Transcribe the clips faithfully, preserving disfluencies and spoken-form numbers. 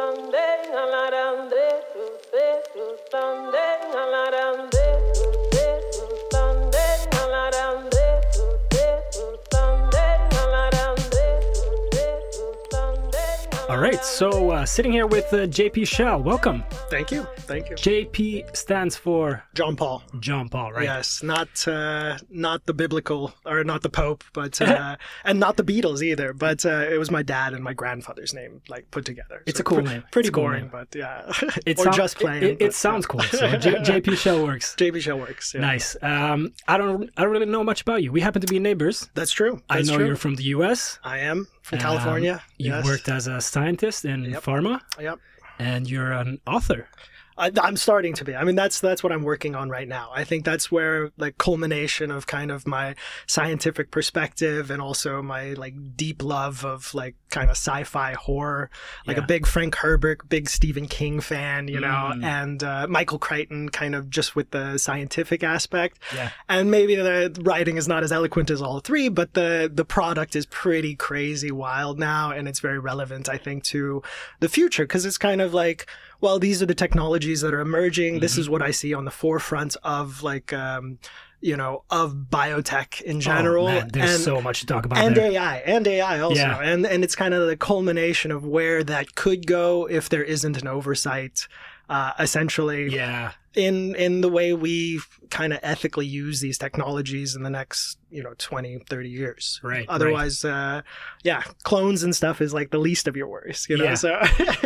All right, so uh, sitting here with uh, J P Schell. Welcome. Thank you. Thank you. J P stands for John Paul. John Paul, right? Yes, not uh, not the biblical or not the Pope, but uh, and not the Beatles either. But uh, it was my dad and my grandfather's name, like put together. It's so a cool pr- name. Pretty It's a cool boring, name. but yeah. It or sound- just plain. It, it, but, it sounds yeah. cool. So J- JP Schell works. J P Schell works. Yeah. Nice. Um, I don't. I don't really know much about you. We happen to be neighbors. That's true. I That's know true. you're from the U S. I am from Um, California. You've yes. worked as a scientist in Yep. pharma, Yep. and you're an author. I, I'm starting to be. I mean, that's that's what I'm working on right now. I think that's where the culmination of kind of my scientific perspective and also my like deep love of like kind of sci-fi horror, like Yeah. a big Frank Herbert, big Stephen King fan, you know, Mm. and uh, Michael Crichton kind of just with the scientific aspect. Yeah. And maybe the writing is not as eloquent as all three, but the the product is pretty crazy wild now, and it's very relevant, I think, to the future because it's kind of like, well, these are the technologies that are emerging. Mm-hmm. This is what I see on the forefront of like, um, you know, of biotech in general. Oh, man, there's and, so much to talk about and there. A I, and A I also. Yeah. And, and it's kind of the culmination of where that could go if there isn't an oversight, uh, essentially. Yeah. In, in the way we kind of ethically use these technologies in the next, you know, twenty, thirty years. Right. Otherwise, right. uh, yeah, clones and stuff is like the least of your worries, you know? Yeah. So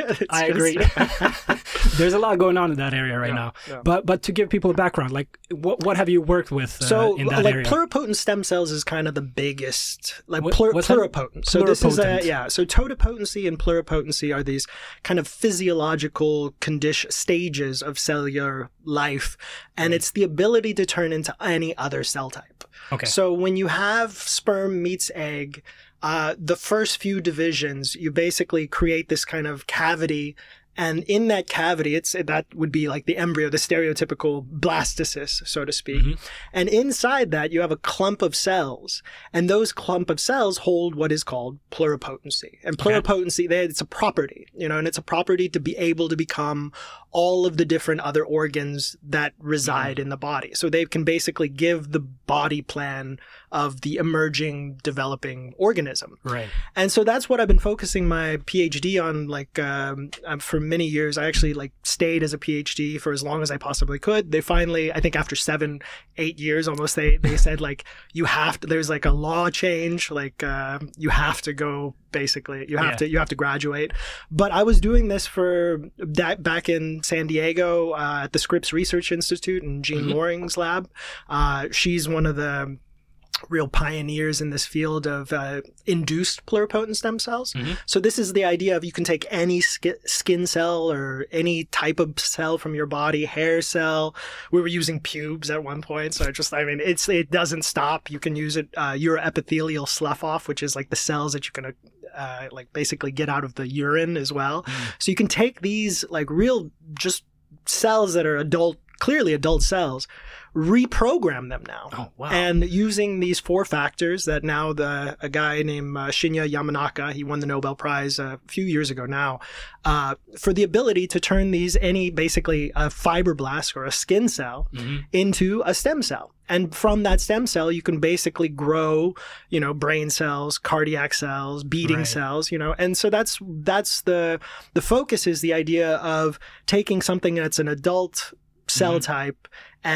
I just- agree. There's a lot going on in that area right Yeah, now. yeah. But but to give people a background, like what what have you worked with uh, So, in that like area? pluripotent stem cells is kind of the biggest, like What- plur- what's that? pluripotent. So this is a Pluripotent. yeah. So totipotency and pluripotency are these kind of physiological condition stages of cellular life, and it's the ability to turn into any other cell type. Okay. So when you have sperm meets egg, uh, the first few divisions, you basically create this kind of cavity. And in that cavity, it's that would be like the embryo, the stereotypical blastocyst, so to speak. Mm-hmm. And inside that, you have a clump of cells. And those clump of cells hold what is called pluripotency. And Okay. pluripotency, they, it's a property, you know, and it's a property to be able to become all of the different other organs that reside in the body. So they can basically give the body plan of the emerging, developing organism. Right. And so that's what I've been focusing my PhD on, like, um, um, for many years. I actually, like, stayed as a PhD for as long as I possibly could. They finally, I think after seven, eight years almost, they, they said, like, you have to, there's, like, a law change, like, uh, you have to go, basically. You have Yeah. to, you have to graduate. But I was doing this for, that back in San Diego, uh, at the Scripps Research Institute in Jean Mm-hmm. Loring's lab. Uh, she's one of the real pioneers in this field of uh, induced pluripotent stem cells. Mm-hmm. So this is the idea of you can take any sk- skin cell or any type of cell from your body, hair cell. We were using pubes at one point, so it just I mean it's it doesn't stop. You can use it uh, uroepithelial slough off, which is like the cells that you can uh, like basically get out of the urine as well. Mm. So you can take these like real just cells that are adult, clearly adult cells, reprogram them now. Oh, wow. And using these four factors that now the a guy named uh, Shinya Yamanaka, he won the Nobel Prize a few years ago now, uh, for the ability to turn these, any basically a fibroblast or a skin cell Mm-hmm. into a stem cell. And from that stem cell, you can basically grow, you know, brain cells, cardiac cells, beating Right. cells, you know. And so that's that's the the focus is the idea of taking something that's an adult cell Mhm. type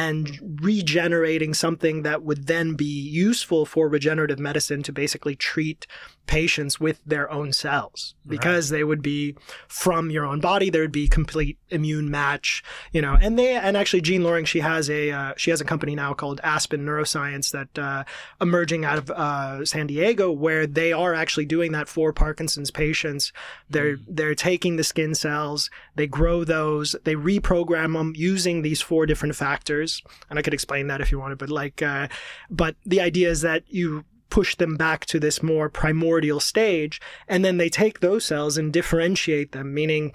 and regenerating something that would then be useful for regenerative medicine to basically treat patients with their own cells, because they would be from your own body. There would be complete immune match, you know. And they and actually Jean Loring, she has a uh, she has a company now called Aspen Neuroscience that uh, emerging out of uh, San Diego, where they are actually doing that for Parkinson's patients. They're Mm. they're taking the skin cells, they grow those, they reprogram them using these four different factors. And I could explain that if you wanted, but like, uh, but the idea is that you push them back to this more primordial stage, and then they take those cells and differentiate them, meaning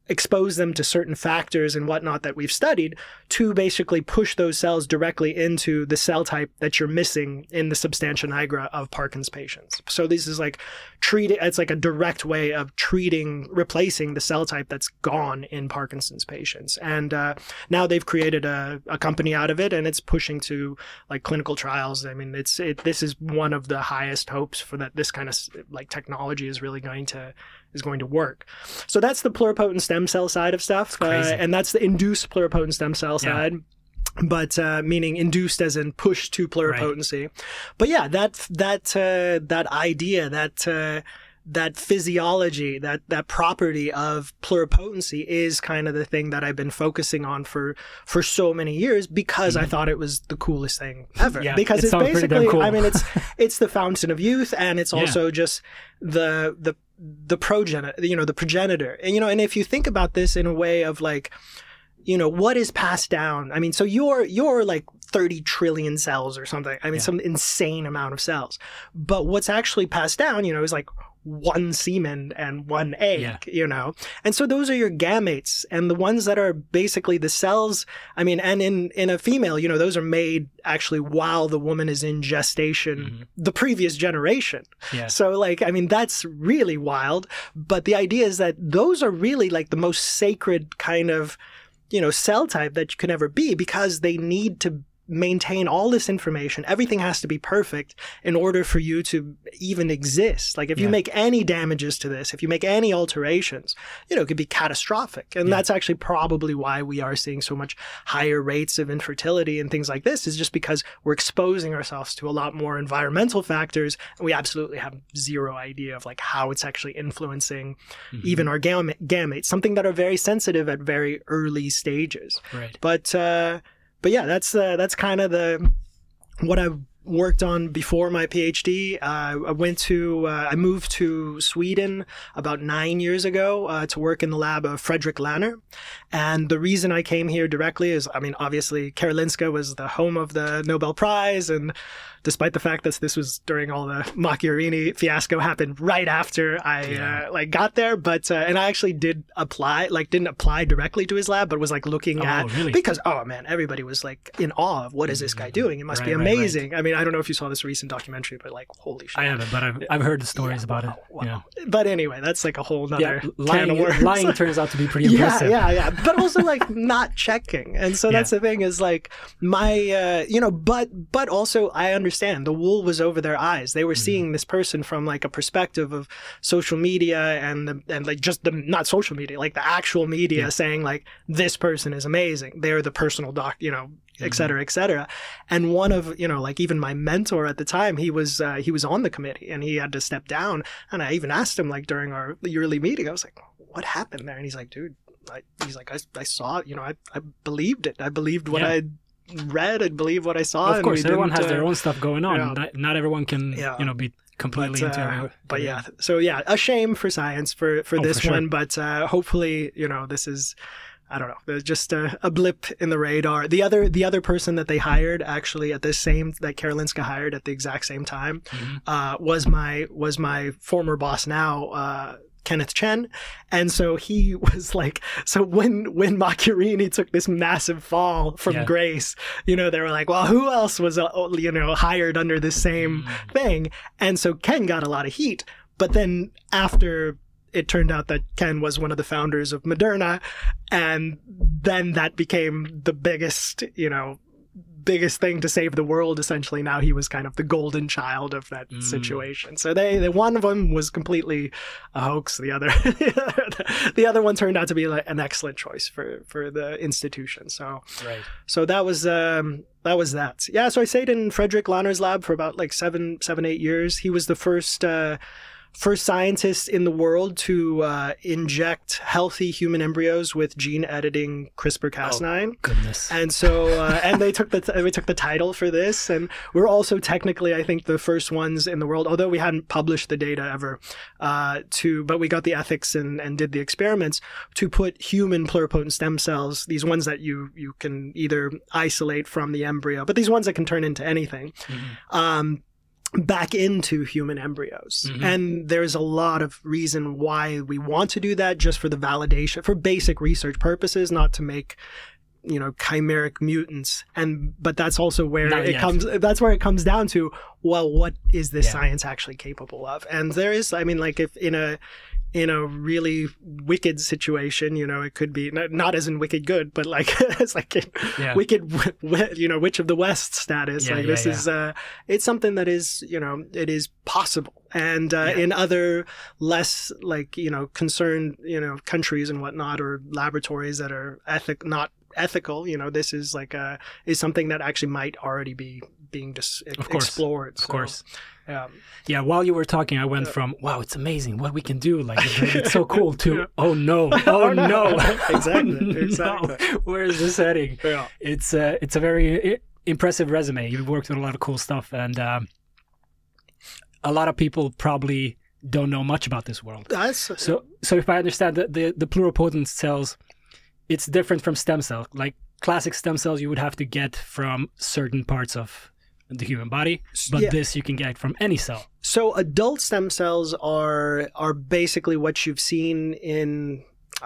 expose them to certain factors and whatnot that we've studied to basically push those cells directly into the cell type that you're missing in the substantia nigra of Parkinson's patients. So this is like treating, it's like a direct way of treating, replacing the cell type that's gone in Parkinson's patients. And uh, now they've created a, a company out of it, and it's pushing to like clinical trials. I mean, it's it, this is one of the highest hopes for that this kind of like technology is really going to is going to work. So that's the pluripotent stem cell side of stuff. Uh, and that's the induced pluripotent stem cell Yeah. side. But uh, meaning induced as in pushed to pluripotency. Right. But yeah, that that uh, that idea, that uh, that physiology, that that property of pluripotency is kind of the thing that I've been focusing on for for so many years because mm-hmm. I thought it was the coolest thing ever. Yeah, because it it's basically, cool. I mean, it's it's the fountain of youth, and it's also yeah. just the the the progenitor, you know, the progenitor. And you know, and if you think about this in a way of like, you know, what is passed down? I mean, so you're you're like thirty trillion cells or something. I mean, yeah. some insane amount of cells. But what's actually passed down, you know, is like one semen and one egg, yeah. you know? And so those are your gametes. And the ones that are basically the cells, I mean, and in, in a female, you know, those are made actually while the woman is in gestation, mm-hmm. the previous generation. Yeah. So like, I mean, that's really wild. But the idea is that those are really like the most sacred kind of, you know, cell type that you can ever be, because they need to maintain all this information. Everything has to be perfect in order for you to even exist. Like if yeah. you make any damages to this, if you make any alterations, you know, it could be catastrophic. And yeah. that's actually probably why we are seeing so much higher rates of infertility and things like this, is just because we're exposing ourselves to a lot more environmental factors. And we absolutely have zero idea of like how it's actually influencing mm-hmm. even our gam- gametes, something that are very sensitive at very early stages. Right. But, uh, But yeah, that's uh, that's kind of the what I worked on before my PhD. Uh, I went to uh, I moved to Sweden about nine years ago uh, to work in the lab of Fredrik Lanner, and the reason I came here directly is, I mean, obviously Karolinska was the home of the Nobel Prize, and despite the fact that this was during all the Macchiarini fiasco happened right after I yeah. uh, like got there, but uh, and I actually did apply, like didn't apply directly to his lab, but was like looking oh, at really? because oh man, everybody was like in awe of what is this guy doing? It must right, be amazing. Right, right. I mean, I don't know if you saw this recent documentary, but like holy shit! I haven't, but I've I've heard the stories yeah, about wow, it. Wow. Yeah. But anyway, that's like a whole nother yeah, lying, can of worms. Lying turns out to be pretty impressive. Yeah, yeah, yeah. But also like not checking, and so that's yeah. the thing is like my uh, you know, but but also I understand the wool was over their eyes. They were mm-hmm. seeing this person from like a perspective of social media and the, and like just the not social media, like the actual media yeah. saying like this person is amazing. They're the personal doc, you know, et cetera, et cetera. And one of, you know, like even my mentor at the time, he was uh, he was on the committee and he had to step down. And I even asked him like during our yearly meeting, I was like, what happened there? And he's like, dude, I, he's like, I, I saw it, you know, I, I believed it. I believed what yeah. I read and believe what I saw. Of course, everyone has uh, their own stuff going on. Yeah. Not, not everyone can, yeah. you know, be completely but, into uh, it. But yeah, so yeah, a shame for science for, for oh, this for sure. one. But uh, hopefully, you know, this is, I don't know, there's just a, a blip in the radar. The other the other person that they hired actually at the same, that Karolinska hired at the exact same time mm-hmm. uh, was my was my former boss now, uh, Kenneth Chen. And so he was like, so when when Macchiarini took this massive fall from yeah. grace, you know, they were like, well, who else was, uh, you know, hired under the same mm. thing? And so Ken got a lot of heat. But then after it turned out that Ken was one of the founders of Moderna, and then that became the biggest, you know, biggest thing to save the world. Essentially, now he was kind of the golden child of that mm. situation. So they, they, one of them was completely a hoax. The other, the other one turned out to be like an excellent choice for, for the institution. So, right. so that was, um, that was that. Yeah. So I stayed in Fredrik Lanner's lab for about like seven, seven, eight years. He was the first, uh, First scientist in the world to uh, inject healthy human embryos with gene editing CRISPR Cas nine. Oh, goodness. And so, uh, and they took the t- we took the title for this, and we're also technically, I think, the first ones in the world, although we hadn't published the data ever, uh, to, but we got the ethics and, and did the experiments to put human pluripotent stem cells, these ones that you you can either isolate from the embryo, but these ones that can turn into anything. Mm-hmm. Um, back into human embryos. Mm-hmm. And there's a lot of reason why we want to do that, just for the validation, for basic research purposes, not to make, you know, chimeric mutants. And but that's also where Not it yet. comes that's where it comes down to, well, what is this Yeah. science actually capable of? And there is, I mean, like, if in a in a really wicked situation, you know, it could be not, not as in Wicked Good, but like it's like in Yeah. Wicked, you know, Witch of the West status. Yeah, like yeah, this yeah. is, uh, it's something that is, you know, it is possible. And uh, Yeah. in other less like, you know, concerned, you know, countries and whatnot, or laboratories that are ethic not ethical, you know, this is like a is something that actually might already be being dis- Of course. explored. Of So, course. um, Yeah, while you were talking, I went from, wow, it's amazing what we can do. Like, it's, it's so cool, to, oh no, oh no. Exactly, Oh, no. exactly. Where is this heading? yeah. It's, uh, it's a very i- impressive resume. You've worked with a lot of cool stuff, and um, a lot of people probably don't know much about this world. That's So, so if I understand that the, the pluripotent cells, it's different from stem cells. Like classic stem cells, you would have to get from certain parts of the human body, but Yeah. this you can get from any cell. So adult stem cells are are basically what you've seen in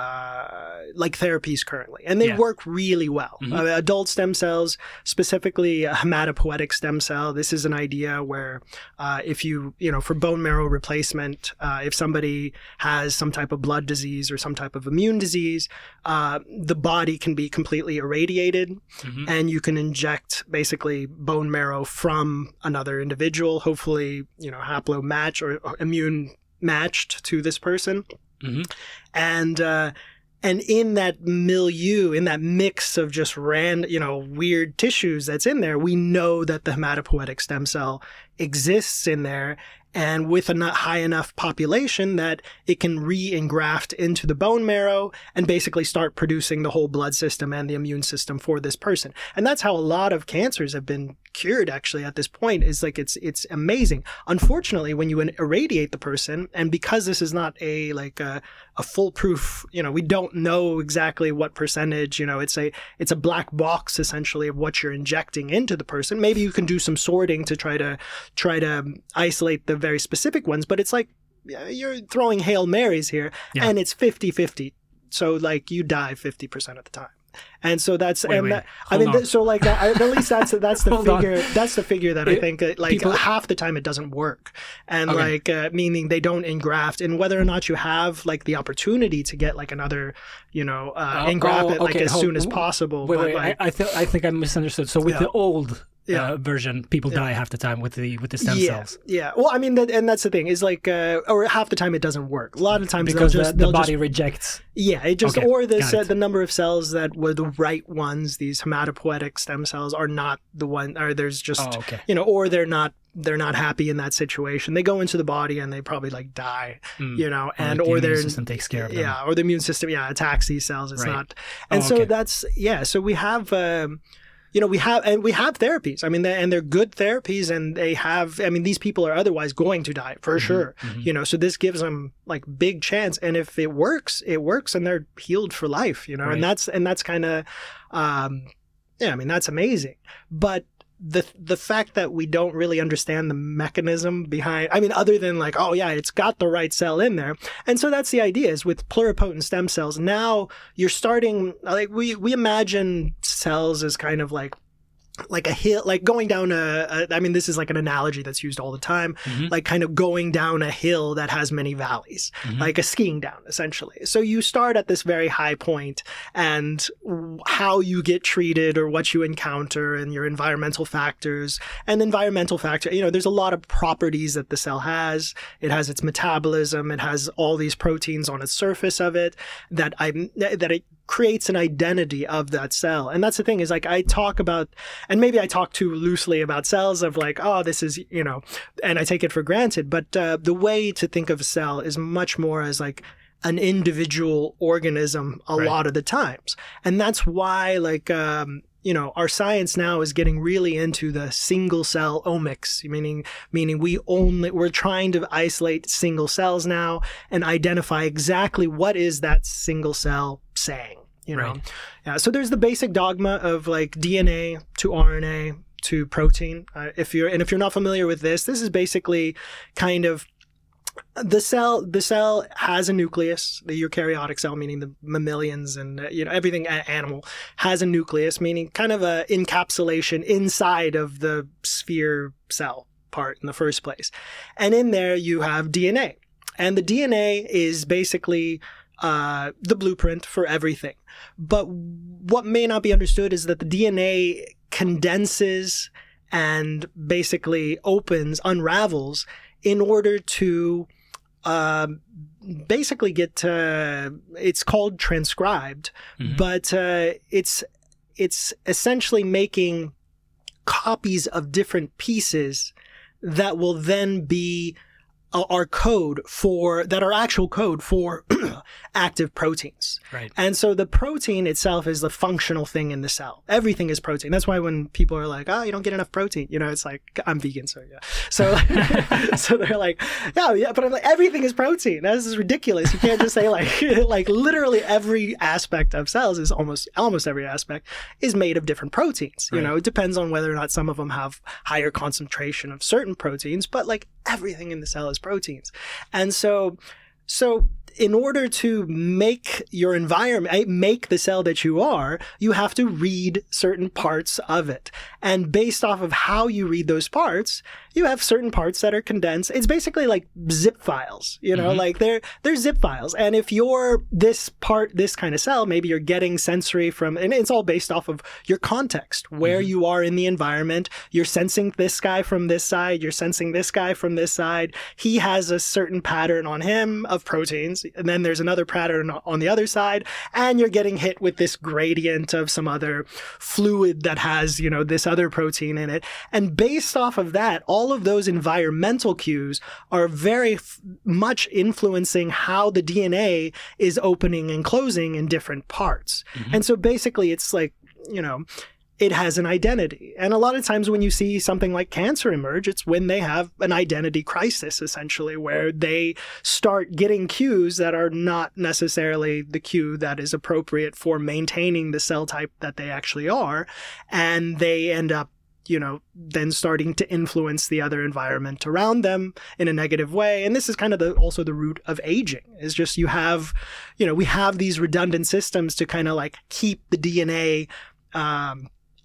uh, like therapies currently, and they Yeah. work really well. Mhm. Uh, adult stem cells, specifically a hematopoietic stem cell. This is an idea where uh, if you you know for bone marrow replacement, uh, if somebody has some type of blood disease or some type of immune disease, uh, the body can be completely irradiated, Mhm. and you can inject basically bone marrow from another individual, hopefully, you know, haplo match or, or immune matched to this person. Mhm. And, uh, and in that milieu, in that mix of just random, you know, weird tissues that's in there, we know that the hematopoietic stem cell exists in there, and with a not high enough population that it can re-engraft into the bone marrow and basically start producing the whole blood system and the immune system for this person. And that's how a lot of cancers have been cured actually at this point. Is like it's it's amazing. Unfortunately, when you irradiate the person, and because this is not a like a, a foolproof, you know, we don't know exactly what percentage, you know, it's a it's a black box essentially of what you're injecting into the person. Maybe you can do some sorting to try to try to isolate the very specific ones, but it's like yeah, you're throwing Hail Marys here, Yeah. and it's fifty-fifty. So like you die fifty percent of the time. And so that's Wait, and wait. that, I Hold mean on. th- so like that, I, at least that's that's the Hold on. figure that's the figure that I It- think uh, like people- half the time it doesn't work, and Okay. like uh, meaning they don't engraft, and whether or not you have like the opportunity to get like another, you know, uh, Oh, engraft oh, it like okay, as hold- soon as possible. Wait, but wait, like, I, I, th- I think I misunderstood. So with Yeah. the old Yeah. uh, version, people die half the time with the with the stem yeah, cells yeah. Well, I mean, that, and that's the thing is like, uh, or half the time it doesn't work. A lot of times because they'll the, just the they'll body just rejects. Yeah, it just Okay, or the got se- it. the number of cells that were the right ones, these hematopoietic stem cells, are not the one, or there's just Oh, okay. you know, or they're not they're not happy in that situation. They go into the body and they probably like die, Mm. you know, Or and like the or immune they're system takes care of them. yeah, or the immune system yeah attacks these cells. It's Right. not, and Oh, so okay. that's yeah. So we have. Um, you know, we have, and we have therapies. I mean, they, and they're good therapies, and they have, I mean, these people are otherwise going to die for sure, mhm. you know, so this gives them like big chance. And if it works, it works and they're healed for life, you know, Right. and that's, and that's kind of, um, yeah, I mean, that's amazing. But the, the fact that we don't really understand the mechanism behind, I mean, other than like, oh yeah, it's got the right cell in there. And so that's the idea is with pluripotent stem cells. Now you're starting, like we, we imagine cells as kind of like, like a hill, like going down a, a, I mean, this is like an analogy that's used all the time, Mhm. like kind of going down a hill that has many valleys, Mhm. like a skiing down, essentially. So you start at this very high point, and w- how you get treated or what you encounter and your environmental factors and environmental factor, you know, there's a lot of properties that the cell has. It has its metabolism. It has all these proteins on its surface of it that I, that it creates an identity of that cell. And that's the thing is like, I talk about, and maybe I talk too loosely about cells of like, oh, this is, you know, and I take it for granted. But uh, the way to think of a cell is much more as like an individual organism a Right. lot of the times. And that's why like, um, you know, our science now is getting really into the single cell omics, meaning, meaning we only, we're trying to isolate single cells now and identify exactly what is that single cell saying. You know, Right. yeah. So there's the basic dogma of like D N A to R N A to protein. Uh, if you're and if you're not familiar with this, this is basically kind of the cell. The cell has a nucleus. The eukaryotic cell, meaning the mammalians and uh, you know everything a- animal, has a nucleus, meaning kind of a encapsulation inside of the sphere cell part in the first place. And in there you have D N A, and the D N A is basically uh, the blueprint for everything. But what may not be understood is that the D N A condenses and basically opens, unravels in order to uh, basically get, uh, it's called transcribed, mm-hmm. but uh, it's it's essentially making copies of different pieces that will then be uh, our code for, that are actual code for active proteins. Right. And so the protein itself is the functional thing in the cell. Everything is protein. That's why when people are like, oh, you don't get enough protein, you know, it's like, I'm vegan, so yeah. So, so they're like, yeah, yeah, but I'm like, everything is protein. This is ridiculous. You can't just say like, like literally every aspect of cells is almost, almost every aspect is made of different proteins. You right. know, it depends on whether or not some of them have higher concentration of certain proteins, but like everything in the cell is proteins. And so, so in order to make your environment, make the cell that you are, you have to read certain parts of it. And based off of how you read those parts, you have certain parts that are condensed. It's basically like zip files, you know, mm-hmm. like they're, they're zip files. And if you're this part, this kind of cell, maybe you're getting sensory from, and it's all based off of your context, where mm-hmm. you are in the environment. You're sensing this guy from this side. You're sensing this guy from this side. He has a certain pattern on him of proteins. And then there's another pattern on the other side. And you're getting hit with this gradient of some other fluid that has, you know, this other protein in it. And based off of that, all all of those environmental cues are very f- much influencing how the D N A is opening and closing in different parts. Mm-hmm. And so basically it's like, you know, it has an identity. And a lot of times when you see something like cancer emerge, it's when they have an identity crisis, essentially, where they start getting cues that are not necessarily the cue that is appropriate for maintaining the cell type that they actually are. And they end up, you know, then starting to influence the other environment around them in a negative way. And this is kind of the, also the root of aging, is just you have, you know, we have these redundant systems to kind of like keep the D N A um,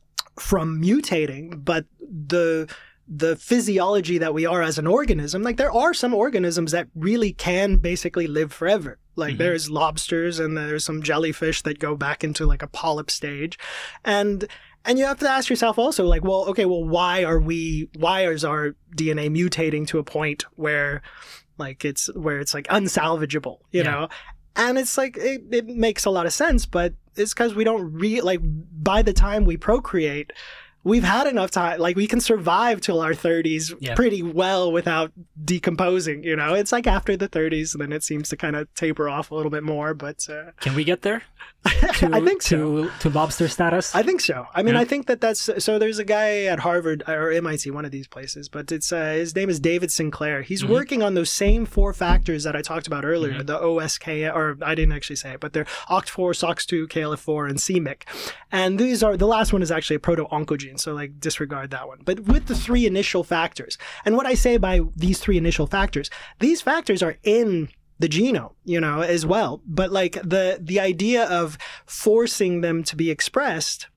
from mutating, but the the physiology that we are as an organism, like there are some organisms that really can basically live forever. Like mm-hmm. there's lobsters and there's some jellyfish that go back into like a polyp stage. And And you have to ask yourself also, like, well, okay, well, why are we, why is our D N A mutating to a point where, like, it's, where it's, like, unsalvageable, you yeah. know? And it's, like, it, it makes a lot of sense, but it's because we don't re, like, by the time we procreate, we've had enough time, like, we can survive till our thirties yeah. pretty well without decomposing, you know? It's, like, after the thirties, then it seems to kind of taper off a little bit more, but... Uh... Can we get there? To, I think so. To, to lobster status? I think so. I mean, yeah. I think that that's... So there's a guy at Harvard, or M I T, one of these places, but it's uh, his name is David Sinclair. He's mm-hmm. working on those same four factors that I talked about earlier, mm-hmm. the O S K, or I didn't actually say it, but they're O C T four, S O X two, K L F four, and c M Y C. And these are... The last one is actually a proto-oncogene, so like disregard that one. But with the three initial factors, and what I say by these three initial factors, these factors are in the genome, you know, as well. But like the the idea of forcing them to be expressed,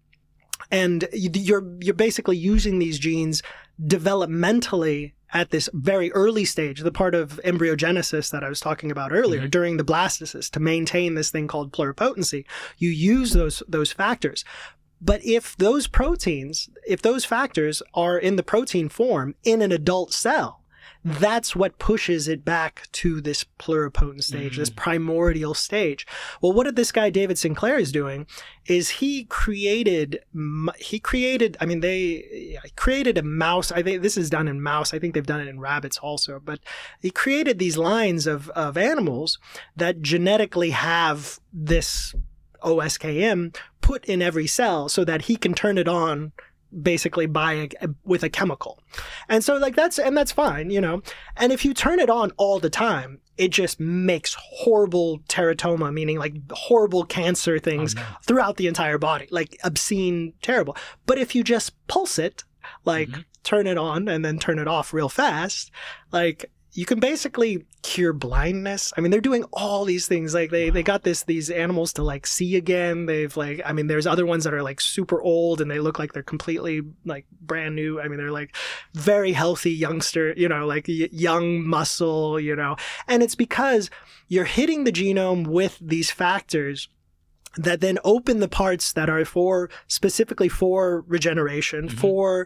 and you're you're basically using these genes developmentally at this very early stage, the part of embryogenesis that I was talking about earlier, mm-hmm. during the blastocyst, to maintain this thing called pluripotency, you use those those factors. But if those proteins, if those factors are in the protein form in an adult cell, that's what pushes it back to this pluripotent stage, mm-hmm. this primordial stage. Well, what did this guy David Sinclair is doing is he created, he created, I mean, they created a mouse. I think this is done in mouse. I think they've done it in rabbits also, but he created these lines of, of animals that genetically have this O S K M put in every cell so that he can turn it on basically by a, with a chemical. And so like that's, and that's fine, you know, and if you turn it on all the time, it just makes horrible teratoma, meaning like horrible cancer things oh, no. throughout the entire body, like obscene, terrible. But if you just pulse it like Mm-hmm. turn it on and then turn it off real fast, like you can basically cure blindness. I mean, they're doing all these things. Like they, Wow. they got this, these animals to like see again. They've like, I mean, there's other ones that are like super old and they look like they're completely like brand new. I mean, they're like very healthy youngster, you know, like y- young muscle, you know, and it's because you're hitting the genome with these factors that then open the parts that are for specifically for regeneration, Mm-hmm. for,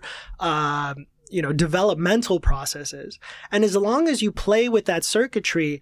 um, you know, developmental processes. And as long as you play with that circuitry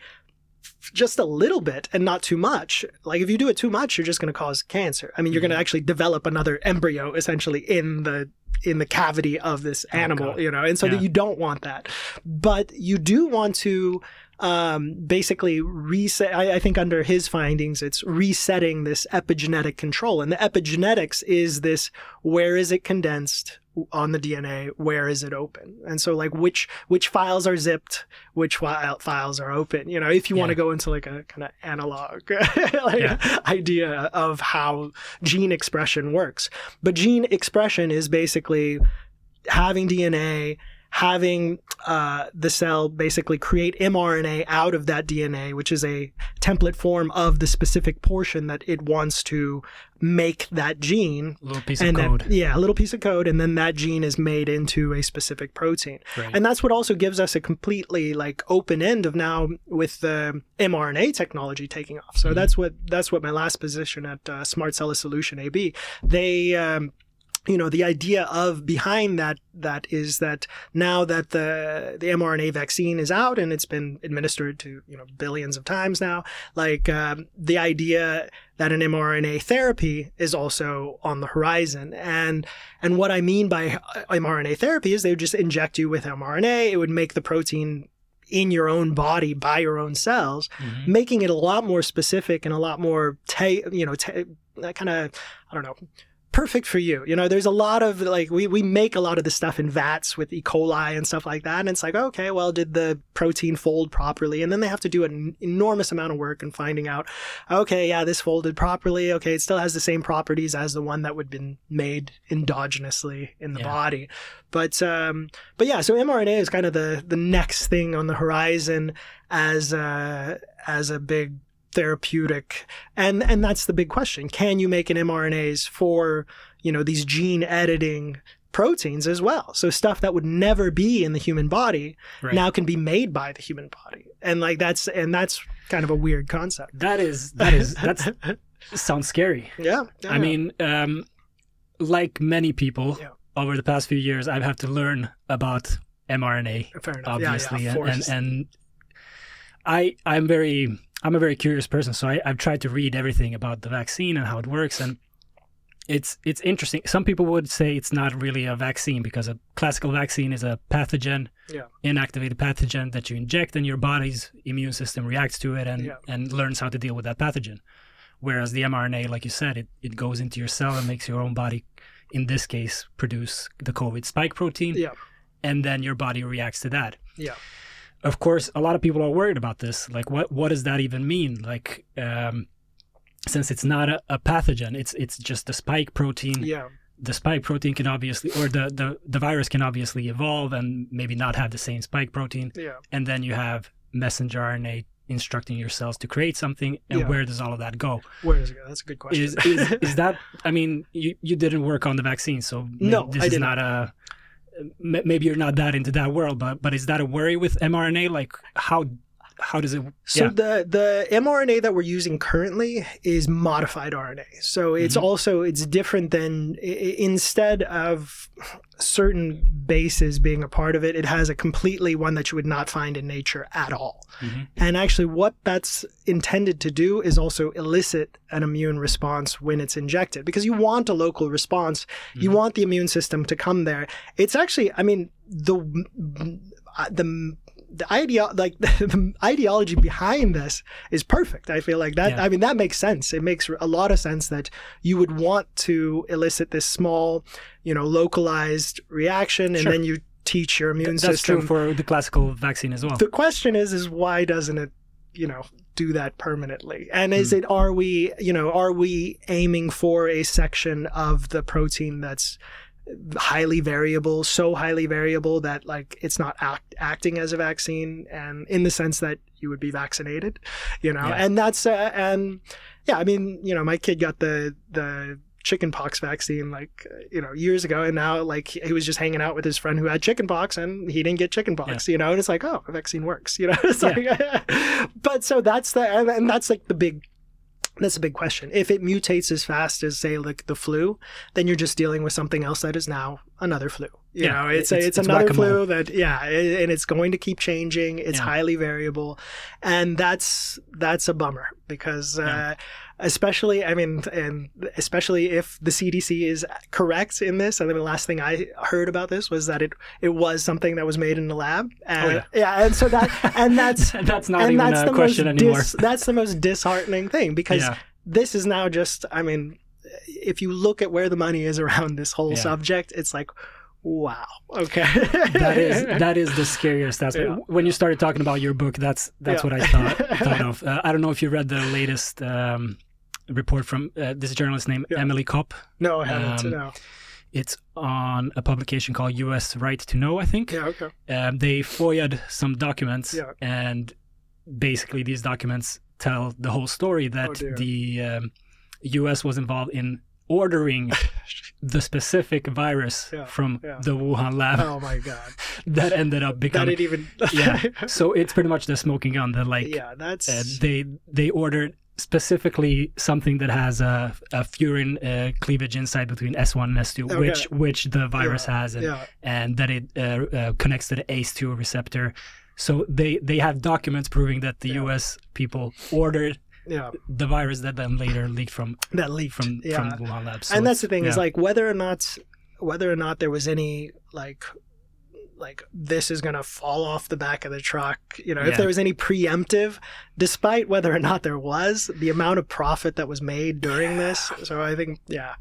just a little bit and not too much, like if you do it too much, you're just going to cause cancer. I mean, you're Mhm. going to actually develop another embryo essentially in the in the cavity of this animal, God. you know, and so Yeah. that you don't want that. But you do want to um, basically reset. I, I think under his findings, it's resetting this epigenetic control. And the epigenetics is this, where is it condensed on the D N A? Where is it open? And so like which, which files are zipped, which file, files are open, you know, if you Yeah. want to go into like a kind of analog like Yeah. idea of how gene expression works. But gene expression is basically having D N A, having uh, the cell basically create mRNA out of that D N A, which is a template form of the specific portion that it wants to make that gene. A little piece of And then, code. yeah, a little piece of code, and then that gene is made into a specific protein. Right. And that's what also gives us a completely like open end of now with the mRNA technology taking off. So Mhm. that's what that's what my last position at uh, Smart Cell Solution A B. They um, you know, the idea of behind that that is that now that the the mRNA vaccine is out and it's been administered to, you know, billions of times now, like um, the idea that an mRNA therapy is also on the horizon. And and what I mean by mRNA therapy is they would just inject you with mRNA. It would make the protein in your own body by your own cells, Mhm. making it a lot more specific and a lot more, ta- you know, ta- kind of, I don't know, perfect for you. You know, there's a lot of like, we, we make a lot of this stuff in vats with E. coli and stuff like that. And it's like, okay, well, did the protein fold properly? And then they have to do an enormous amount of work in finding out, okay, yeah, this folded properly. Okay, it still has the same properties as the one that would have been made endogenously in the Yeah. body. But, um, but yeah, so mRNA is kind of the, the next thing on the horizon as a, as a big therapeutic. And, and that's the big question. Can you make an mRNAs for, you know, these gene editing proteins as well? So stuff that would never be in the human body Right. now can be made by the human body. And like that's, and that's kind of a weird concept. That is that is that's sounds scary. Yeah. I mean, um, like many people Yeah. over the past few years, I've had to learn about mRNA, fair enough. obviously, yeah, yeah, of and, and course. and I I'm very I'm a very curious person, so I, I've tried to read everything about the vaccine and how it works, and it's it's interesting. Some people would say it's not really a vaccine because a classical vaccine is a pathogen, Yeah. inactivated pathogen that you inject, and your body's immune system reacts to it and Yeah. and learns how to deal with that pathogen. Whereas the mRNA, like you said, it, it goes into your cell and makes your own body, in this case, produce the COVID spike protein, Yeah. and then your body reacts to that. Yeah. Of course, a lot of people are worried about this. Like, what what does that even mean? Like, um, since it's not a, a pathogen, it's it's just the spike protein. Yeah. The spike protein can obviously, or the, the, the virus can obviously evolve and maybe not have the same spike protein. Yeah. And then you have messenger R N A instructing your cells to create something. And Yeah. where does all of that go? Where does it go? That's a good question. Is, is is that? I mean, you, you didn't work on the vaccine, so maybe No, this I is did not a. m- Maybe you're not that into that world, but but is that a worry with mRNA? Like how how does it? So yeah. the the mRNA that we're using currently is modified R N A. So it's Mhm. also it's different than i- i- instead of certain bases being a part of it, it has a completely one that you would not find in nature at all. Mhm. And actually what that's intended to do is also elicit an immune response when it's injected, because you want a local response. You Mhm. want the immune system to come there. It's actually, I mean, the the the idea like the ideology behind this is perfect. I feel like that. Yeah. I mean, that makes sense. It makes a lot of sense that you would want to elicit this small, you know, localized reaction, and Sure. then you teach your immune That's system. true for the classical vaccine as well. The question is, is why doesn't it, you know, do that permanently? And is Hmm. it, are we, you know, are we aiming for a section of the protein that's highly variable, so highly variable that like it's not act, acting as a vaccine, and in the sense that you would be vaccinated, you know, Yeah. and that's uh, and yeah, I mean, you know, my kid got the the chickenpox vaccine like you know years ago, and now like he was just hanging out with his friend who had chickenpox, and he didn't get chickenpox, yeah. you know, and it's like, oh, a vaccine works, you know. It's like, yeah. But so that's the and, and that's like the big. That's a big question. If it mutates as fast as, say, like the flu, then you're just dealing with something else that is now another flu. You yeah, know, it's it's, a, it's, it's another whack-a-mole. flu that, yeah, and it's going to keep changing. It's Yeah. highly variable, and that's that's a bummer because, Yeah. uh, especially, I mean, and especially if the C D C is correct in this. I mean, the last thing I heard about this was that it it was something that was made in the lab. And, Oh, yeah. yeah, and so that and that's That's not and even that's a the question most anymore. dis- that's the most disheartening thing because Yeah. this is now just, I mean, if you look at where the money is around this whole Yeah. subject, it's like, wow, okay. that is that is the scariest aspect. Yeah. When you started talking about your book, that's that's Yeah. what I thought thought of. Uh, I don't know if you read the latest um, report from uh, this journalist named Yeah. Emily Kopp. No, I haven't. Um, no. It's on a publication called U S Right to Know, I think. Yeah, okay. Um, they FOIA'd some documents, Yeah. and basically these documents tell the whole story that Oh, dear. the um, U S was involved in ordering the specific virus Yeah, from yeah. the Wuhan lab Oh my God. that ended up That becoming. it even. yeah. So it's pretty much the smoking gun that like yeah, that's. uh, they they ordered specifically something that has a, a furin uh, cleavage inside between S one and S two, Okay. which which the virus Yeah, has, and, yeah. and that it uh, uh, connects to the A C E two receptor. So they they have documents proving that the Yeah. U S people ordered Yeah. the virus that then later leaked from That leaked. from yeah. from the Wuhan lab. So and that's it's- the thing is yeah. like whether or not whether or not there was any like like this is going to fall off the back of the truck, you know, Yeah. if there was any preemptive, despite whether or not there was, the amount of profit that was made during this. So I think, yeah.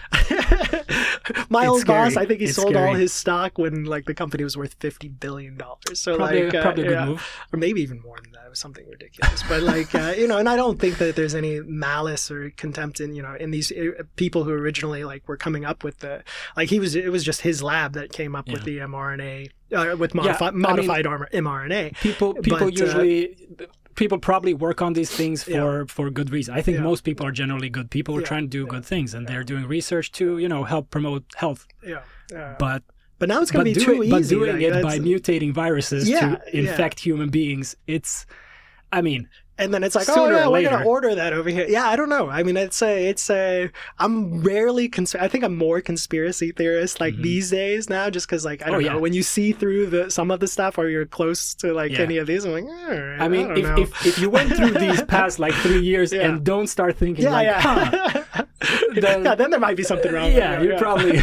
My It's old boss, scary. I think he It's sold all scary. his stock when like the company was worth fifty billion dollars. So probably, like, uh, probably a good yeah. move. Or maybe even more than that. It was something ridiculous. But like, uh, you know, and I don't think that there's any malice or contempt in, you know, in these uh, people who originally like were coming up with the, like he was, it was just his lab that came up with Yeah. the mRNA, uh, with Yeah, modifi- I mean- modified armor- mRNA. People people But, uh, usually people probably work on these things for Yeah. for good reason. I think Yeah. most people are generally good people who are Yeah, trying to do yeah, good things, and yeah. they're doing research to you know help promote health. Yeah. yeah. But But now it's going but to be doing, too but easy. doing like, it by that's- mutating viruses Yeah, to yeah. infect human beings, it's I mean and then it's like, sooner oh yeah, or we're gonna later. order that over here. Yeah, I don't know. I mean, it's a, it's a. I'm rarely. Cons- I think I'm more conspiracy theorist like Mhm. these days now, just because like I Oh, don't yeah. know when you see through the some of the stuff or you're close to like Yeah. any of these. I'm like, eh, I mean don't if, know. if if you went through these past like three years Yeah. and don't start thinking yeah, like yeah. huh, then- yeah, then there might be something wrong. yeah, with it, you probably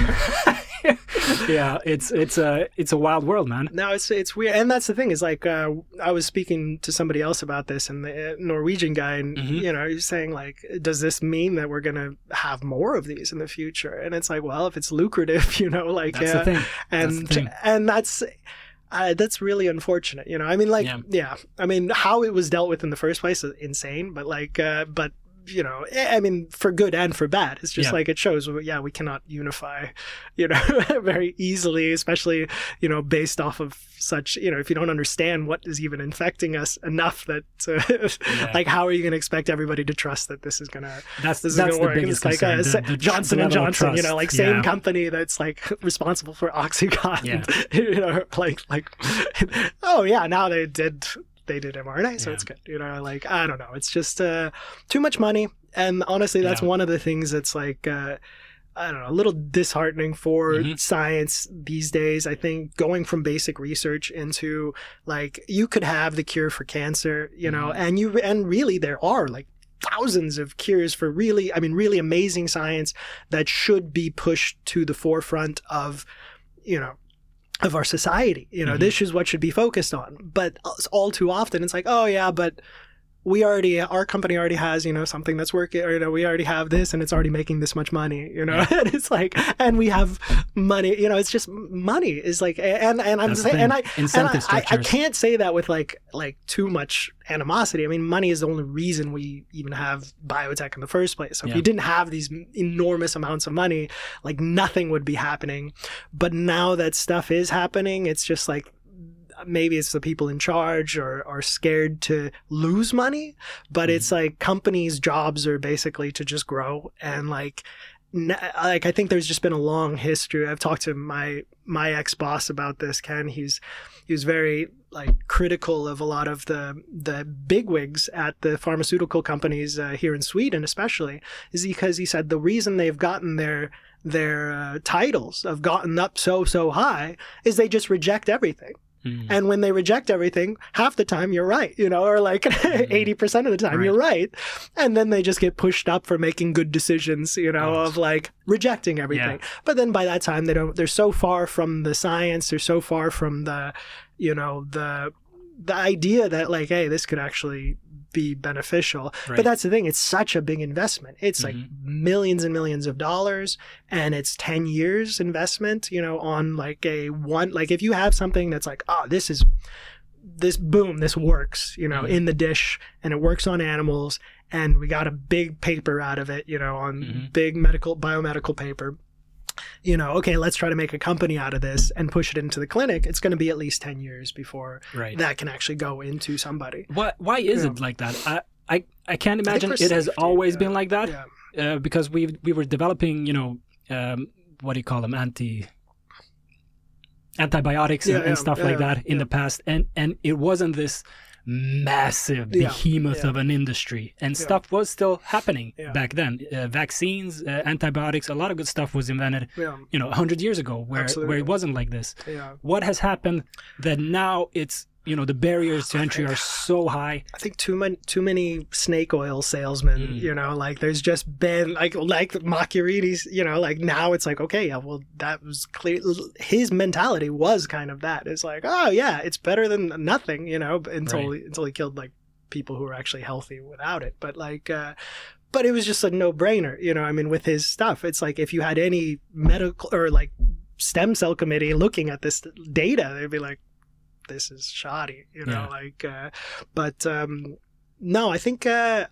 yeah it's it's a it's a wild world, man. No, it's it's weird, and that's the thing is like uh, I was speaking to somebody else about this, and the uh, Norwegian guy, and Mhm. you know, he's saying like, does this mean that we're gonna have more of these in the future? And it's like, well, if it's lucrative, you know, like, That's uh, the thing. and That's the thing. and that's. Uh, that's really unfortunate, you know. I mean, like, Yeah. yeah. I mean, how it was dealt with in the first place is insane. But like, uh, but you know, I mean, for good and for bad, it's just Yeah. like it shows. well, Yeah, we cannot unify, you know, very easily, especially you know, based off of such, you know, if you don't understand what is even infecting us enough that, uh, like, how are you going to expect everybody to trust that this is gonna That's this is that's going to the work? And biggest it's like uh, concern. sa- the, the Johnson the and level of Johnson, you know, trust. like same Yeah. company that's like responsible for Oxycontin. Yeah. You know, like like, oh yeah, now they did they did mRNA, so Yeah. it's good. You know, like I don't know, it's just uh, too much money, and honestly, that's Yeah. one of the things that's like. Uh, I don't know, a little disheartening for Mhm. science these days. I think going from basic research into like you could have the cure for cancer, you know, Mhm. and you and really there are like thousands of cures for really, I mean, really amazing science that should be pushed to the forefront of, you know, of our society. You know, Mhm. this is what should be focused on. But all too often it's like, oh yeah, but we already, our company already has, you know, something that's working, or, you know, we already have this and it's already making this much money, you know, yeah. and it's like, and we have money, you know, it's just money is like, and, and I'm saying, and I, incentive and I, I, I can't say that with like, like too much animosity. I mean, money is the only reason we even have biotech in the first place. So if yeah. you didn't have these enormous amounts of money, like nothing would be happening. But now that stuff is happening, it's just like, maybe it's the people in charge or are scared to lose money, but mm-hmm. it's like companies' jobs are basically to just grow. And like, like I think there's just been a long history. I've talked to my my ex-boss about this, Ken. He's he was very like critical of a lot of the the bigwigs at the pharmaceutical companies uh, here in Sweden, especially, is because he said the reason they've gotten their their uh, titles have gotten up so so high is they just reject everything. Mm. And when they reject everything, half the time you're right, you know, or like mm. eighty percent of the time right. you're right. And then they just get pushed up for making good decisions, you know, oh. of like rejecting everything. Yeah. But then by that time, they don't, they're so far from the science, they're so far from the, you know, the, the idea that like, hey, this could actually be beneficial. Right. But that's the thing. It's such a big investment. It's mm-hmm. like millions and millions of dollars, and it's ten years investment, you know, on like a one, like if you have something that's like, oh, this is, this boom, this works, you know, mm-hmm. in the dish, and it works on animals, and we got a big paper out of it, you know, on mm-hmm. big medical, biomedical paper. You know, okay, let's try to make a company out of this and push it into the clinic. It's going to be at least ten years before right. that can actually go into somebody. Why, why is you it know? like that? I, I, I can't imagine it has safety, always yeah. been like that yeah. uh, because we we were developing, you know, um, what do you call them? Anti... antibiotics yeah, and, and yeah, stuff yeah, like that in yeah. the past. And, and it wasn't this massive behemoth yeah, yeah. of an industry, and yeah. stuff was still happening yeah. back then. Uh, vaccines, uh, antibiotics, a lot of good stuff was invented, yeah. you know, a hundred years ago, where Absolutely. where it wasn't like this. Yeah. What has happened that now it's, you know, the barriers to entry are so high? I think too many too many snake oil salesmen. Mm. You know, like there's just been like like Macchiarini's. You know, like now it's like, okay, yeah, well that was clear. His mentality was kind of that. It's like, oh yeah, it's better than nothing. You know, until right. until he killed like people who were actually healthy without it. But like. Uh, But it was just a no-brainer, you know. I mean, with his stuff, it's like if you had any medical or like stem cell committee looking at this data, they'd be like, "This is shoddy," you know. Yeah. Like, uh, but um, no, I think. Uh,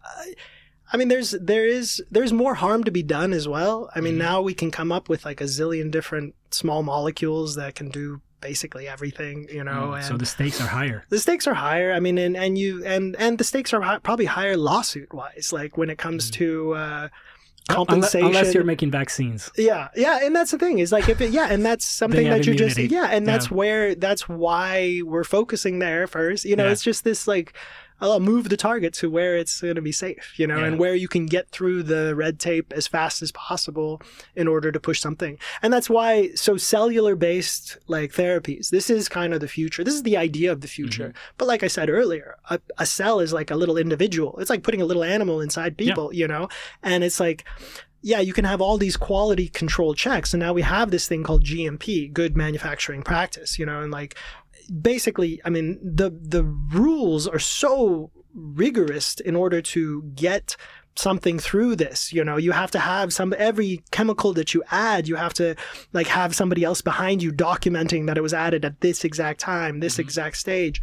I mean, there's there is there's more harm to be done as well. I mean, mm-hmm. now we can come up with like a zillion different small molecules that can do basically everything, you know. Mm, and so the stakes are higher. The stakes are higher. I mean, and, and you and and the stakes are hi- probably higher lawsuit wise, like when it comes mm. to uh, compensation. Unless, unless you're making vaccines. Yeah, yeah, and that's the thing is like if it, yeah, and that's something that you immunity. just yeah, and that's yeah. where that's why we're focusing there first. You know, yeah. it's just this like. I'll move the target to where it's going to be safe, you know, yeah. and where you can get through the red tape as fast as possible in order to push something. And that's why, so cellular based like therapies, this is kind of the future. This is the idea of the future. Mm-hmm. But like I said earlier, a, a cell is like a little individual. It's like putting a little animal inside people, yeah. you know, and it's like, yeah, you can have all these quality control checks. And now we have this thing called G M P, good manufacturing practice, you know, and like, basically, I mean, the the rules are so rigorous in order to get something through this. You know, you have to have some, every chemical that you add, you have to like have somebody else behind you documenting that it was added at this exact time, this mm-hmm. exact stage.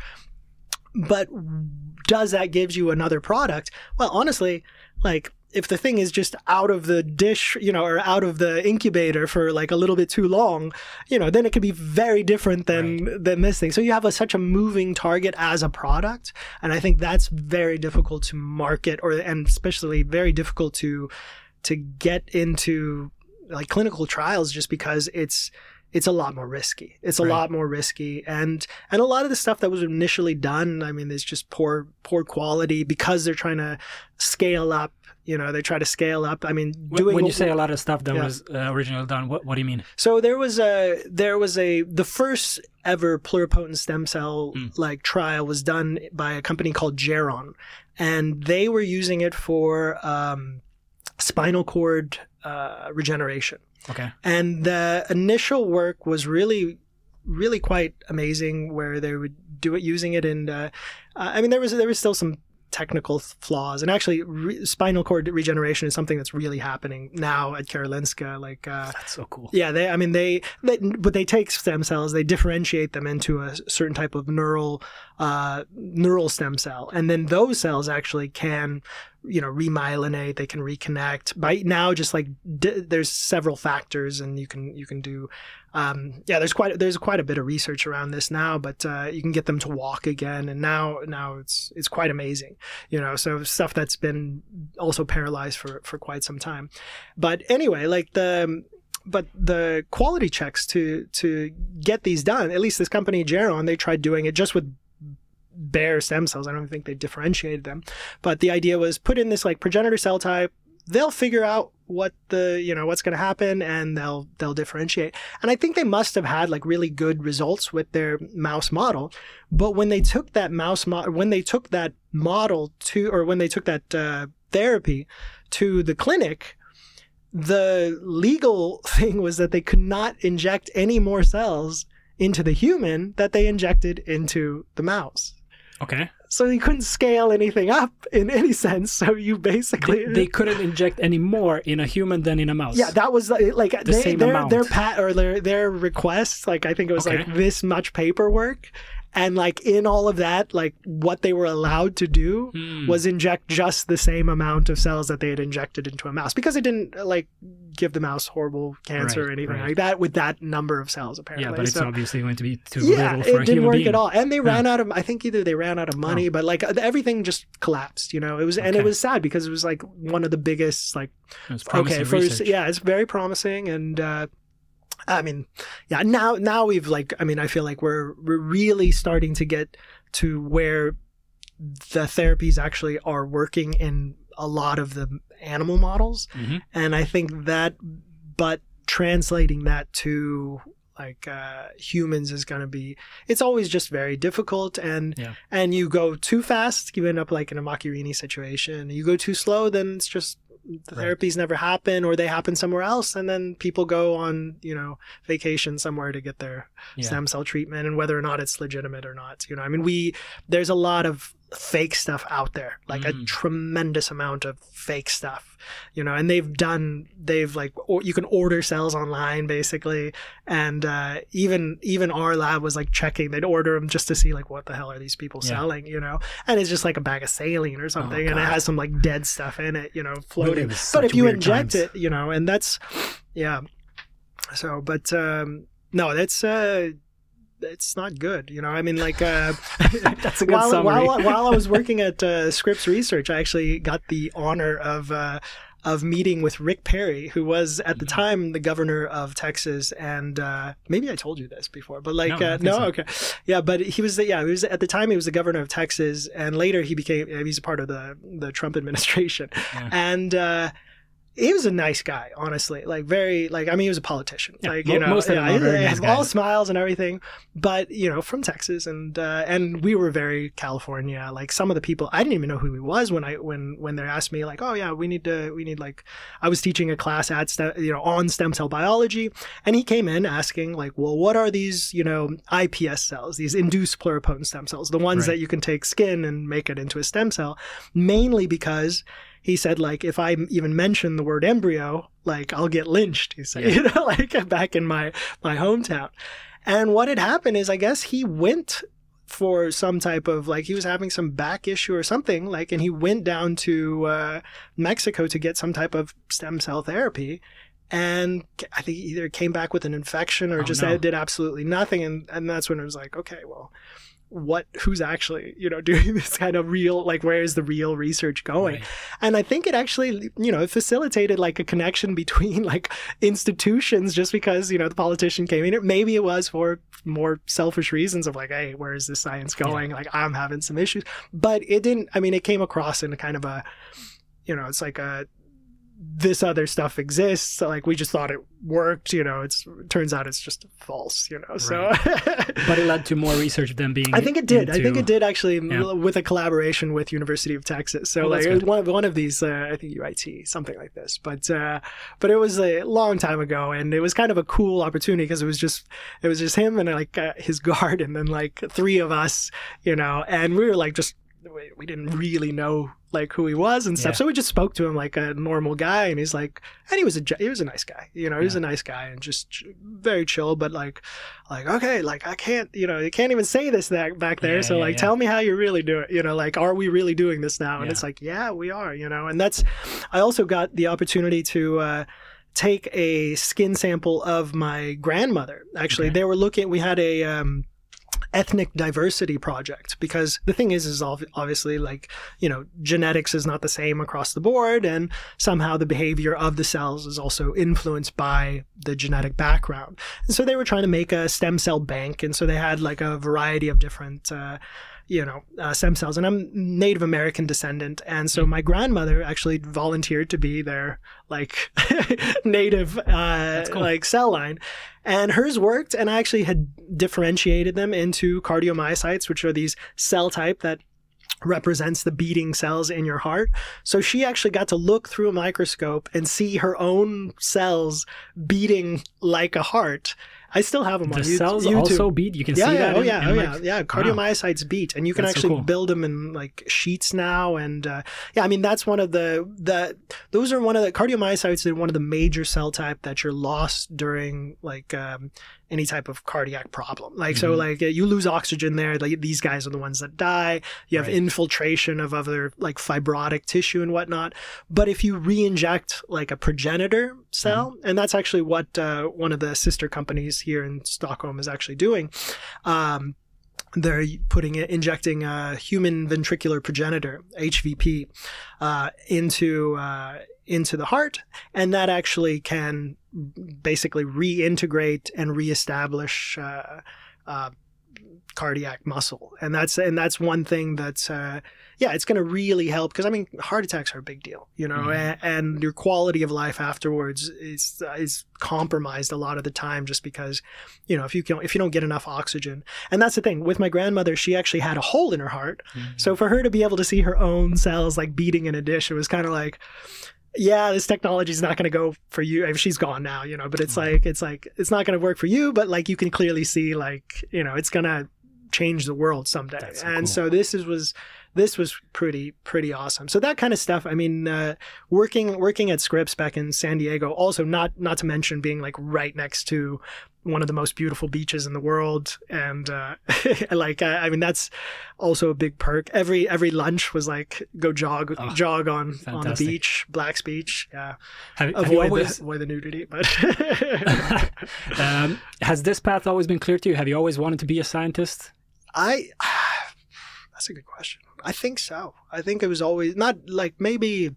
But does that give you another product? Well, honestly, like, if the thing is just out of the dish, you know, or out of the incubator for like a little bit too long, you know, then it could be very different than right. than this thing. So you have a, such a moving target as a product, and I think that's very difficult to market, or and especially very difficult to to get into like clinical trials, just because it's it's a lot more risky. It's a right. lot more risky, and and a lot of the stuff that was initially done, I mean, there's just poor poor quality because they're trying to scale up. You know, they try to scale up. I mean, doing when you say a lot of stuff that yeah. was uh, originally done, what what do you mean? So there was a there was a the first ever pluripotent stem cell mm. like trial was done by a company called Geron, and they were using it for um, spinal cord uh, regeneration. Okay. And the initial work was really, really quite amazing, where they would do it using it in. Uh, I mean, there was there was still some technical flaws. And actually, re- spinal cord regeneration is something that's really happening now at Karolinska. Like, uh, that's so cool. Yeah, they. I mean, they, they. But they take stem cells, they differentiate them into a certain type of neural, uh, neural stem cell, and then those cells actually can, you know, remyelinate. They can reconnect. By now, just like d- there's several factors, and you can you can do. Um, yeah, there's quite there's quite a bit of research around this now, but uh, you can get them to walk again, and now now it's it's quite amazing, you know. So stuff that's been also paralyzed for for quite some time, but anyway, like the but the quality checks to to get these done, at least this company Geron, they tried doing it just with bare stem cells. I don't think they differentiated them, but the idea was put in this like progenitor cell type. They'll figure out what the, you know, what's going to happen, and they'll, they'll differentiate. And I think they must have had like really good results with their mouse model. But when they took that mouse model, when they took that model to, or when they took that uh, therapy to the clinic, the legal thing was that they could not inject any more cells into the human that they injected into the mouse. Okay. So you couldn't scale anything up in any sense. So you basically they, they couldn't inject any more in a human than in a mouse. Yeah, that was like, like the they, same their amount. their pat or their their request. Like I think it was Okay. like this much paperwork, and like in all of that, like what they were allowed to do Hmm. was inject just the same amount of cells that they had injected into a mouse, because it didn't like give the mouse horrible cancer Right, or anything right. like that with that number of cells apparently. Yeah, but it's So- obviously going to be too yeah, little for it a didn't human work being. at all, and they Yeah. ran out of. I think either they ran out of money, but like everything just collapsed. You know, it was and it Okay. was sad because it was like one of the biggest. Like, It's promising okay, for research. yeah, it's very promising, and uh, I mean, yeah, now now we've like, I mean, I feel like we're we're really starting to get to where the therapies actually are working in a lot of the animal models, Mhm. and I think that, but translating that to like uh, humans is going to be, it's always just very difficult, and Yeah. and you go too fast, you end up like in a Macchiarini situation. You go too slow, then it's just the Right. therapies never happen, or they happen somewhere else, and then people go on, you know, vacation somewhere to get their Yeah. stem cell treatment, and whether or not it's legitimate or not, you know, I mean, we there's a lot of fake stuff out there, like a Mm. tremendous amount of fake stuff, you know, and they've done they've like or, you can order cells online basically, and uh, even even our lab was like checking, they'd order them just to see like what the hell are these people Yeah. selling, you know, and it's just like a bag of saline or something, and it God. has some like dead stuff in it, you know, floating. was But such if you weird inject times. it, you know, and that's yeah. So, but um, no, that's uh, it's not good, you know. I mean, like uh, That's a good while, summary. while while I was working at uh, Scripps Research, I actually got the honor of uh, of meeting with Rick Perry, who was at the Mm-hmm. time the governor of Texas, and uh, maybe I told you this before, but like No, I uh, don't no, think so. okay, yeah, but he was the, yeah, he was at the time he was the governor of Texas, and later he became he's a part of the the Trump administration, Yeah. and. Uh, he was a nice guy, honestly. Like very, like I mean, he was a politician. Yeah, like mo- you know, most of them yeah, are very he- nice all guys. smiles and everything. But you know, from Texas, and uh, and we were very California. Like some of the people, I didn't even know who he was when I when when they asked me like, oh yeah, we need to we need like, I was teaching a class at stem, you know on stem cell biology, and he came in asking like, well, what are these you know I P S cells, these induced pluripotent stem cells, the ones Right. that you can take skin and make it into a stem cell, mainly because. He said, like, if I even mention the word embryo, like, I'll get lynched, he said, Yeah. you know, like, back in my, my hometown. And what had happened is, I guess he went for some type of, like, he was having some back issue or something, like, and he went down to uh, Mexico to get some type of stem cell therapy. And I think he either came back with an infection or Oh, just no. did absolutely nothing. And, and that's when it was like, okay, well, what who's actually you know doing this kind of real, like where is the real research going? Right. And I think it actually you know it facilitated like a connection between like institutions, just because you know the politician came in. Maybe it was for more selfish reasons of like, hey, where is this science going? Like I'm having some issues, but it didn't. I mean, it came across in a kind of a you know it's like a this other stuff exists, so like we just thought it worked, you know it's turns out it's just false, you know so But it led to more research than being. I think it did. I think into- it did actually, Yeah. with a collaboration with University of Texas. So Oh, like that's it was good. one of one of these, uh, I think U I T, something like this. But uh, but it was a long time ago, and it was kind of a cool opportunity because it was just it was just him and like uh, his guard, and then like three of us, you know, and we were like just we, we didn't really know like who he was and stuff. Yeah. So we just spoke to him like a normal guy, and he's like, and he was a he was a nice guy, you know, he was Yeah. a nice guy and just ch- very chill, but like, like okay, like I can't, you know, you can't even say this that back there. Yeah, so yeah, like, yeah. tell me how you really do it, you know, like, are we really doing this now? And Yeah. it's like, yeah, we are, you know, and that's. I also got the opportunity to. Uh, take a skin sample of my grandmother. Actually, Okay. they were looking, we had a um, ethnic diversity project, because the thing is, is ob- obviously like, you know, genetics is not the same across the board, and somehow the behavior of the cells is also influenced by the genetic background. And so they were trying to make a stem cell bank. And so they had like a variety of different, uh, you know, uh, stem cells. And I'm Native American descendant. And so my grandmother actually volunteered to be their like native, uh, cool. like cell line. And hers worked. And I actually had differentiated them into cardiomyocytes, which are these cell type that represents the beating cells in your heart. So she actually got to look through a microscope and see her own cells beating like a heart. I still have them The on You- cells YouTube. also beat. You can Yeah, see yeah, that. oh in- yeah, in oh my- yeah, yeah. Cardiomyocytes beat, and you can That's so actually cool. build them in like sheets now. And uh, yeah, I mean that's one of the the those are one of the cardiomyocytes are one of the major cell type that you're lost during like um, any type of cardiac problem. Like so, Mhm. like uh, you lose oxygen there. Like these guys are the ones that die. You have Right. infiltration of other like fibrotic tissue and whatnot. But if you re-inject like a progenitor cell, Mm-hmm. and that's actually what uh, one of the sister companies here in Stockholm is actually doing. Um, they're putting it, injecting a human ventricular progenitor, H V P, uh, into uh, into the heart, and that actually can basically reintegrate and reestablish uh, uh, cardiac muscle. And that's and that's one thing that's uh, yeah, it's going to really help, because I mean, heart attacks are a big deal, you know, Mhm. and, and your quality of life afterwards is is compromised a lot of the time, just because, you know, if you can if you don't get enough oxygen. And that's the thing with my grandmother, she actually had a hole in her heart. Mhm. So for her to be able to see her own cells like beating in a dish, it was kind of like, yeah, this technology is not going to go for you. I mean, she's gone now, you know, but it's Mhm. like, it's like, it's not going to work for you, but like, you can clearly see like, you know, it's going to change the world someday. That's so and cool. so this is, was, this was pretty, pretty awesome. So that kind of stuff. I mean, uh, working, working at Scripps back in San Diego, also not, not to mention being like right next to one of the most beautiful beaches in the world. And, uh, like, I, I mean, that's also a big perk. Every, every lunch was like, go jog, Oh, jog on, on the fantastic. beach, Black's Beach. Yeah. Have, have you Avoid always, the, avoid the nudity, but um, has this path always been clear to you? Have you always wanted to be a scientist? I, that's a good question. I think so. I think it was always not like maybe,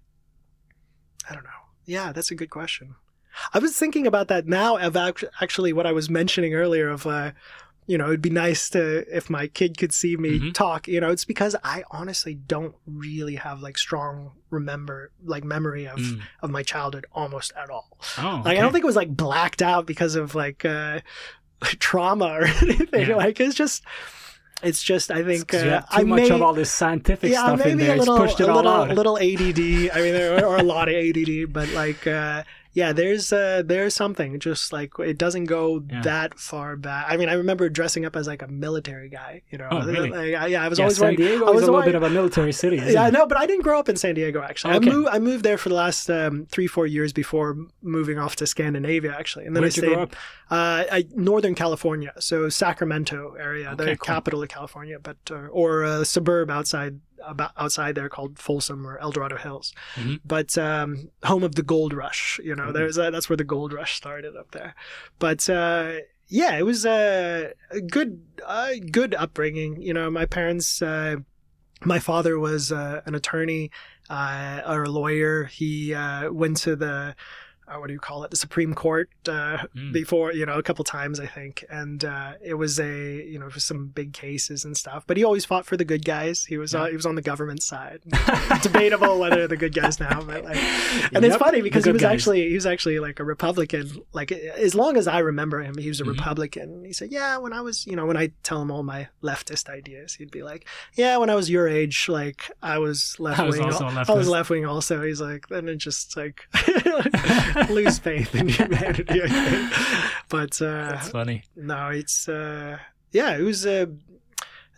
I don't know. Yeah, that's a good question. I was thinking about that now of act- actually what I was mentioning earlier of, uh, you know, it'd be nice to, if my kid could see me Mhm. talk, you know, it's because I honestly don't really have like strong remember, like memory of, Mm. of my childhood almost at all. Oh, Like, I don't think it was like blacked out because of like, uh, trauma or anything. Yeah. Like, it's just, it's just, I think, you uh, have too I much may, of all this scientific yeah, stuff in maybe there. a little, it's pushed it a all little, out. little A D D. I mean, there or a lot of A D D, but like, uh, yeah, there's, uh, there's something just like, it doesn't go Yeah. that far back. I mean, I remember dressing up as like a military guy, you know, Oh, really? like, I, yeah, I was yeah, always San wearing, Diego I is was a little wearing- bit of a military city, isn't yeah, it? no, but I didn't grow up in San Diego. Actually, Okay. I moved. I moved there for the last um, three, four years before moving off to Scandinavia. Actually, and then Where'd I you stayed grow up? Uh, I, Northern California, so Sacramento area, Okay, the cool. capital of California, but uh, or a suburb outside about outside there called Folsom or El Dorado Hills, Mhm. but um, home of the gold rush. You know, Mhm. there's a, that's where the gold rush started up there. But uh, yeah, it was a, a good, uh, good upbringing. You know, my parents. Uh, my father was uh, an attorney uh, or a lawyer. He uh, went to the uh, what do you call it? The Supreme Court uh, Mm. before, you know, a couple times, I think. And uh, it was a, you know, for some big cases and stuff. But he always fought for the good guys. He was Yeah. uh, he was on the government side. Debatable whether they're the good guys now, but like, and it's Yep, funny the because he good was guys. actually he was actually like a Republican. Like as long as I remember him, he was a Mhm. Republican. And he said, "Yeah, when I was, you know, when I tell him all my leftist ideas, he'd be like, yeah, when I was your age, like I was left I was wing. also a I was leftist." left wing also." He's like, then it just like lose faith in humanity. I think. But uh, That's funny. no, it's uh, yeah, it was uh,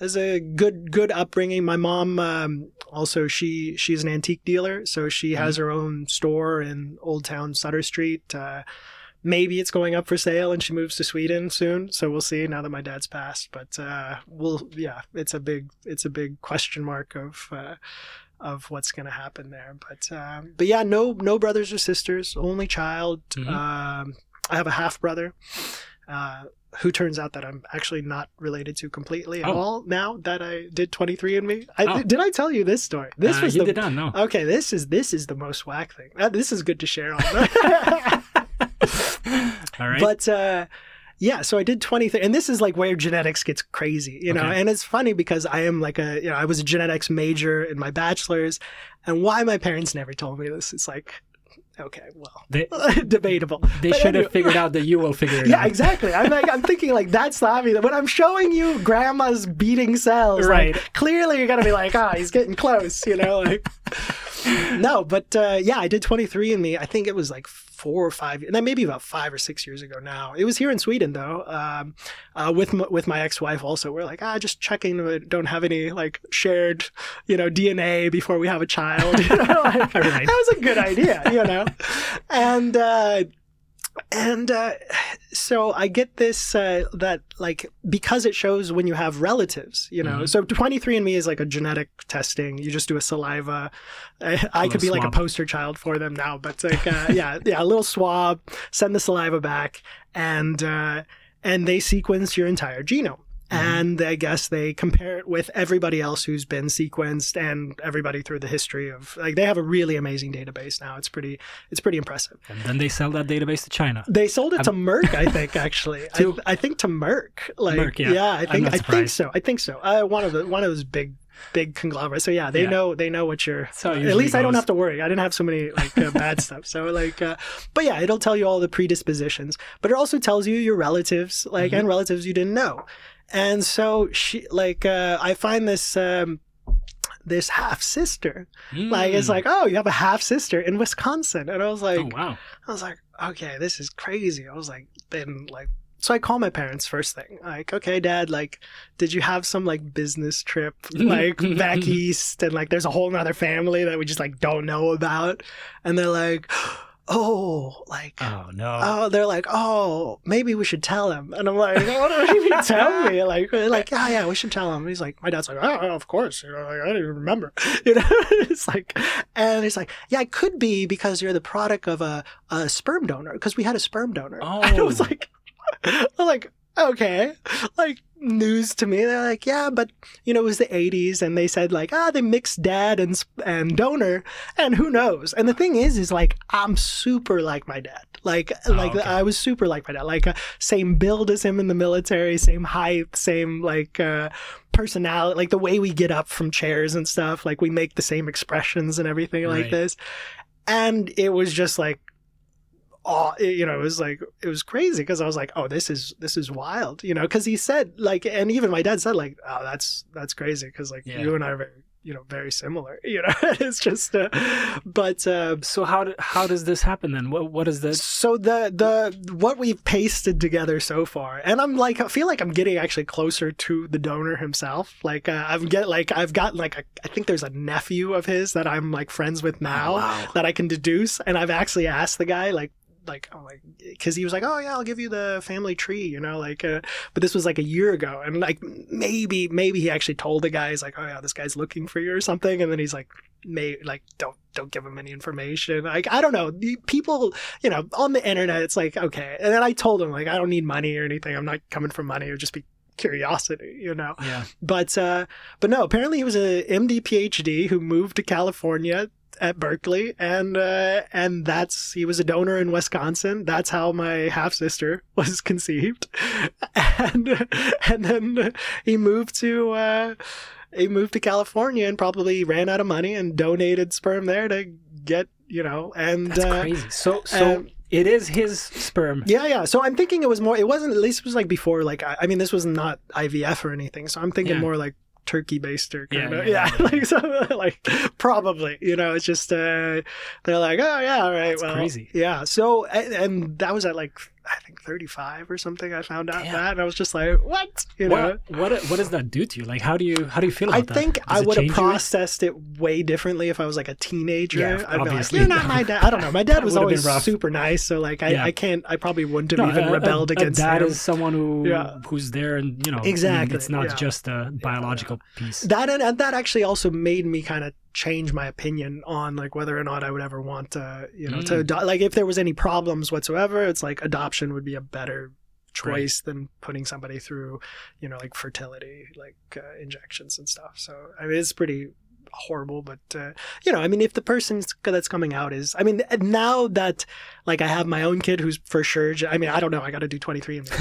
was a good good upbringing. My mom um, also she she's an antique dealer, so she mm-hmm. has her own store in Old Town Sutter Street. Uh, maybe it's going up for sale, and she moves to Sweden soon. So we'll see. Now that my dad's passed, but uh, we'll yeah, it's a big it's a big question mark of. Uh, of what's going to happen there. But um, but yeah, no no brothers or sisters, only child. Mm-hmm. Um, I have a half brother uh, who turns out that I'm actually not related to completely at oh. all now that I did twenty-three and me. I, oh. Did I tell you this story? This uh, was you the, did not, no. Okay, this is this is the most whack thing. Uh, this is good to share on. All right. But uh, yeah, so I did twenty-three, and this is like where genetics gets crazy, you know, okay. And it's funny because I am like a, you know, I was a genetics major in my bachelor's, and why my parents never told me this, it's like, okay, well, they, debatable. They but should anyway. have figured out that you will figure it yeah, out. Yeah, exactly. I'm like, I'm thinking like, that's the obvious. When I'm showing you grandma's beating cells, right? Like, clearly you're going to be like, ah, oh, he's getting close, you know, like, no, but uh, yeah, I did twenty-three and me. I think it was like four or five, and then maybe about five or six years ago now. It was here in Sweden though, um, uh, with m- with my ex-wife also. We're like, ah, just checking we don't have any like shared, you know, D N A before we have a child. You know, like, right. That was a good idea, you know, and. Uh, And uh, so I get this, uh, that like, because it shows when you have relatives, you know, mm-hmm. so twenty-three and me is like a genetic testing. You just do a saliva. I, I could be swab. Like a poster child for them now, but like, uh, yeah, yeah, a little swab, send the saliva back, and, uh, and they sequence your entire genome. And I guess they compare it with everybody else who's been sequenced and everybody through the history of, like, they have a really amazing database now. It's pretty, it's pretty impressive. And then they sell that database to China. They sold it I'm... to Merck, I think, actually. to... I, I think to Merck. Like, Merck, yeah. Yeah, I think, I think so. I think so. Uh, one of the, one of those big, big conglomerates. So yeah, they yeah. know, they know what you're, uh, at least goes. I don't have to worry. I didn't have so many like uh, bad stuff. So like, uh, but yeah, it'll tell you all the predispositions, but it also tells you your relatives, like, mm-hmm. and relatives you didn't know. And so she, like, uh, I find this, um, this half sister, mm. like, it's like, oh, you have a half sister in Wisconsin. And I was like, oh, wow. I was like, okay, this is crazy. I was like, then like, so I call my parents first thing, like, okay, Dad, like, did you have some like business trip, like back east? And like, there's a whole nother family that we just like don't know about. And they're like, oh, like, oh no, oh, they're like, oh, maybe we should tell him. And I'm like, what do you mean tell me? Like, like, yeah, yeah, we should tell him. And he's like, my dad's like, oh, of course, you know, like, I don't even remember, you know. It's like, and he's like, yeah, it could be because you're the product of a, a sperm donor, because we had a sperm donor. Oh. And it was like, I'm like, okay, like, news to me. They're like, yeah, but you know, it was the eighties, and they said like, ah, they mixed dad and and donor, and who knows. And the thing is, is like, I'm super like my dad. Like, oh, like okay. I was super like my dad. Like, uh, same build as him in the military, same height, same like uh, personality. Like the way we get up from chairs and stuff. Like we make the same expressions and everything right. like this. And it was just like, oh, you know, it was like, it was crazy because I was like, oh, this is, this is wild, you know, because he said like, and even my dad said like, oh, that's, that's crazy because like yeah. you and I are very, you know, very similar, you know. It's just, uh, but uh, so how do, how does this happen then? What what is this? So the the what we've pasted together so far, and I'm like, I feel like I'm getting actually closer to the donor himself. Like uh, I've get like I've got like a, I think there's a nephew of his that I'm like friends with now oh, wow. that I can deduce, and I've actually asked the guy like. Like, oh, like, because he was like, oh yeah, I'll give you the family tree, you know, like, uh, but this was like a year ago, and like maybe, maybe he actually told the guy, he's like, oh yeah, this guy's looking for you or something, and then he's like, may like, don't, don't give him any information. Like, I don't know, people, you know, on the internet, it's like, okay, and then I told him like, I don't need money or anything, I'm not coming for money, it would just be curiosity, you know. Yeah. But, uh, but no, apparently he was a M D P H D who moved to California. At Berkeley, and uh, and that's he was a donor in Wisconsin. That's how my half sister was conceived, and and then he moved to uh, he moved to California and probably ran out of money and donated sperm there to get, you know, and that's uh, crazy. So so. Um, it is his sperm. Yeah, yeah. So I'm thinking it was more. It wasn't. At least it was like before. Like I, I mean, this was not I V F or anything. So I'm thinking yeah. more like. Turkey baster kind yeah, of yeah, yeah, yeah, like so, like probably, you know, it's just uh they're like, oh yeah, all right, that's well crazy. Yeah, so and, and that was at like I think thirty-five or something. I found out Damn. that, and I was just like, "What?" You know. What, what what does that do to you? Like, how do you how do you feel about I that? think Does I it would have change you? processed it way differently if I was like a teenager. Yeah, I'd be like, obviously. "You're not my dad." I don't know. My dad That was would've been always rough. super nice, so like I, Yeah. I can't. I probably wouldn't have No, even a- rebelled a, against a dad him. is someone who Yeah. who's there, and you know, I mean, Exactly, it's not yeah. just a biological piece. That and, and that actually also made me kind of change my opinion on like whether or not I would ever want to, you know, to Mm. adopt. Like if there was any problems whatsoever, it's like adoption would be a better choice than putting somebody through, you know, like fertility, like uh, injections and stuff. So I mean, it's pretty horrible, but uh, you know, I mean, if the person that's coming out is, I mean, now that like I have my own kid who's for sure, I mean, I don't know, I got to do twenty-three and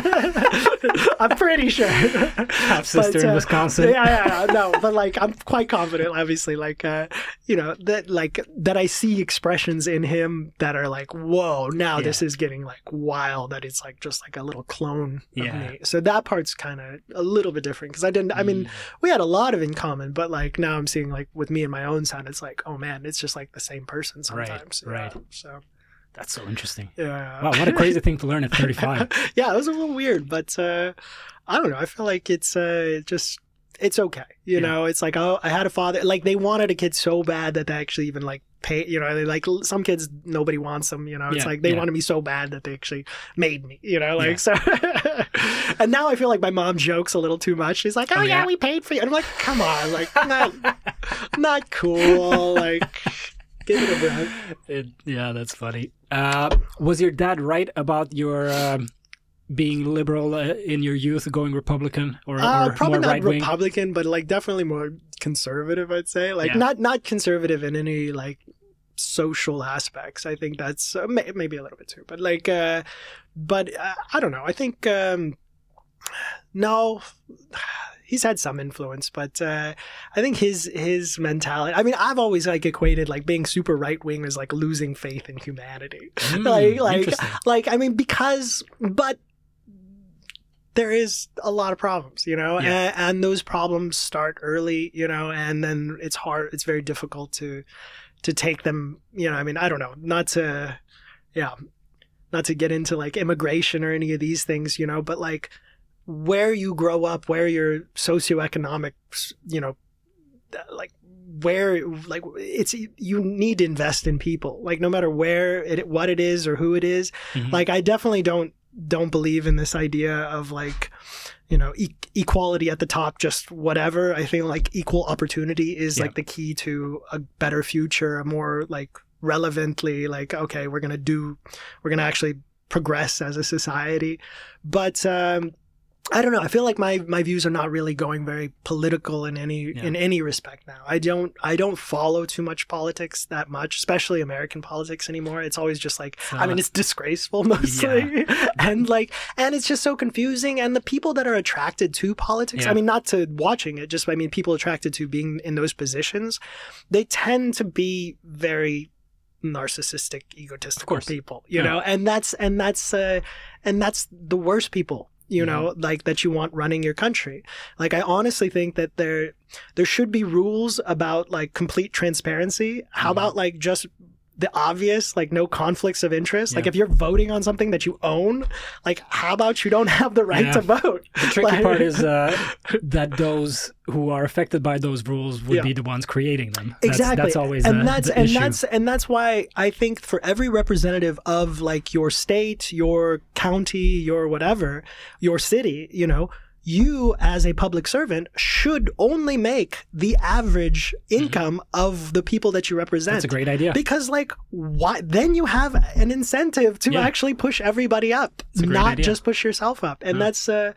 I'm pretty sure. Half sister But, in uh, Wisconsin. Yeah, yeah, yeah, no, but like I'm quite confident, obviously, like uh, you know, that like that I see expressions in him that are like, whoa, now Yeah. this is getting like wild. That it's like just like a little clone of Yeah. me. So that part's kind of a little bit different because I didn't. I mean, Mm. we had a lot of in common, but like now I'm seeing like with me and my own son, it's like, oh man, it's just like the same person Right, sometimes. right. Yeah, so That's so interesting. yeah. Wow, what a crazy thing to learn at thirty-five. Yeah, it was a little weird, but uh, I don't know. I feel like it's uh, just it's okay. You Yeah. know, it's like, oh, I had a father. Like they wanted a kid so bad that they actually even like pay. You know, they like some kids nobody wants them. You know, it's Yeah, like they yeah. wanted me so bad that they actually made me. You know, like so. And now I feel like my mom jokes a little too much. She's like, "Oh, Oh, yeah, yeah? we paid for you." And I'm like, "Come on, like not not cool." Like, give it a breath. It, yeah, that's funny. Uh, was your dad right about your um, being liberal uh, in your youth, going Republican or, Uh, or probably more not right wing? Republican, but like definitely more conservative. I'd say like Yeah. not not conservative in any like social aspects. I think that's uh, may, maybe a little bit too, but like, uh, but uh, I don't know. I think um, no. He's had some influence, but uh, I think his his mentality. I mean, I've always like equated like being super right wing as like losing faith in humanity. Mm, like like interesting. like I mean because but there is a lot of problems, you know, Yeah. and, and those problems start early, you know, and then it's hard. It's very difficult to to take them. You know, I mean, I don't know, not to, yeah, not to get into like immigration or any of these things, you know, but like where you grow up, where your socioeconomic, you know, like where like it's you need to invest in people, like no matter where it what it is or who it is. Mhm. Like I definitely don't don't believe in this idea of like, you know, e- equality at the top, just whatever. I think like equal opportunity is Yeah. like the key to a better future, a more like relevantly like, okay, we're going to do, we're going to actually progress as a society. But, um, I don't know. I feel like my, my views are not really going very political in any Yeah. in any respect now. I don't I don't follow too much politics that much, especially American politics anymore. It's always just like So- I mean, it's disgraceful mostly, and like and it's just so confusing. And the people that are attracted to politics, Yeah. I mean, not to watching it, just I mean, people attracted to being in those positions, they tend to be very narcissistic, egotistical course. people, you Yeah. know, and that's and that's uh, and that's the worst people. You know, like that you want running your country. Like, I honestly think that there, there should be rules about like complete transparency. How Mhm. about like just the obvious, like no conflicts of interest? Like Yeah. if you're voting on something that you own, like how about you don't have the right Yeah. to vote? The tricky Like- part is uh, that those who are affected by those rules would Yeah. be the ones creating them. That's, Exactly. That's always and the, that's the and issue. that's and that's why I think for every representative of like your state, your county, your whatever, your city, you know, you as a public servant should only make the average income of the people that you represent. That's a great idea. Because like why then you have an incentive to Yeah. actually push everybody up, a great not idea. just push yourself up. And Yeah. that's uh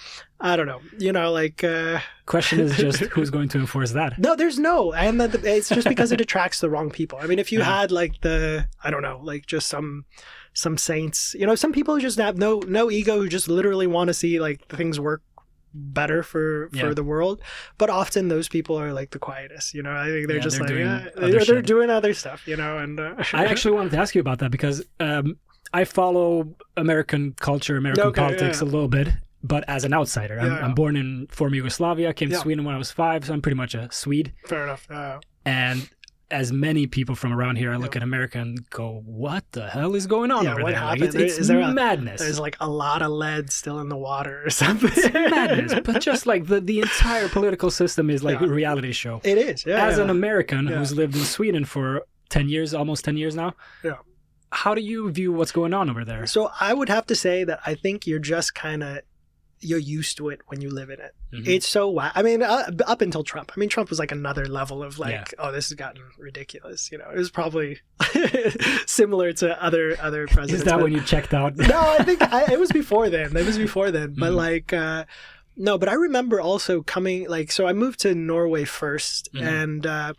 I don't know, you know, like uh Question is just who's going to enforce that? no, there's no, and the, it's just because it attracts the wrong people. I mean, if you Yeah. had like the, I don't know, like just some, some saints, you know, some people who just have no, no ego, who just literally want to see like things work better for for Yeah. the world. But often those people are like the quietest. You know, I think they're Yeah, just they're like doing yeah, other they're, they're shit. doing other stuff. You know, and uh, I actually wanted to ask you about that because um, I follow American culture, American Okay, politics yeah. a little bit, but as an outsider. I'm, Yeah, yeah. I'm born in former Yugoslavia, came to Yeah. Sweden when I was five, so I'm pretty much a Swede. fair enough. Uh, And as many people from around here, I look Yeah. at America and go, "What the hell is going on Yeah, over what there? Like, happened? it's it's Is there a- madness. There's like a lot of lead still in the water or something. It's madness." But just like the the entire political system is like Yeah. a reality show. It is. Yeah. As yeah. an American Yeah. who's lived in Sweden for ten years, almost ten years now, Yeah. how do you view what's going on over there? So I would have to say that I think you're just kind of you're used to it when you live in it. Mhm. It's so wild. I mean, uh, up until Trump. I mean, Trump was like another level of like, Yeah. oh, this has gotten ridiculous. You know, it was probably similar to other other presidents. Is that but- when you checked out? no, I think I, it was before then. It was before then. But Mhm. like, uh, no, but I remember also coming like, so I moved to Norway 1st Mhm. and, uh,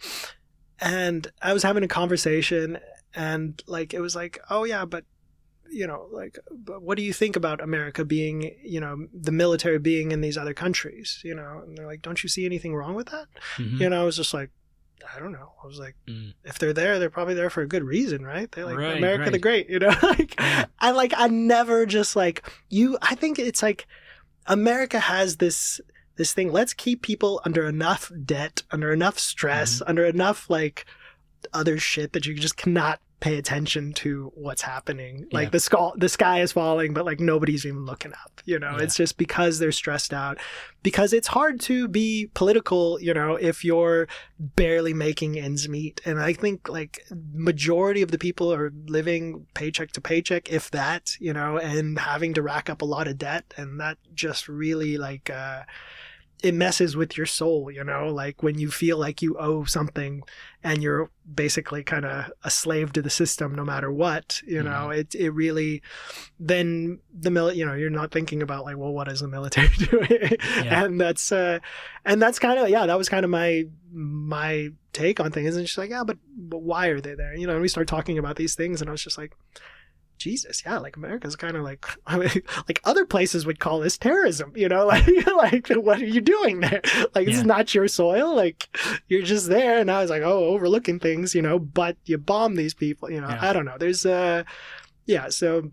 and I was having a conversation and like, it was like, oh yeah, but you know, like, but what do you think about America being, you know, the military being in these other countries, you know? And they're like, don't you see anything wrong with that? Mhm. You know, I was just like, I don't know. I was like, Mm. if they're there, they're probably there for a good reason, right? They're like Right, America the right. Great, you know. like, Yeah. I like I never just like you. I think it's like America has this this thing. Let's keep people under enough debt, under enough stress, Mm-hmm. under enough like other shit that you just cannot pay attention to what's happening. Like Yeah. the sky, the sky is falling, but like nobody's even looking up. You know, Yeah. it's just because they're stressed out. Because it's hard to be political, you know, if you're barely making ends meet. And I think like majority of the people are living paycheck to paycheck, if that, you know, and having to rack up a lot of debt, and that just really like uh it messes with your soul, you know, like when you feel like you owe something and you're basically kind of a slave to the system no matter what, you know, Mhm. it it really, then the mil, you know, you're not thinking about like, well, what is the military doing? Yeah. And that's, uh, and that's kind of, yeah, that was kind of my, my take on things. And she's like, yeah, but, but why are they there? You know, and we start talking about these things and I was just like, Jesus, yeah, like America's kind of like, I mean, like other places would call this terrorism, you know, like, like what are you doing there? Like, Yeah. it's not your soil. Like, you're just there. And I was like, oh, overlooking things, you know, but you bomb these people, you know, Yeah. I don't know. There's, uh, yeah, so,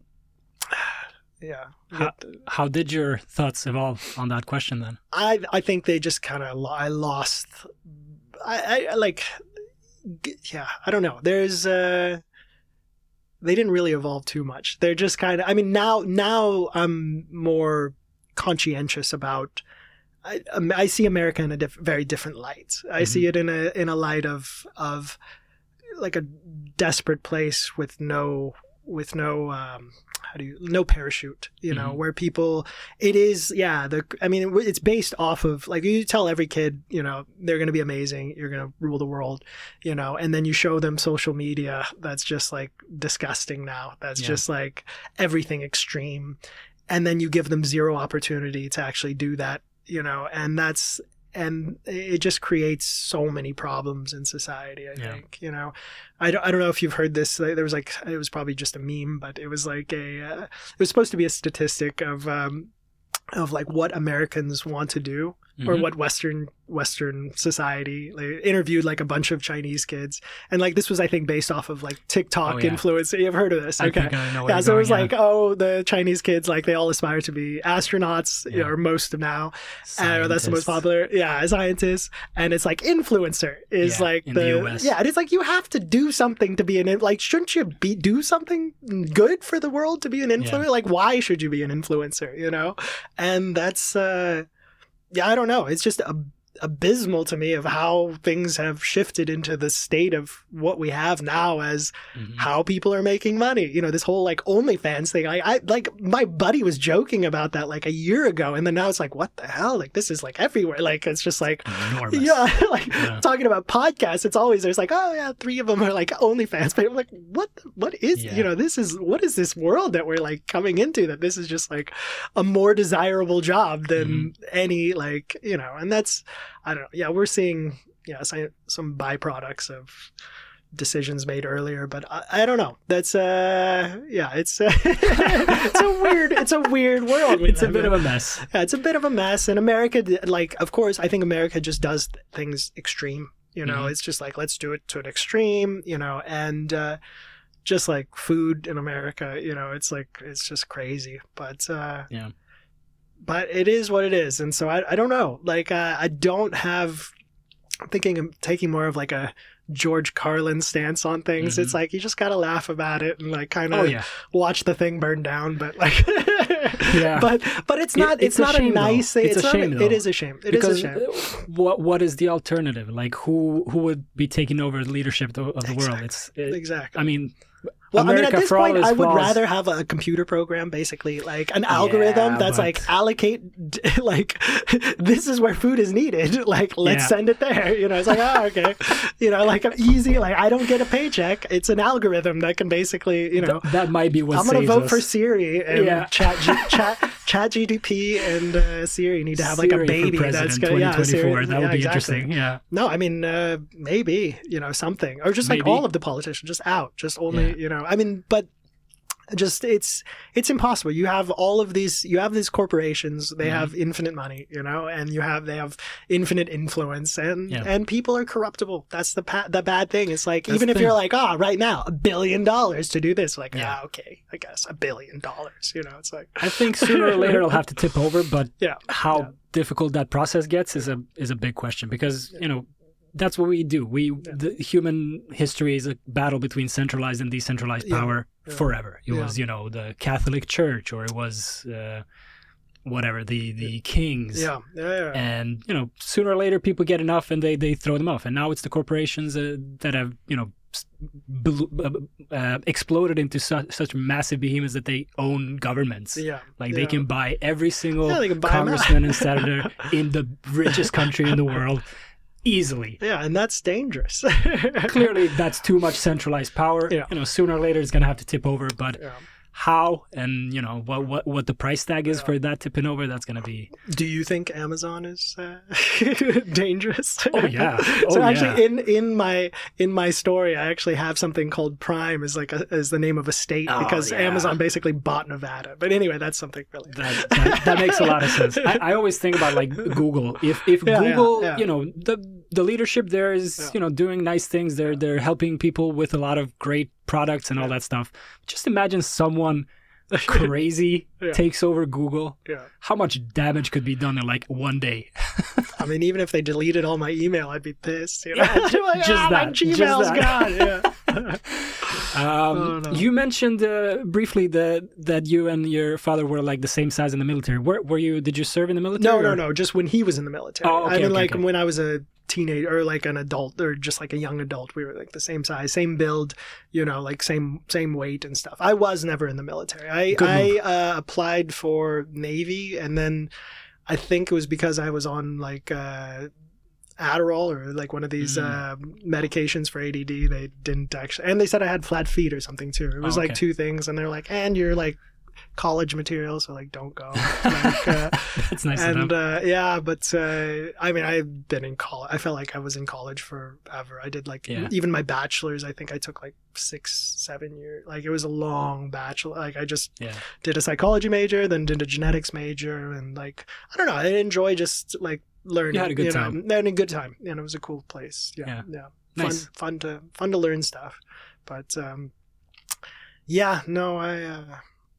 yeah. How, how did your thoughts evolve on that question then? I, I think they just kind of, I lost, I, I like, yeah, I don't know. There's, uh, they didn't really evolve too much. They're just kind of, I mean, now, now I'm more conscientious about, I, um, I see America in a diff- very different light. I Mhm. see it in a, in a light of, of like a desperate place with no, with no, um, how do you, no parachute, you know, Mhm. where people, it is, yeah, the, I mean, it's based off of, like, you tell every kid, you know, they're going to be amazing, you're going to rule the world, you know, and then you show them social media that's just like disgusting now. That's Yeah. just like everything extreme. And then you give them zero opportunity to actually do that, you know, and that's, and it just creates so many problems in society, I Yeah. think, you know. I don't, I don't know if you've heard this. There was like, it was probably just a meme, but it was like a, uh, it was supposed to be a statistic of, um, of like what Americans want to do or Mhm. what Western, Western society, like, interviewed like a bunch of Chinese kids. And like, this was, I think, based off of like TikTok Oh, yeah. influence. You've heard of this. I Okay. think I know where Yeah, you're so it was going, like, oh, the Chinese kids, like they all aspire to be astronauts, you Yeah. know, or most of now. yeah. Uh, that's the most Scientists. popular, yeah, scientists. And it's like influencer is Yeah, like in the, the U S. yeah, and it's like you have to do something to be an in- like, shouldn't you be do something good for the world to be an influencer? Yeah. Like, why should you be an influencer? You know, and that's, uh, yeah, I don't know. It's just a abysmal to me of how things have shifted into the state of what we have now as Mhm. how people are making money. You know, this whole like OnlyFans thing. I, I like my buddy was joking about that like a year ago, and then now it's like, what the hell? Like this is like everywhere. Like it's just like, Enormous. yeah, like Yeah. talking about podcasts. It's always there's like, oh yeah, three of them are like OnlyFans. But I'm like, what? What is Yeah. you know? This is what is this world that we're like coming into? That this is just like a more desirable job than Mm-hmm. any like you know. And that's I don't know. Yeah, we're seeing yeah some, some byproducts of decisions made earlier, but I, I don't know. That's uh yeah, it's uh, it's a weird it's a weird world. It's a bit of a mess. Yeah, it's a bit of a mess. And America, like, of course, I think America just does things extreme. You know, Mhm. it's just like, let's do it to an extreme, you know, and uh, just like food in America, you know, it's like, it's just crazy. But, uh, Yeah. but it is what it is. And so I, I don't know. Like, uh, I don't have, I'm thinking of taking more of like a George Carlin stance on things. Mm-hmm. It's like you just gotta laugh about it and like kind of Oh, yeah. watch the thing burn down. But like, Yeah. but but it's not It- it's, it's a not shame, a nice though. thing. It's a not shame, though. It is a shame. It because is a shame. uh, what what is the alternative? Like who who would be taking over the leadership of, of the world? It's it, Exactly. I mean, Well, America, I mean, at this for all point, its I would flaws- rather have a computer program, basically, like an algorithm Yeah, that's but- like allocate, like this is where food is needed. Like let's Yeah. send it there. You know, it's like oh okay, you know, like an easy. Like I don't get a paycheck. It's an algorithm that can basically, you know, th- that might be what I'm gonna saves vote us. for Siri and Yeah. Chat G, Chat Chat G D P and uh, Siri need to have like a Siri for baby president that's gonna yeah twenty twenty-four. Siri, That would yeah, be exactly. interesting. Yeah. No, I mean uh, maybe you know something or just like Maybe. all of the politicians just out, just only Yeah. you know. I mean, but just it's it's impossible. You have all of these. You have these corporations. They Mhm. have infinite money, you know, and you have they have infinite influence, and Yeah. and people are corruptible. That's the pa- the bad thing. It's like That's even the if thing. you're like, ah, right now a billion dollars to do this, like Yeah. ah, okay, I guess a billion dollars. You know, it's like I think sooner or later it'll have to tip over, but yeah, how Yeah. difficult that process gets is a is a big question because you know that's what we do. We the human history is a battle between centralized and decentralized Yeah. power Yeah. forever. It Yeah. was you know the Catholic Church or it was uh, whatever the the kings. yeah, yeah, yeah. And you know sooner or later people get enough and they they throw them off. And now it's the corporations uh, that have you know. s- bel- uh, uh, exploded into su- such massive behemoths that they own governments. yeah. Like yeah. they can buy every single Yeah, they can buy 'em out. congressman and senator in the richest country in the world easily. Yeah, and that's dangerous. Clearly, that's too much centralized power. Yeah. You know, sooner or later it's going to have to tip over. But Yeah. how and you know what what what the price tag is for that tipping over, that's going to be. Do you think Amazon is uh, dangerous? Oh yeah. Oh so yeah. actually, in in my in my story, I actually have something called Prime as like a, as the name of a state Oh, because yeah. Amazon basically bought Nevada. But anyway, that's something really. That, that, that makes a lot of sense. I, I always think about like Google. If if Yeah, yeah, Google, yeah. you know, the the leadership there is, Yeah. you know, doing nice things. They're they're helping people with a lot of great products and all that stuff. Just imagine someone crazy Yeah. takes over Google. Yeah. How much damage could be done in like one day? I mean, even if they deleted all my email, I'd be pissed. You know? Yeah, ju- Like, just "Ah, my that, just Gmail's that." gone. Yeah. Um, Oh, no. You mentioned uh, briefly that that you and your father were like the same size in the military. Were, were you? Did you serve in the military? No, no, or- no. Just when he was in the military. Oh, okay, I mean, okay, like okay. when I was a teenager or like an adult or just like a young adult, we were like the same size, same build, you know, like same same weight and stuff. I was never in the military. I Good I move. uh, applied for Navy, and then I think it was because I was on like. Uh, Adderall or like one of these Mm. uh, medications for A D D. They didn't actually, and they said I had flat feet or something too. It was Oh, like okay. two things, and they're like, and you're like college material, so like don't go. Like, uh, That's nice of and them. uh, yeah, but uh, I mean, I've been in college. I felt like I was in college forever. I did like Yeah. even my bachelor's. I think I took like six, seven years. Like it was a long bachelor. Like I just Yeah. did a psychology major, then did a genetics major, and like I don't know. I enjoy just like learning. You had a good know, time. and a good time, and it was a cool place. Yeah, Yeah. yeah, Nice. fun, fun to fun to learn stuff. But um, yeah, no, I. Uh,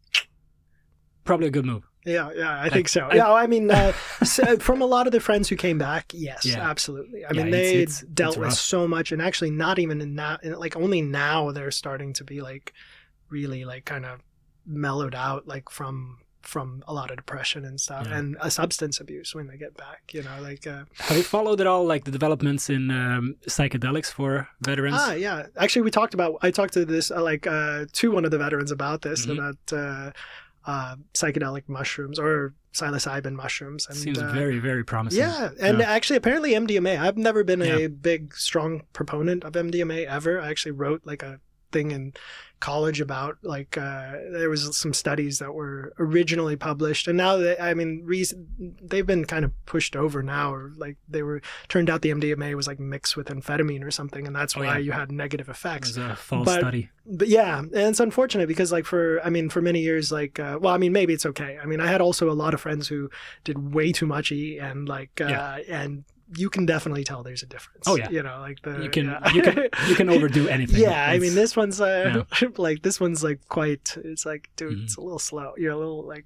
Probably a good move. Yeah, yeah, I Like, think so. I- yeah, I mean, uh, so from a lot of the friends who came back, yes, Yeah. absolutely. I Yeah, mean, it's- they it's- dealt it's with rough. so much, and actually, not even in now, in, like only now they're starting to be like really like kind of mellowed out, like from from a lot of depression and stuff, Yeah. and a substance abuse when they get back. You know, like uh, Have you followed at all like the developments in um, psychedelics for veterans? ah, yeah. Actually, we talked about. I talked to this uh, like uh, to one of the veterans about this Mhm. about uh, uh, psychedelic mushrooms or psilocybin mushrooms. And, Seems uh, very, very promising. Yeah, and Yeah. actually, apparently M D M A. I've never been a Yeah. big, strong proponent of M D M A ever. I actually wrote like a thing in college about like uh, there was some studies that were originally published, and now they, I mean, reason they've been kind of pushed over now, or like they were turned out the M D M A was like mixed with amphetamine or something, and that's Oh, why yeah. you had negative It effects. was a false But- study. But yeah, and it's unfortunate because like for I mean for many years like uh, well I mean maybe it's okay. I mean I had also a lot of friends who did way too much E and like uh, Yeah. and you can definitely tell there's a difference. Oh, yeah. you know like the You can yeah. you can you can overdo anything. Yeah, I It's- mean this one's uh, like this one's like quite. It's like dude, Mhm. it's a little slow. You're a little like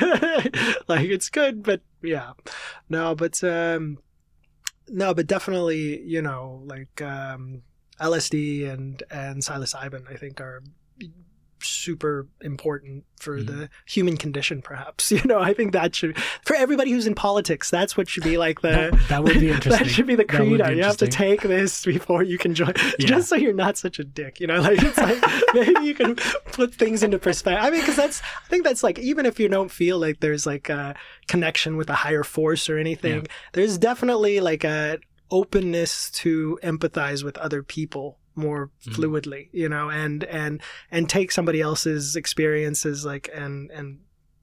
like it's good, but yeah, no, but um, no, but definitely you know like um, L S D and and psilocybin, I think, are super important for mm. the human condition, perhaps. You know, I think that should, for everybody who's in politics, that's what should be like the that, that would be interesting. That should be the credo. You have to take this before you can join, yeah. just so you're not such a dick. You know, like it's like maybe you can put things into perspective. I mean, because that's I think that's like, even if you don't feel like there's like a connection with a higher force or anything, yeah. there's definitely like a openness to empathize with other people more fluidly, you know, and and and take somebody else's experiences like and and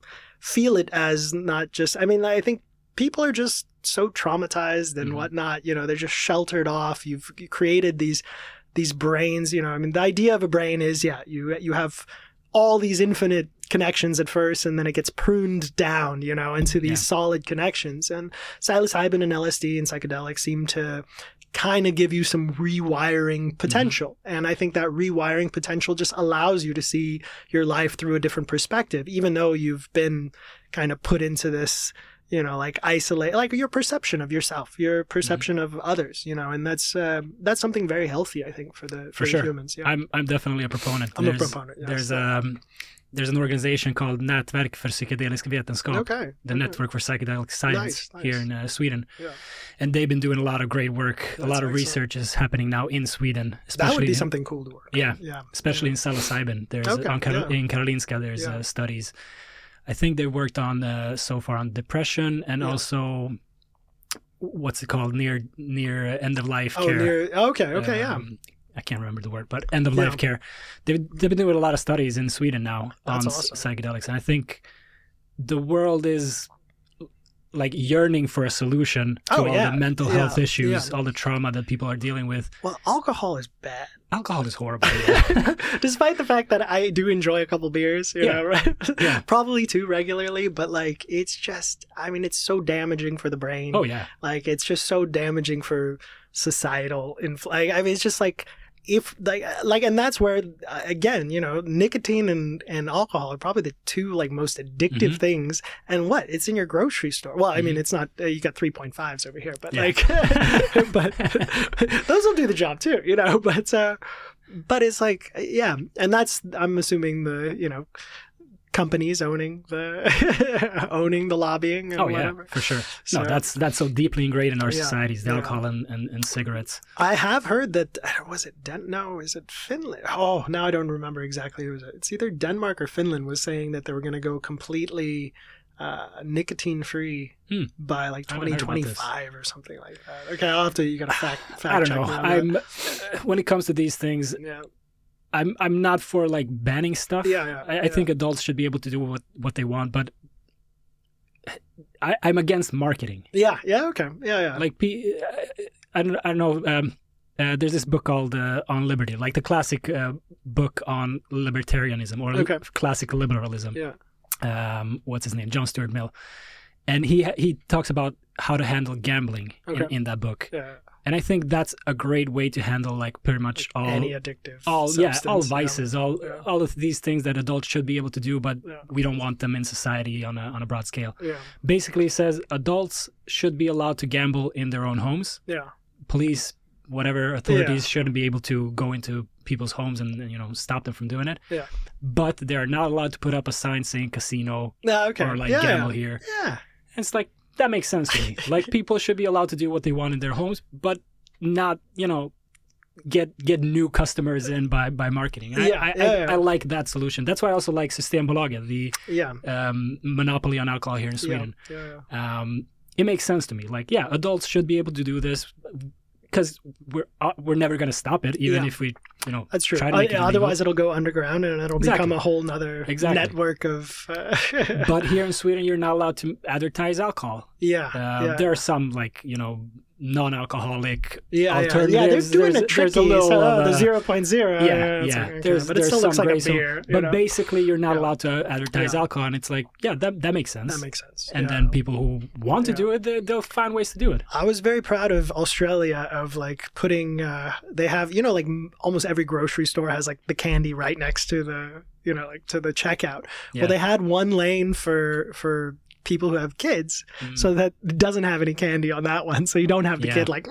feel it as not just, I mean, I think people are just so traumatized and mm-hmm. whatnot, you know, they're just sheltered off. You've created these these brains, you know, I mean, the idea of a brain is, yeah, you you have all these infinite connections at first, and then it gets pruned down, you know, into these yeah. solid connections. And psilocybin and L S D and psychedelics seem to kind of give you some rewiring potential. Mm-hmm. And I think that rewiring potential just allows you to see your life through a different perspective, even though you've been kind of put into this, you know, like isolate, like your perception of yourself, your perception mm-hmm. of others, you know, and that's uh, that's something very healthy, I think, for the for, for sure. humans. Yeah. I'm I'm definitely a proponent. I'm there's, a proponent. Yes. There's um there's an organization called Nätverk för psykedelisk vetenskap, okay. the okay. Network for Psychedelic Science nice, nice. here in uh, Sweden. Yeah. And they've been doing a lot of great work. That's a lot of excellent. research is happening now in Sweden. That would be something cool to work Yeah, on. Yeah. especially yeah. in psilocybin. There's okay. on Kar- yeah. in Karolinska. There's yeah. uh, studies. I think they worked on uh, so far on depression and yeah. also what's it called near near end of life oh, care. Near, okay, okay, um, yeah. I can't remember the word, but end of yeah. life care. They've they've been doing a lot of studies in Sweden now That's on awesome. psychedelics, and I think the world is like yearning for a solution to oh, all yeah. the mental yeah. health issues, yeah. all the trauma that people are dealing with. Well, alcohol is bad. Alcohol is horrible. Yeah. Despite the fact that I do enjoy a couple beers, you Yeah. know, right? Yeah. Probably too regularly, but like it's just, I mean, it's so damaging for the brain. Oh yeah. Like it's just so damaging for societal infl- like, I mean, it's just like if like like and that's where uh, again, you know, nicotine and and alcohol are probably the two like most addictive mm-hmm. things. And what, it's in your grocery store. Well, I mm-hmm. mean, it's not uh, you got three point fives over here, but yeah. like but those will do the job too, you know. But uh but it's like, yeah, and that's, I'm assuming, the, you know, companies owning the owning the lobbying and oh whatever. yeah, for sure. So, no, that's that's so deeply ingrained in our yeah, societies, the yeah. alcohol and, and, and cigarettes. I have heard that, was it Den- no is it Finland, oh now I don't remember exactly who it was. It's either Denmark or Finland was saying that they were going to go completely uh, nicotine free hmm. by like twenty twenty-five or something like that. Okay, I'll have to, you gotta fact, fact I don't check know. me on I'm that. uh, when it comes to these things, yeah I'm I'm not for like banning stuff. yeah, yeah I, I yeah. think adults should be able to do what, what they want, but I, I'm against marketing. yeah yeah okay yeah yeah Like, P- I don't I don't know. Um, uh, there's this book called uh, On Liberty, like the classic uh, book on libertarianism or Okay. classic liberalism. yeah Um, what's his name? John Stuart Mill, and he he talks about how to handle gambling Okay. in, in that book. yeah And I think that's a great way to handle like pretty much all any addictive all yeah all substance, vices, yeah. all Yeah. all of these things that adults should be able to do, but Yeah. we don't want them in society on a on a broad scale. yeah Basically, it says adults should be allowed to gamble in their own homes. yeah Police, whatever authorities, Yeah. shouldn't be able to go into people's homes and, you know, stop them from doing it. Yeah. But they are not allowed to put up a sign saying casino no okay or like yeah gamble here. yeah And it's like, that makes sense to me. Like, people should be allowed to do what they want in their homes, but not, you know, get get new customers in by by marketing. I, Yeah, I, yeah, I, yeah. I like that solution. That's why I also like Systembolaget, the yeah um, monopoly on alcohol here in Sweden. yeah yeah Um, it makes sense to me. Like, yeah, adults should be able to do this because we're uh, we're never going to stop it, even Yeah. if we, you know, That's true. try to make Uh, it illegal. otherwise, it'll go underground and it'll Exactly. become a whole nother Exactly. network of. Uh, But here in Sweden, you're not allowed to advertise alcohol. yeah, Uh, yeah. There are some, like, you know, non-alcoholic yeah, yeah, alternatives. yeah, they're doing There's- it tricky. there's a little so, of uh, the a- zero point zero. Yeah, it's yeah. like, okay, There's, but it there's still some looks like gray a zone. beer. you But know? basically, you're not Yeah. allowed to advertise Yeah. alcohol, and it's like, yeah, that that makes sense. That makes sense. And yeah. then people who want to Yeah. do it, they, they'll find ways to do it. I was very proud of Australia of like putting. Uh, they have, you know, like m- almost every grocery store has like the candy right next to the, you know, like to the checkout. Yeah. Well, they had one lane for for people who have kids, Mm. so that it doesn't have any candy on that one, so you don't have the Yeah. kid like.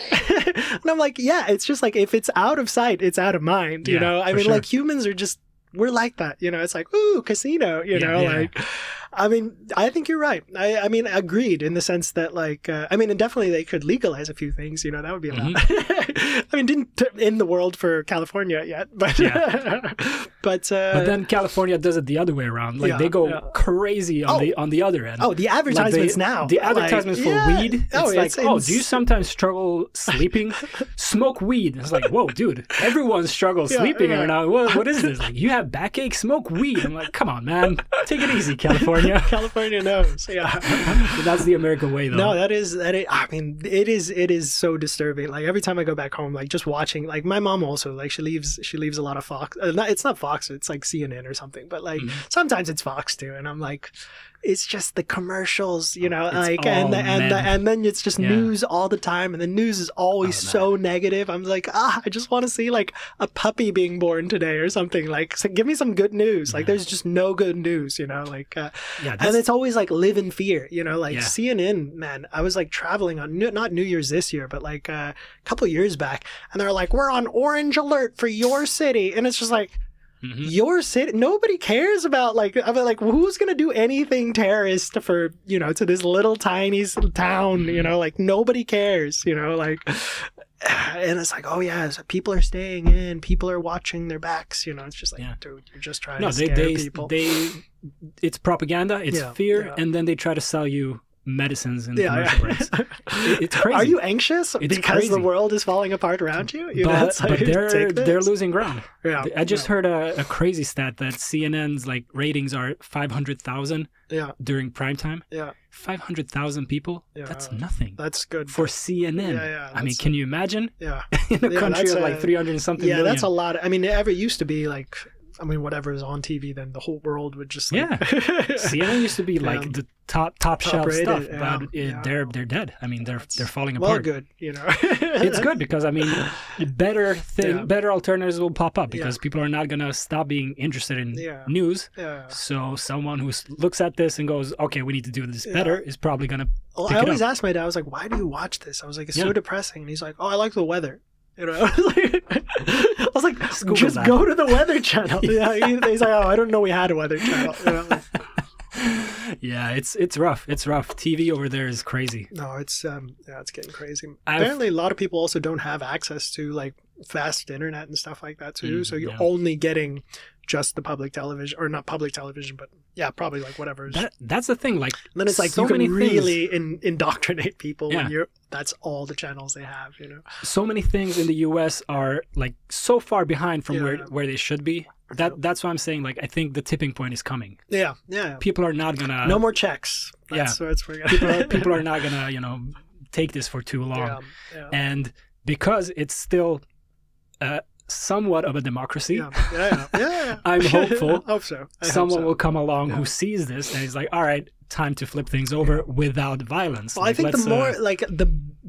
And I'm like, yeah, it's just like if it's out of sight, it's out of mind. You Yeah, know, I for mean, sure. like humans are just we're like that. You know, it's like ooh, casino. You Yeah, know, yeah. like. I mean, I think you're right. I, I mean, agreed in the sense that, like, uh, I mean, and definitely they could legalize a few things. You know, that would be a lot. I mean, didn't t- end the world for California yet, but Yeah. but, uh, But then California does it the other way around. Like Yeah, they go yeah. crazy on Oh. the on the other end. oh, the Like, advertisements they- now, The like, advertisements for yeah. weed. It's Oh, like, it's oh, ins- do you sometimes struggle sleeping? Smoke weed. It's like, whoa, dude, everyone struggles Yeah, sleeping yeah. right now. What, what is this? Like, you have backache? Smoke weed. I'm like, come on, man, take it easy, California. California knows. Yeah. But that's the American way, though. No, that is that. Is, I mean, it is. It is so disturbing. Like every time I go back home, like just watching. Like my mom also, like she leaves. She leaves a lot of Fox. Uh, not, it's not Fox. It's like C N N or something. But like Mhm. sometimes it's Fox too, and I'm like, it's just the commercials, you know, It's like all and the, and the, men. and then it's just Yeah. news all the time, and the news is always Oh, so negative. I'm like, ah, I just want to see like a puppy being born today or something. Like, so give me some good news. Like, Yeah. there's just no good news, you know. Like, uh, Yeah, and that's, it's always like live in fear, you know. Like Yeah. C N N, man. I was like traveling on New- not New Year's this year, but like uh, a couple years back, and they're like, we're on orange alert for your city, and it's just like. Mhm. Your city, nobody cares about like I mean, like who's gonna do anything terrorist for you know to this little tiny s- town, you know, like nobody cares, you know, like, and it's like, oh yeah, so people are staying in, people are watching their backs, you know, it's just like, Yeah. dude, you're just trying no, to they scare they people. they. It's propaganda. It's Yeah, fear, yeah. and then they try to sell you medicines and yeah, commercial yeah. breaks. It- it's crazy. Are you anxious It's because the crazy. world is falling apart around you? You know, but, it's but like, they're take this. they're losing ground. Yeah, I just yeah, heard a, a crazy stat that C N N's like ratings are five hundred thousand yeah, during prime time. yeah. five hundred thousand people. Yeah. That's nothing That's good for C N N. Yeah, yeah, I mean, that's- can you imagine yeah. in a Yeah, country that's of a- like three hundred and something Yeah, million? that's a lot. I mean, it ever used to be like, I mean, whatever is on T V, then the whole world would just like, Yeah. C N N used to be like Yeah. the top top shelf Top-rated, stuff, yeah, but it, yeah. they're they're dead. I mean, they're they're falling well, apart. good, you know. It's good because I mean, better thing, Yeah. better alternatives will pop up because Yeah. people are not gonna stop being interested in Yeah. news. Yeah. So someone who s- looks at this and goes, "Okay, we need to do this Yeah. better," is probably gonna. Well, pick I it always up. ask my dad, I was like, why do you watch this? I was like, it's Yeah. so depressing. And he's like, oh, I like the weather. You know, I was like, I was like Google just that. go to the weather channel. Yeah. he- He's like, oh, I don't know we had a weather channel. You know, like, Yeah, it's it's rough. It's rough. T V over there is crazy. no, it's um, yeah, it's getting crazy. I've- Apparently, a lot of people also don't have access to like fast internet and stuff like that too. Mm, so you're yeah. only getting just the public television, or not public television, but yeah, probably like whatever. is- That that's the thing. Like And then it's like so you can many things- really in, indoctrinate people Yeah. when you're. That's all the channels they have, you know. so many things in the U S are like so far behind from where Yeah. where they should be. That that's why I'm saying like I think the tipping point is coming. Yeah, yeah. People are not gonna no more checks. That's, yeah. that's where people are, people are not gonna you know take this for too long. Yeah, yeah, And because it's still uh, somewhat of a democracy, yeah, yeah, yeah, yeah. I'm hopeful I hope so. I hope someone so. will come along Yeah. who sees this and is like, all right, time to flip things over without violence. Well, Like, I think the let's, more uh, like the.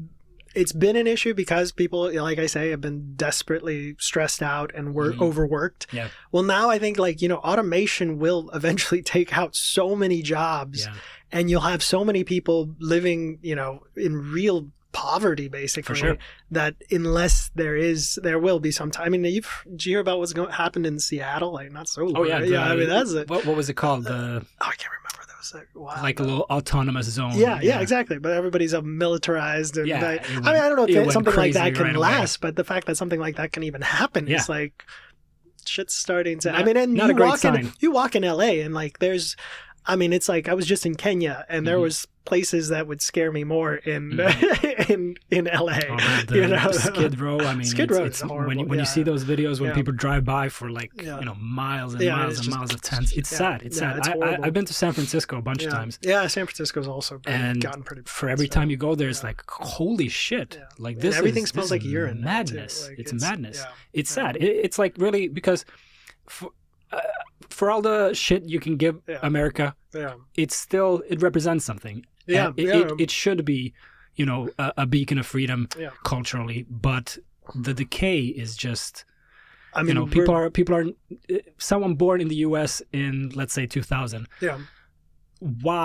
It's been an issue because people, like I say, have been desperately stressed out and were Mhm. overworked. Yeah. Well, now I think like, you know, automation will eventually take out so many jobs yeah, and you'll have so many people living, you know, in real poverty basically sure. that unless there is there will be some time. I mean, you've did you hear about what's going happened in Seattle? Like not so long. oh yeah, right? yeah. the- I mean, that's it. What what was it called? The Oh, I can't remember. That was like, wow. like a little autonomous zone. Yeah, yeah, exactly. But everybody's uh, militarized, and Yeah, I, it I mean, went- I don't know it if went something like that crazy can right away. last, but the fact that something like that can even happen Yeah. is like shit's starting to. I Not- mean, and not you a great walk in sign. you walk in L A, and like there's, I mean, it's like I was just in Kenya, and there Mhm. was places that would scare me more in Mhm. in in L A. Oh, man, the, you know, the Skid Row. I mean, Skid it's, Row it's, is when you horrible, when you yeah. see those videos when Yeah. people drive by for like Yeah. you know miles and Yeah, miles it's and just- miles of tents. It's yeah. sad. It's Yeah, sad. it's I, I, horrible. I've been to San Francisco a bunch yeah. of times. Yeah, San Francisco's also And gotten pretty. For every so- time you go there, it's yeah. like holy shit! Yeah. Like And this, everything is, smells this like is urine now, too. madness. Like, it's, it's- madness. yeah. It's Yeah. sad. It, it's like really because for, uh, for all the shit you can give Yeah. America, Yeah, it's still it represents something. yeah, And it, yeah. it, it should be, you know, a, a beacon of freedom Yeah. culturally, but the decay is just. I mean, you know, we're- people are people are someone born in the U S in let's say two thousand. Yeah. Why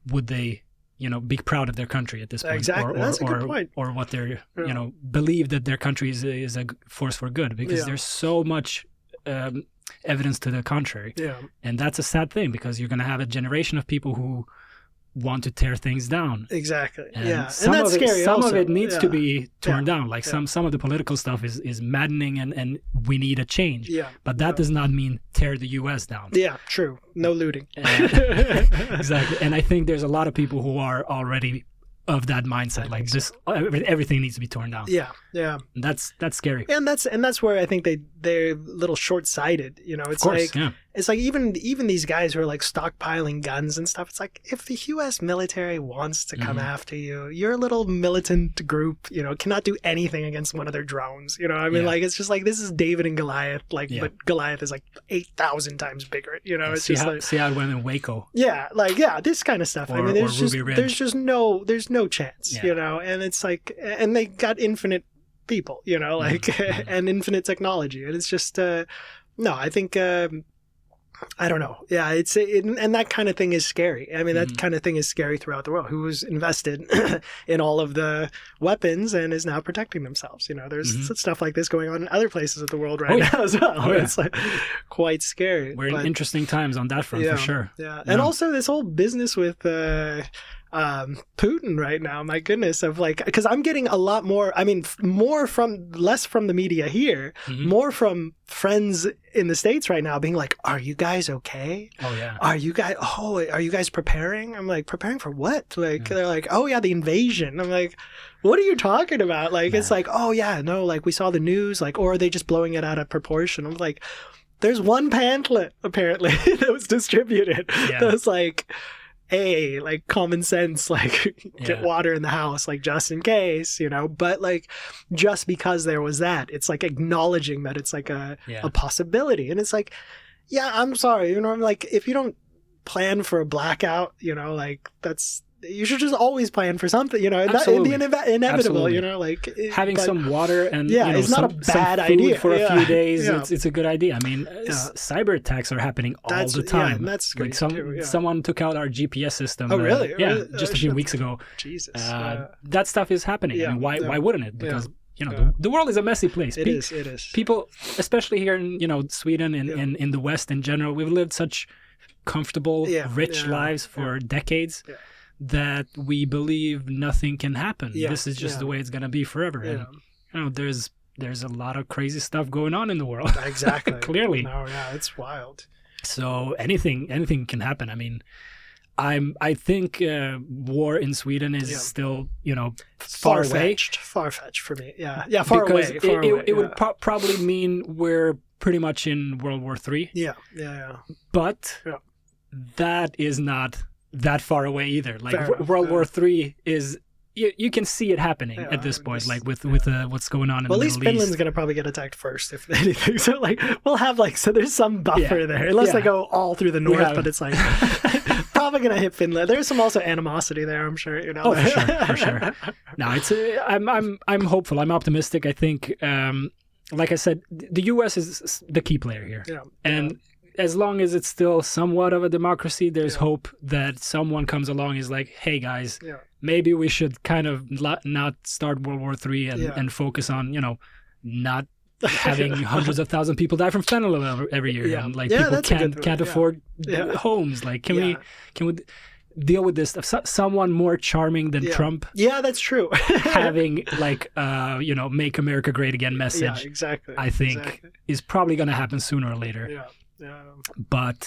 would they, you know, be proud of their country at this point? Exactly. Or, or, That's a good or, point. Or what they're, Yeah. you know, believe that their country is a, is a force for good, because Yeah. there's so much um, evidence to the contrary. Yeah. And that's a sad thing, because you're going to have a generation of people who want to tear things down. Exactly. And yeah. some And that's of it, scary Some also. of it needs yeah. to be torn Yeah. down. Like Yeah. some some of the political stuff is, is maddening, and, and we need a change. Yeah. But that Yeah. does not mean tear the U S down. Yeah, true. No looting. And- exactly. And I think there's a lot of people who are already of that mindset. Like this, every- everything needs to be torn down. Yeah. Yeah. And that's that's scary. And that's and that's where I think they they're a little short sighted. You know, it's Of course, like yeah. it's like even even these guys who are like stockpiling guns and stuff. It's like if the U S military wants to come Mhm. after you, your little militant group, you know, cannot do anything against one of their drones. You know, I mean, Yeah. like it's just like this is David and Goliath, like, Yeah. but Goliath is like eight thousand times bigger. You know, it's see just how like. see how it went in Waco. Yeah, like yeah, this kind of stuff. I Or- mean, there's or just Ruby Ridge. there's just no there's no chance, Yeah. you know. And it's like, and they got infinite people, you know, like Mhm. and infinite technology, and it's just uh, no. I think um, I don't know. Yeah, it's it, and that kind of thing is scary. I mean, that Mhm. kind of thing is scary throughout the world. Who was invested in all of the weapons and is now protecting themselves? You know, there's Mhm. stuff like this going on in other places of the world right Oh, yeah. now as well. Oh, yeah. It's like quite scary. We're in but- interesting times on that front Yeah. for sure. yeah, and Yeah. also this whole business with uh, um, Putin right now. My goodness, of like, because I'm getting a lot more. I mean, f- more from less from the media here, Mhm. more from friends in the States right now, being like, "Are you guys okay? Oh yeah. Are you guys? Oh, are you guys preparing?" I'm like, "Preparing for what?" Like, Yeah. they're like, "Oh yeah, the invasion." I'm like, "What are you talking about?" Like, it's Nah. like, "Oh yeah, no, like we saw the news, like, or are they just blowing it out of proportion?" I'm like. There's one pamphlet apparently that was distributed. Yeah. That was like, hey, like common sense, like get Yeah. water in the house, like just in case, you know. But like, just because there was that, it's like acknowledging that it's like a Yeah. a possibility, and it's like, yeah, I'm sorry, you know, I'm like, if you don't plan for a blackout, you know, like that's. You should just always plan for something, you know. And that, Absolutely. the ine- inevitable, Absolutely. you know, like it- Having but- some water and Yeah, you know, it's not some, a bad some food idea. for a Yeah. few days. Yeah. It's it's a good idea. I mean, uh, s- cyber attacks are happening all That's- the yeah, time. and that's like great some too, yeah. someone took out our G P S system. Oh, uh, really? yeah, Really? just Oh, a few shit. weeks ago. Jesus, Uh, yeah. that stuff is happening. Yeah, I mean, why yeah. why wouldn't it? Yeah. Because you know Yeah. the, the world is a messy place. It Pe- is. It is. People, especially here in you know Sweden and Yeah. in, in the West in general, we've lived such comfortable, Yeah, rich yeah, lives for decades. Yeah. That we believe nothing can happen. Yeah, This is just yeah. the way it's gonna be forever. And Yeah. you know, there's there's a lot of crazy stuff going on in the world. Exactly. Clearly. No, yeah, it's wild. So anything anything can happen. I mean, I'm I think uh, war in Sweden is Yeah. still you know far away Far-fetched. Far-fetched for me. Yeah. Yeah, far because away. it, Far it, away. it would yeah. pro- probably mean we're pretty much in World War Three. Yeah, yeah, yeah. But Yeah. that is not that far away either. Like Fair w- enough, World yeah. War Three is. You, you can see it happening Yeah, at this I point, just- like with yeah. with uh, what's going on in Well, at the least Middle Finland's East. gonna probably get attacked first, if anything. So, like, we'll have like, so there's some buffer Yeah. there, unless they Yeah. go all through the north. have- But it's like probably gonna hit Finland. There's some also animosity there, I'm sure. You know. Oh, for sure, for sure. No, it's uh, I'm I'm I'm hopeful. I'm optimistic. I think, um, like I said, th- the U S is the key player here, Yeah. and as long as it's still somewhat of a democracy, there's Yeah. hope that someone comes along and is like, hey guys, Yeah. maybe we should kind of lo- not start World War Three and, Yeah. and focus on you know not having hundreds of thousand people die from fentanyl every- every year, Yeah. and like Yeah, people that's a can't good- can't yeah. afford Yeah. homes. Like, can we Yeah. can we deal with this stuff? So- someone more charming than Yeah. Trump Yeah, that's true. having like uh you know make America great again message Yeah, exactly. I think Exactly. is probably going to happen sooner or later. Yeah. Yeah. But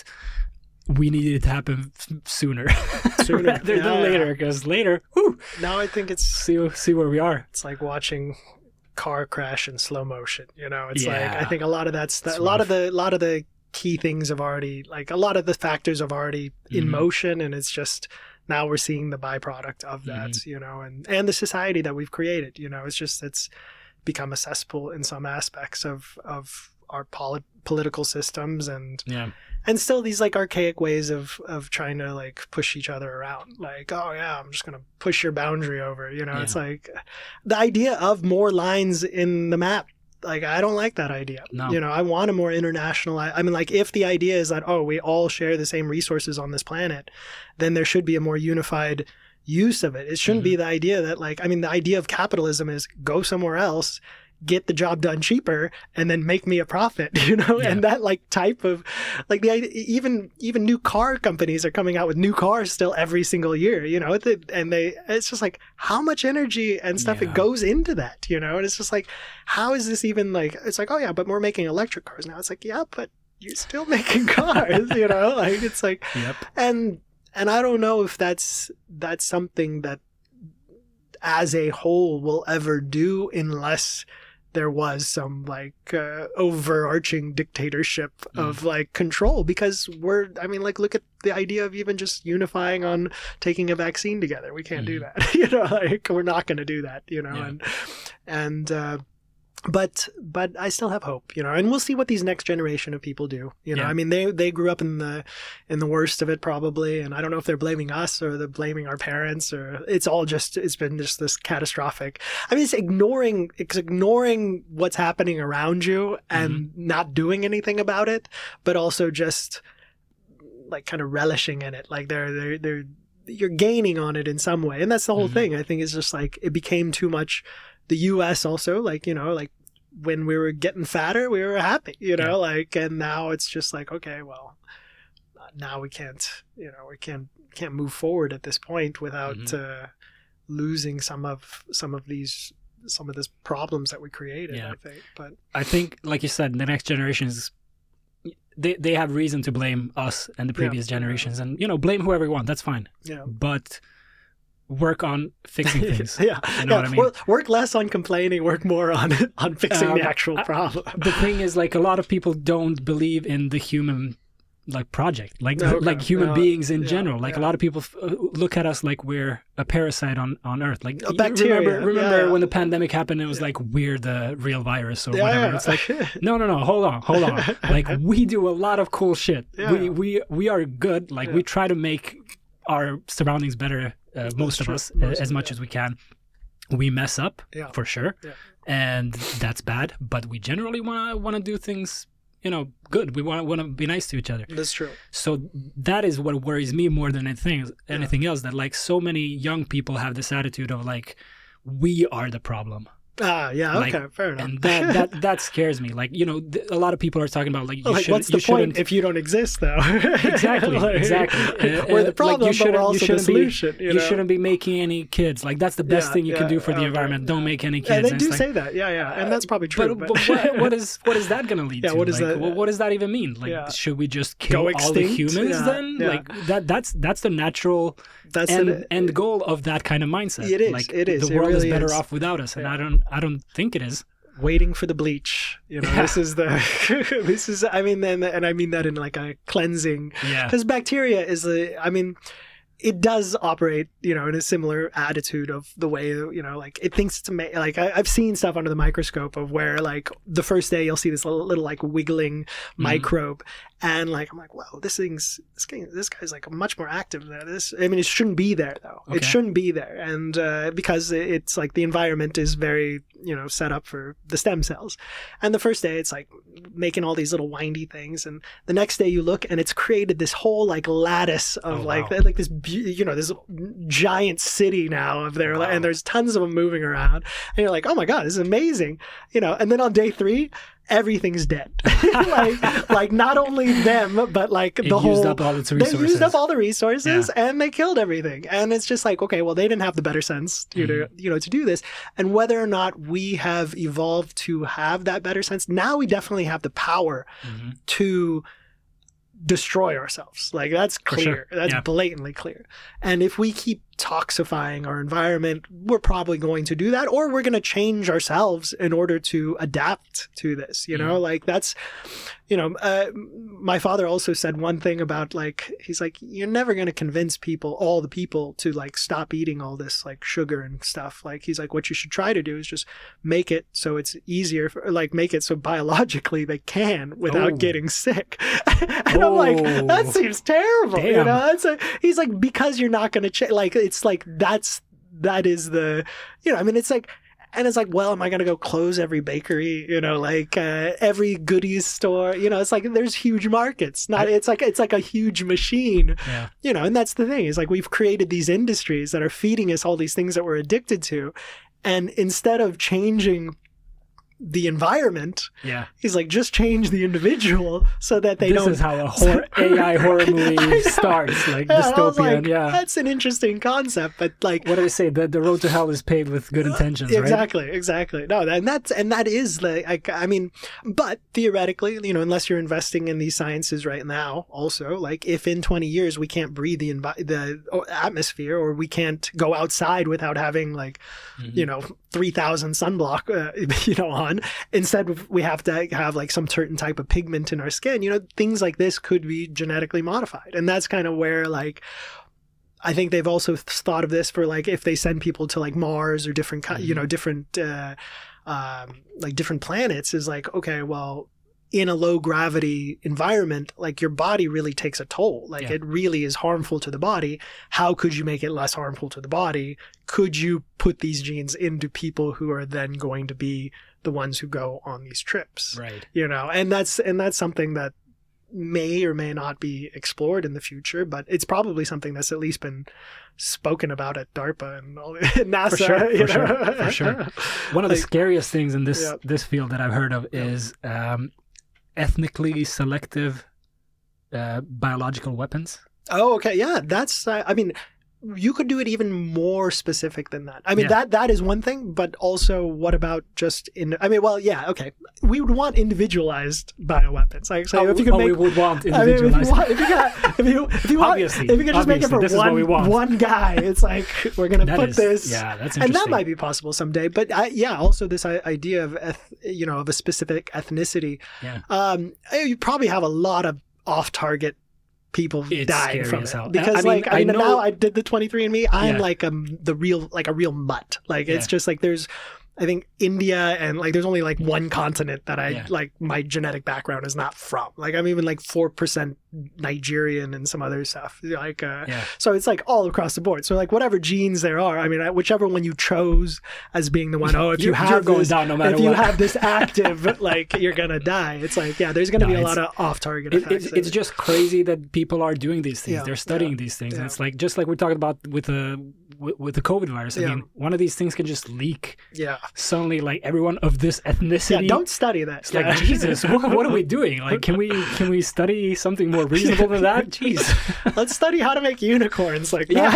we need it to happen f- sooner, Sooner. rather Yeah, than yeah. later, because later, whew, Now I think it's see see where we are. it's like watching car crash in slow motion. You know, it's like Yeah. I think a lot of that's the, It's a lot of rough. the lot of the key things have already like a lot of the factors have already in Mhm. motion, and it's just now we're seeing the byproduct of that. Mm-hmm. You know, and and the society that we've created. You know, it's just it's become a cesspool in some aspects of of our poli- political systems and Yeah, and still these like archaic ways of of trying to like push each other around, like, oh yeah, I'm just gonna push your boundary over, you know. Yeah. It's like the idea of more lines in the map Like, I don't like that idea. No. You know, I want a more international, I, I mean, like, if the idea is that, oh, we all share the same resources on this planet, then there should be a more unified use of it. It shouldn't mm-hmm. be the idea that, like, I mean, the idea of capitalism is go somewhere else, get the job done cheaper, and then make me a profit, you know? Yeah. And that, like, type of, like, the idea, even even new car companies are coming out with new cars still every single year, you know? And they, it's just like, how much energy and stuff yeah. it goes into that, you know? And it's just like, how is this even, like, it's like, oh yeah, but we're making electric cars now. It's like, yeah, but you're still making cars, you know? Like, it's like, yep. and and I don't know if that's that's something that as a whole will ever do unless there was some like uh, overarching dictatorship mm. of like control, because we're, I mean, like, look at the idea of even just unifying on taking a vaccine together. We can't mm. do that, you know, like, we're not going to do that, you know, yeah. and, and, uh, but, but I still have hope, you know, and we'll see what these next generation of people do. You know, yeah. I mean, they, they grew up in the, in the worst of it probably. And I don't know if they're blaming us or they're blaming our parents, or it's all just, it's been just this catastrophic. I mean, it's ignoring, it's ignoring what's happening around you and mm-hmm. not doing anything about it, but also just like kind of relishing in it. Like they're, they're, they're, you're gaining on it in some way. And that's the whole mm-hmm. thing. I think it's just like, it became too much. The U S also, like, you know, like when we were getting fatter, we were happy, you know, yeah. like, and now it's just like, okay, well, now we can't, you know, we can't, can't move forward at this point without mm-hmm. uh, losing some of, some of these, some of this problems that we created, yeah. I think. But I think, like you said, the next generations, they, they have reason to blame us and the previous yeah. generations, and, you know, blame whoever you want. That's fine. Yeah. But work on fixing things. yeah, you know yeah. what I mean? Work, work less on complaining, work more on on fixing um, the actual problem. I, the thing is, like, a lot of people don't believe in the human, like, project, like no, like no, human no, beings in yeah, general. Like, yeah. a lot of people f- look at us like we're a parasite on, on Earth. Like, a bacteria. Remember, remember yeah. when the pandemic happened? It was yeah. like we're the real virus or yeah, whatever. Yeah. It's like, no, no, no. Hold on, hold on. Like, we do a lot of cool shit. Yeah. We we we are good. Like, yeah. we try to make our surroundings better. Uh, most true. of us, most as of, much yeah. as we can. We mess up, yeah. for sure, yeah. and that's bad. But we generally want to want to do things, you know, good. We want to want to be nice to each other. That's true. So that is what worries me more than anything anything yeah. else. That, like, so many young people have this attitude of, like, we are the problem. Ah, yeah, like, okay, fair enough. And that, that that scares me. Like, you know, th- a lot of people are talking about, like, you like, should, what's the you point if you don't exist, though? exactly, like, exactly. Uh, we're the problem, like, you but we're also the solution. Be, you, you know? shouldn't be making any kids. Like, that's the best yeah, thing you yeah, can do for the okay, environment. yeah. Don't make any kids. Yeah, they and do like, say that. Yeah, yeah, and that's probably true. But, but, but what, what is what is that going to lead yeah, to? What is like, that? What, what does that even mean? Like, yeah. should we just kill all the humans yeah, then? yeah. Like, that that's that's the natural that's end, an, end goal of that kind of mindset. It is. Like, it is. The it world really is better is. off without us, and yeah. I don't I don't think it is. Waiting for the bleach, you know. Yeah. This is the. this is. I mean, and, and I mean that in like a cleansing. Yeah. Because bacteria is the. I mean, it does operate, you know, in a similar attitude of the way, you know, like it thinks it's ama- like I, I've seen stuff under the microscope of where like the first day you'll see this little, little like wiggling mm-hmm. microbe, and like I'm like, wow, this thing's this guy, this guy's like much more active than this. I mean, it shouldn't be there though. Okay. It shouldn't be there, and uh, because it's like the environment is very, you know, set up for the stem cells, and the first day it's like making all these little windy things, and the next day you look and it's created this whole like lattice of oh, like wow. like this. You know, this giant city now of there, wow. and there's tons of them moving around, and you're like, oh my god, this is amazing, you know. And then on day three, everything's dead. like, like not only them, but like the it whole. Used up all its resources. They used up all the resources, yeah. and they killed everything. And it's just like, okay, well, they didn't have the better sense, to, mm-hmm. to you know, to do this. And whether or not we have evolved to have that better sense, now we definitely have the power mm-hmm. to destroy ourselves. Like that's clear. Sure. That's yeah. blatantly clear. And if we keep toxifying our environment, we're probably going to do that, or we're going to change ourselves in order to adapt to this, you know, mm. like that's, you know, uh, my father also said one thing about like, he's like, you're never going to convince people, all the people to like stop eating all this like sugar and stuff. Like, he's like, what you should try to do is just make it so it's easier for, like make it so biologically they can without oh. getting sick. and oh. I'm like, that seems terrible. Damn. You know, it's like, he's like, because you're not going to change, like, it's like, that's, that is the, you know, I mean, it's like, And it's like, well, am I going to go close every bakery, you know, like uh, every goodies store? You know, it's like there's huge markets. Not it's like it's like a huge machine, Yeah. you know. And that's the thing is like we've created these industries that are feeding us all these things that we're addicted to, and instead of changing the environment, Yeah. he's like, just change the individual so that they this don't. is how a horror, A I horror movie starts, like Yeah, I was dystopian. like, yeah. that's an interesting concept, but like, What do they say? The the road to hell is paved with good intentions, right? exactly, exactly. No, and that's and that is like, like, I mean, but theoretically, you know, unless you're investing in these sciences right now, also, like, if in twenty years we can't breathe the envi- the atmosphere, or we can't go outside without having like, Mm-hmm. you know, three thousand sunblock, uh, you know, on. Instead, we have to have like some certain type of pigment in our skin. You know, things like this could be genetically modified, and that's kind of where like. I think they've also thought of this for like if they send people to like Mars or different, ki- you know, different, uh, um, like different planets is like, okay, well, in a low gravity environment, like your body really takes a toll. Like Yeah. it really is harmful to the body. How could you make it less harmful to the body? Could you put these genes into people who are then going to be the ones who go on these trips? Right. You know, and that's, and that's something that may or may not be explored in the future, but it's probably something that's at least been spoken about at DARPA and all, NASA. For sure, you for know? sure, for sure. One of the Like- scariest things in this Yeah. this field that I've heard of is um, ethnically selective uh, biological weapons. Oh, okay. Yeah, that's, uh, I mean, you could do it even more specific than that. I mean, Yeah. that that is one thing, but also what about just in, I mean, well, yeah, okay. We would want individualized bioweapons. Like, so oh, if you could oh, make, we would want I mean, if you, individualized. want, if you got, if you, if you want, Obviously, if you could just make it obviously, for this is what we one, want. one guy, it's like, we're going to That put is- this. yeah, that's And that interesting. might be possible someday. But I, yeah, also this i- idea of, eth, you know, of a specific ethnicity. Yeah. Um, you probably have a lot of off-target people It's dying scary from as it hell. because I mean, like I, I mean know- now I did the twenty-three and me. I'm Yeah. like um the real like a real mutt. Like it's Yeah. just like there's I think India and like there's only like one continent that I Yeah. like my genetic background is not from. Like I'm even like four percent Nigerian and some other stuff. Like uh Yeah. so it's like all across the board. So like whatever genes there are, I mean I- whichever one you chose as being the one, oh if you You're- have you're going this, down no matter if you what. have this active, like you're gonna die. It's like yeah, there's gonna No, be a it's- lot of off-target It, effects. it's, of it's it. just crazy that people are doing these things. Yeah, They're studying yeah, these things, and yeah. it's like just like we're talking about with the with, with the COVID virus. I Yeah. mean, one of these things can just leak. yeah. Suddenly, like everyone of this Yeah, ethnicity. don't study that. It's Yeah. like Jesus. What, what are we doing? Like, can we can we study something more reasonable than that? Jeez. Let's study how to make unicorns, like Yeah.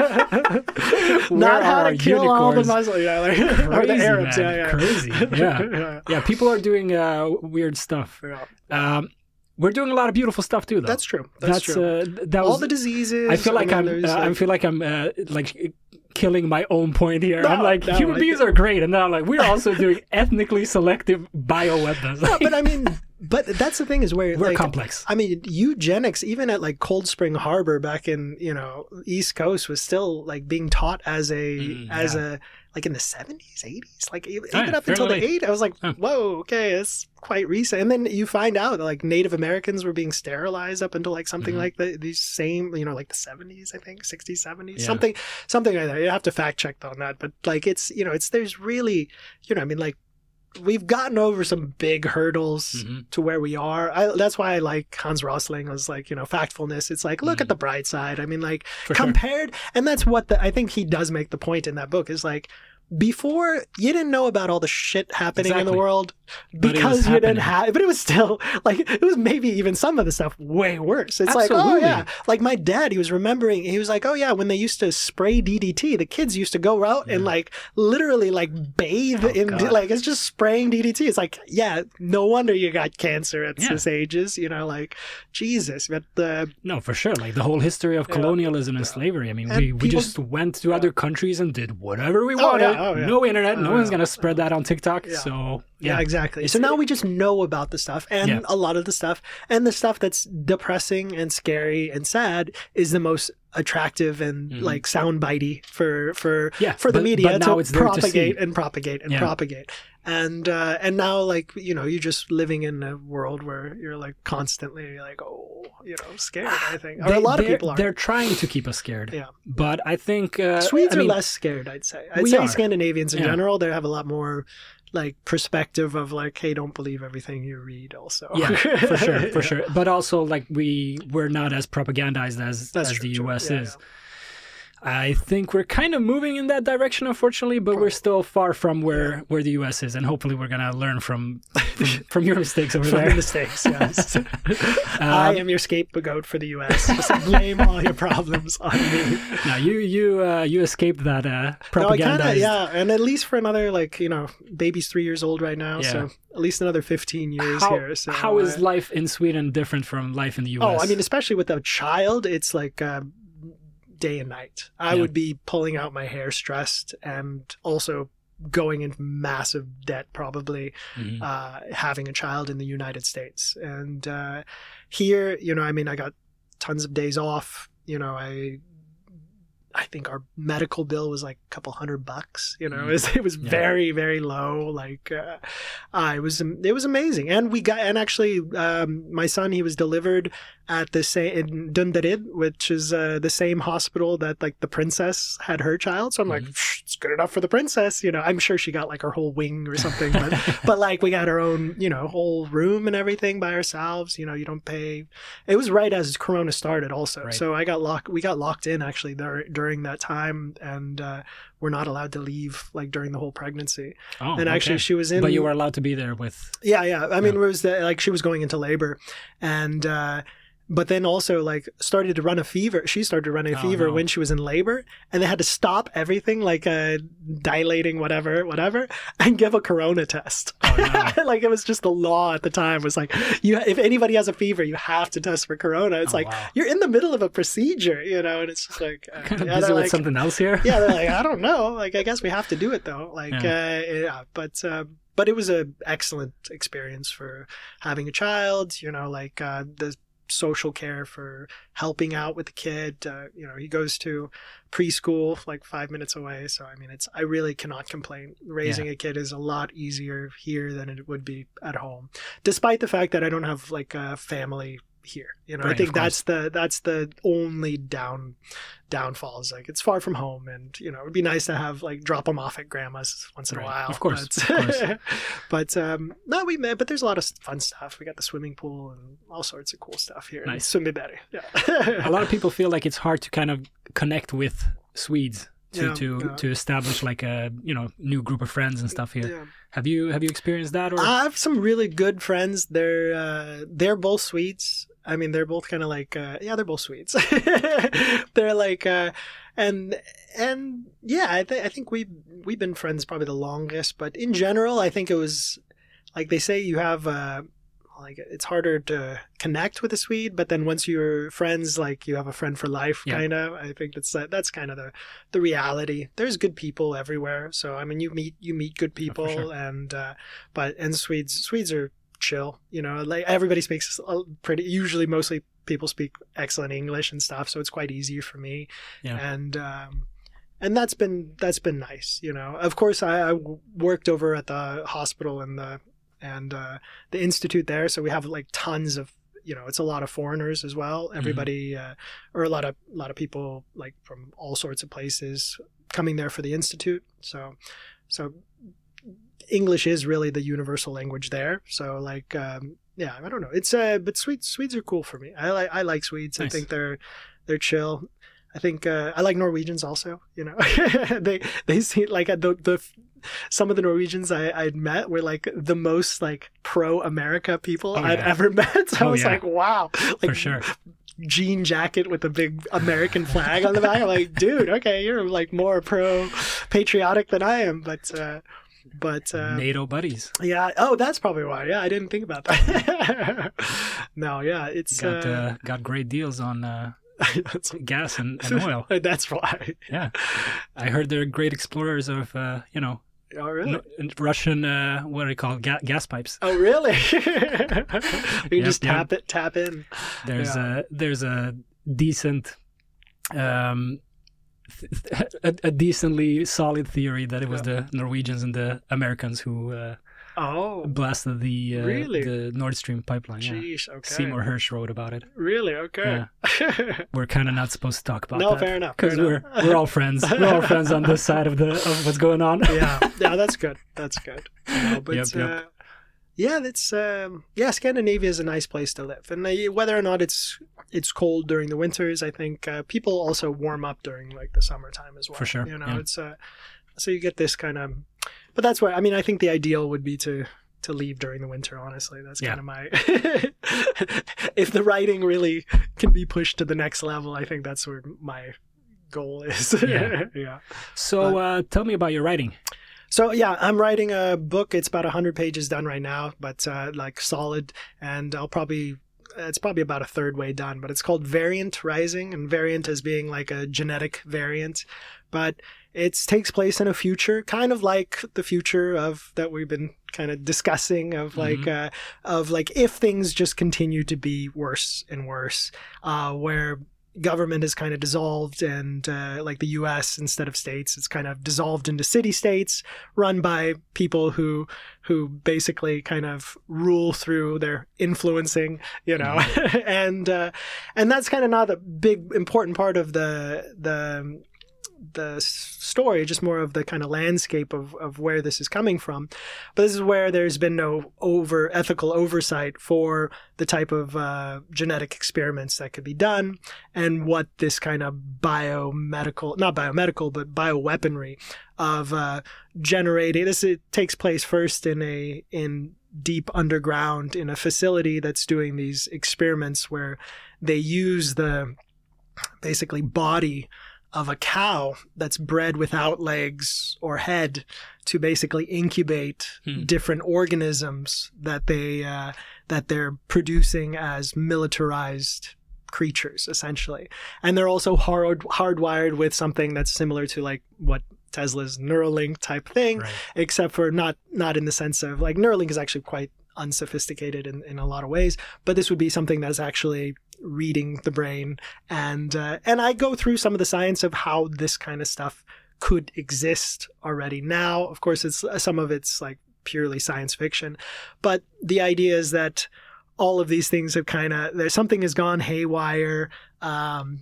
not, Where not how are to our kill all the unicorns? Muslims, yeah, like, or the Crazy, Arabs, man. yeah, yeah. Crazy. Yeah. yeah. Yeah. People are doing uh, weird stuff. Yeah. Um, we're doing a lot of beautiful stuff too, though. That's true. That's, true. Uh, that was all the diseases. I feel like mean, I'm. there's, Uh, I like- feel like I'm uh, like killing my own point here. No, I'm like no, human I beings think- are great, and then I'm like we're also doing ethnically selective bioweapons. No, but I mean, but that's the thing is where we're like, complex. I mean, eugenics, even at like Cold Spring Harbor back in you know East Coast, was still like being taught as a Mm, as yeah. a like in the seventies, eighties, like even Oh, yeah, up until the fairly late. eight. I was like, Huh. whoa, okay, it's quite recent. And then you find out that like Native Americans were being sterilized up until like something Mhm. like the these same, you know, like the seventies, I think, sixties, seventies, Yeah. something, something like that. You have to fact check on that, but like it's you know, it's there's really, you know, I mean, like we've gotten over some big hurdles Mhm. to where we are. I, that's why I like Hans Rosling was like, you know, factfulness. It's like, look Mhm. at the bright side. I mean, like For sure. compared, and that's what the, I think he does make the point in that book is like, before you didn't know about all the shit happening in the Exactly. world But it because was you didn't happening. have, but it was still like, it was maybe even some of the stuff way worse. It's like, oh Absolutely. yeah. Like my dad, he was remembering, he was like, oh yeah, when they used to spray D D T, the kids used to go out and Yeah. like literally like bathe Oh, in, God. like it's just spraying D D T. It's like, yeah, no wonder you got cancer at Yeah. this ages, you know, like Jesus. But uh, No, for sure. Like the whole history of Yeah. colonialism and slavery. I mean, And we, we people- just went to other countries and did whatever we Oh, wanted. yeah, oh, yeah. No internet. No Oh, one's yeah. gonna spread that on TikTok. Yeah. So Yeah, yeah, exactly. It's- So now we just know about the stuff, and Yeah. a lot of the stuff, and the stuff that's depressing and scary and sad is the most attractive and Mhm. like soundbitey for for Yeah, for the but- media but now to it's there to propagate see. and propagate and Yeah. propagate. And uh, and now, like, you know, you're just living in a world where you're like constantly like, oh, you know, scared. I think, or They- a lot of they're- people are. They're trying to keep us scared. Yeah. But I think uh, Swedes I mean, are less scared, I'd say. I'd we say are. Scandinavians in Yeah. general, they have a lot more like perspective of like, hey, don't believe everything you read. Also, Yeah, for sure, for Yeah. sure. But also, like we we're not as propagandized as That's as true, the true. U S Yeah, is. I think we're kind of moving in that direction, unfortunately, but we're still far from where, where the U S is, and hopefully we're gonna learn from from, from your mistakes over From there. the mistakes, yes. I Um, am your scapegoat for the U S. Just blame all your problems on me. No, you you uh, you escaped that uh, No, I propagandized. kind of, yeah, and at least for another, like, you know, baby's three years old right now, Yeah. so at least another fifteen years How, here. So how is I- life in Sweden different from life in the U S? Oh, I mean, especially with a child, it's like uh, day and night. I Yeah. would be pulling out my hair stressed and also going into massive debt probably Mhm. uh, having a child in the United States. And uh, here, you know, I mean, I got tons of days off. You know, I I think our medical bill was like a couple hundred bucks. You know, Mhm. it was, it was Yeah. very, very low. Like, uh, uh, it was it was amazing. And we got and actually, um, my son, he was delivered at the same in Dunderud, which is uh, the same hospital that like the princess had her child. So I'm like, Mhm. it's good enough for the princess. You know, I'm sure she got like her whole wing or something. But but like we got our own, you know, whole room and everything by ourselves. You know, you don't pay. It was right as Corona started, also. Right. So I got locked. We got locked in actually there during that time, and uh, we're not allowed to leave like during the whole pregnancy. Oh, and actually, okay. she was in. But you were allowed to be there with. Yeah, yeah. I mean, Yeah. it was the, like she was going into labor, and uh, but then also like started to run a fever. She started running a Oh, fever no. when she was in labor, and they had to stop everything, like uh, dilating, whatever, whatever, and give a corona test. Oh, no. Like it was just the law at the time was like, you if anybody has a fever, you have to test for corona. It's Oh, like wow. you're in the middle of a procedure, you know, and it's just like uh, Kind of yeah, busy they're with like, something else here. yeah, they're like, I don't know. Like, I guess we have to do it though. Like, Yeah. uh, yeah, but, uh, but it was a excellent experience for having a child, you know, like, uh, the social care for helping out with the kid. Uh, you know, he goes to preschool like five minutes away. So, I mean, it's, I really cannot complain. Raising a kid is a lot easier here than it would be at home, despite the fact that I don't have like a family here. You know, Right, I think of course. that's the, that's the only down, downfall is like it's far from home, and you know it'd be nice to have like drop them off at grandma's once in Right. a while. Of course, but, of course. but um, no, we met. But there's a lot of fun stuff. We got the swimming pool and all sorts of cool stuff here. Nice. Sundbyberg. Yeah. A lot of people feel like it's hard to kind of connect with Swedes to Yeah, to, yeah. to establish like a you know new group of friends and stuff here. Yeah. Have you have you experienced that or? I have some really good friends. They're uh, they're both Swedes. I mean, they're both kind of like uh, yeah, they're both Swedes. They're like uh, and and yeah, I think I think we we've, we've been friends probably the longest. But in general, I think it was like they say you have uh, like it's harder to connect with a Swede, but then once you're friends, like you have a friend for life, Yeah. kind of. I think that's that's kind of the the reality. There's good people everywhere, so I mean, you meet you meet good people, sure. and uh, but and Swedes Swedes are chill, you know, like everybody speaks a pretty usually mostly people speak excellent English and stuff, so it's quite easy for me. Yeah. And um and that's been that's been nice, you know. Of course I, I worked over at the hospital and the and uh the institute there, so we have like tons of, you know, it's a lot of foreigners as well. Everybody uh, or a lot of a lot of people like from all sorts of places coming there for the institute. So so English is really the universal language there. So like, um, yeah, I don't know. It's uh, but Swedes Swedes are cool for me. I like I like Swedes. Nice. I think they're they're chill. I think uh, I like Norwegians also. You know, they they seem like the the some of the Norwegians I I'd met were like the most like pro America people Oh, I'd yeah. ever met. So I Oh, was yeah. like, wow, like, For sure. jean jacket with a big American flag on the back. I'm like, dude, okay, you're like more pro patriotic than I am, but uh, but uh, NATO buddies. yeah. Oh, that's probably why. Yeah, I didn't think about that. No, yeah, it's Got uh, uh, got great deals on uh, that's, gas and, and oil. that's why. Yeah, I heard they're great explorers of uh, you know Oh, really? no- Russian uh, what do you call it? Ga- gas pipes. Oh, really? You Yep, just yep. tap it, tap in. There's Yeah. a there's a decent um, a, a decently solid theory that it was Yeah. the Norwegians and the Americans who uh, Oh, blasted the uh, Really? the Nord Stream pipeline. Yeah. jeez. Okay. Seymour Hersh wrote about it. Really? Okay. We're kind of not supposed to talk about No, that. fair enough, fair Because we're enough. we're all friends. We're all friends on this side of the of what's going on. yeah, yeah, that's good. That's good. You know, but Yep, yep. Uh, yeah, that's um, yeah. Scandinavia is a nice place to live, and uh, whether or not it's it's cold during the winters, I think uh, people also warm up during like the summertime as well. For sure, you know, yeah. it's uh, so you get this kind of. But that's where I mean, I think the ideal would be to to leave during the winter. Honestly, that's Yeah. kind of my. If the writing really can be pushed to the next level, I think that's where my goal is. Yeah. yeah. So uh, tell me about your writing. So yeah, I'm writing a book. It's about one hundred pages done right now, but uh, like solid. And I'll probably, it's probably about a third way done, but it's called Variant Rising, and variant as being like a genetic variant. But it takes place in a future, kind of like the future of that we've been kind of discussing of like, Mhm. uh, of like if things just continue to be worse and worse, uh, where government is kind of dissolved and uh, like the U S instead of states, it's kind of dissolved into city states run by people who who basically kind of rule through their influencing, you know, and uh, and that's kind of not a big important part of the the the story, just more of the kind of landscape of, of where this is coming from. But this is where there's been no over ethical oversight for the type of uh, genetic experiments that could be done and what this kind of biomedical, not biomedical, but bioweaponry of uh, generating. This it takes place first in a in deep underground in a facility that's doing these experiments where they use the basically body of a cow that's bred without legs or head to basically incubate Hmm. different organisms that they uh, that they're producing as militarized creatures, essentially. And they're also hard hardwired with something that's similar to like what Tesla's Neuralink type thing, Right. except for not not in the sense of like Neuralink is actually quite unsophisticated in, in a lot of ways, but this would be something that is actually reading the brain, and uh, and I go through some of the science of how this kind of stuff could exist already now. Of course, it's some of it's like purely science fiction, but the idea is that all of these things have kind of there's something has gone haywire. Um,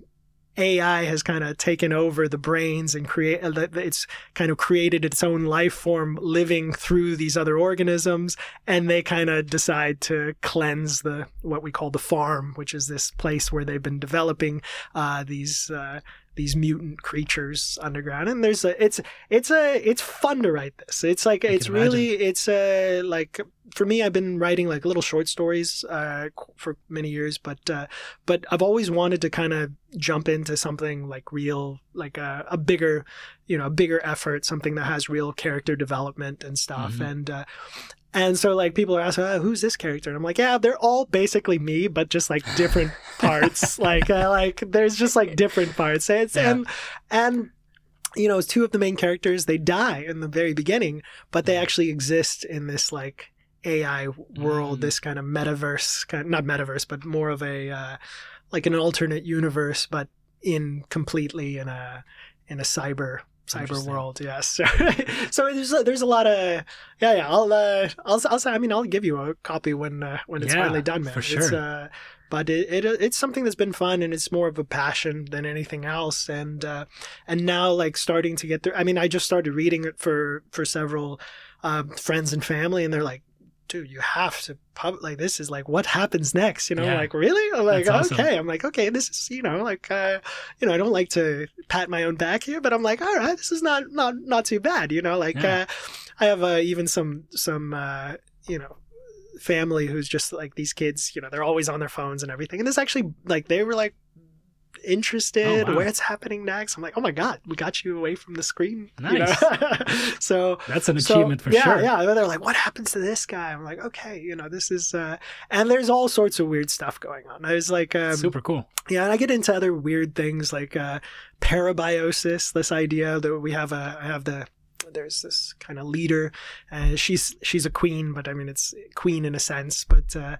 A I has kind of taken over the brains and create it's kind of created its own life form living through these other organisms, and they kind of decide to cleanse the what we call the farm, which is this place where they've been developing uh, these uh, these mutant creatures underground. And there's a it's it's a it's fun to write this. It's like I it's can really it's a like for me, I've been writing like little short stories uh, for many years, but uh, but I've always wanted to kind of jump into something like real, like a, a bigger, you know, a bigger effort, something that has real character development and stuff. Mhm. And uh, and so like people are asking, oh, who's this character? And I'm like, yeah, they're all basically me, but just like different parts. Like uh, like there's just like different parts. It's, Yeah. And and you know, two of the main characters, they die in the very beginning, but they actually exist in this like A I world, Mm. this kind of metaverse, kind of, not metaverse, but more of a uh, like an alternate universe, but in completely in a in a cyber cyber Interesting. world. Yes. So, so there's a, there's a lot of yeah yeah. I'll uh, I'll I'll say I mean I'll give you a copy when uh, when it's Yeah, finally done, man. for It's, sure. uh, but it, it it's something that's been fun, and it's more of a passion than anything else. And uh, and now like starting to get through. I mean, I just started reading it for for several uh, friends and family, and they're like, dude, you have to pub like this is like what happens next, you know? Yeah. Like really? I'm like, That's awesome. okay. I'm like, okay, this is you know like uh, you know I don't like to pat my own back here, but I'm like, all right, this is not not not too bad, you know? Like Yeah. uh, I have uh, even some some uh, you know. family who's just like these kids, you know, they're always on their phones and everything. And this actually, like, they were like interested, Oh, wow. what's happening next. I'm like, oh my God, we got you away from the screen. you Nice. know? so That's an so, achievement for yeah, sure. Yeah, they're like, what happens to this guy? I'm like, okay, you know, this is, uh, and there's all sorts of weird stuff going on. There's like, um, Super cool. yeah, and I get into other weird things like uh, parabiosis. This idea that we have a, I have the, there's this kind of leader, and she's she's a queen, but I mean it's queen in a sense, but uh,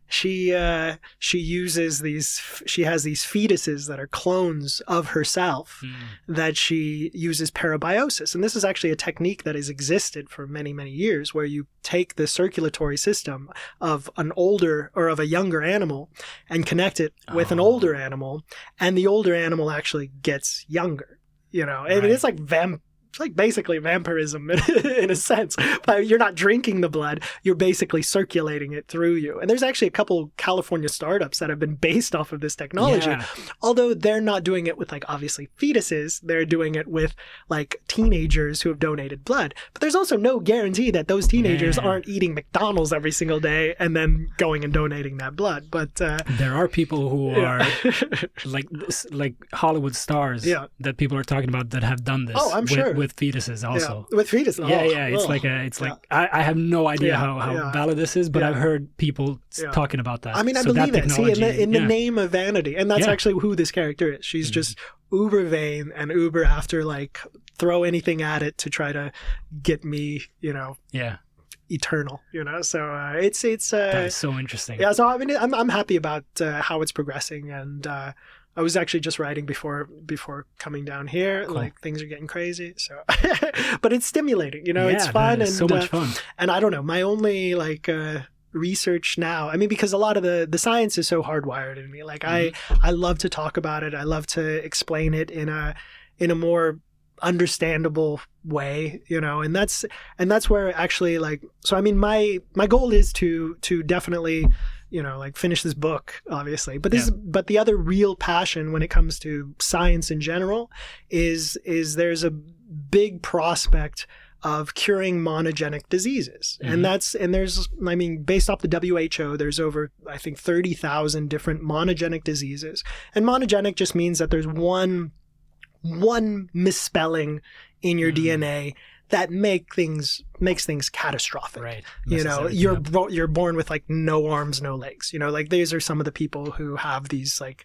she uh, she uses these. She has these fetuses that are clones of herself mm. that she uses parabiosis, and this is actually a technique that has existed for many many years, where you take the circulatory system of an older or of a younger animal and connect it with oh. an older animal, and the older animal actually gets younger. You know, right. I mean, it's like vamp. It's like basically vampirism in a sense. But you're not drinking the blood, you're basically circulating it through you. And there's actually a couple California startups that have been based off of this technology. Yeah. Although they're not doing it with like obviously fetuses, they're doing it with like teenagers who have donated blood. But there's also no guarantee that those teenagers yeah. aren't eating McDonald's every single day and then going and donating that blood. But uh, there are people who are yeah. like like Hollywood stars yeah. that people are talking about that have done this. Oh, I'm with, sure. With fetuses also. Yeah, with fetuses. Yeah, oh, yeah. It's oh, like a. It's yeah. like I, I have no idea yeah, how, how yeah. valid this is, but yeah. I've heard people yeah. talking about that. I mean, I so believe it. See, in the in the yeah. name of vanity, and that's yeah. actually who this character is. She's mm-hmm. just uber vain and uber after like throw anything at it to try to get me, you know. Yeah. Eternal, you know. So uh, it's it's. Uh, that is so interesting. Yeah. So I mean, I'm I'm happy about uh, how it's progressing, and. Uh, I was actually just writing before before coming down here. Cool. Like things are getting crazy, so but it's stimulating, you know. Yeah, it's fun and so much uh, fun. And I don't know, my only like uh, research now. I mean, because a lot of the the science is so hardwired in me. Like mm-hmm. I I love to talk about it. I love to explain it in a in a more understandable way, you know. And that's and that's where actually like. So I mean, my my goal is to to definitely. You know, like finish this book, obviously. But this, yeah. but the other real passion when it comes to science in general is is there's a big prospect of curing monogenic diseases, mm-hmm. and that's and there's I mean, based off the W H O, there's over I think thirty thousand different monogenic diseases, and monogenic just means that there's one one misspelling in your mm-hmm. D N A. That make things makes things catastrophic. Right. You know, you're bo- you're born with like no arms, no legs. You know, like these are some of the people who have these like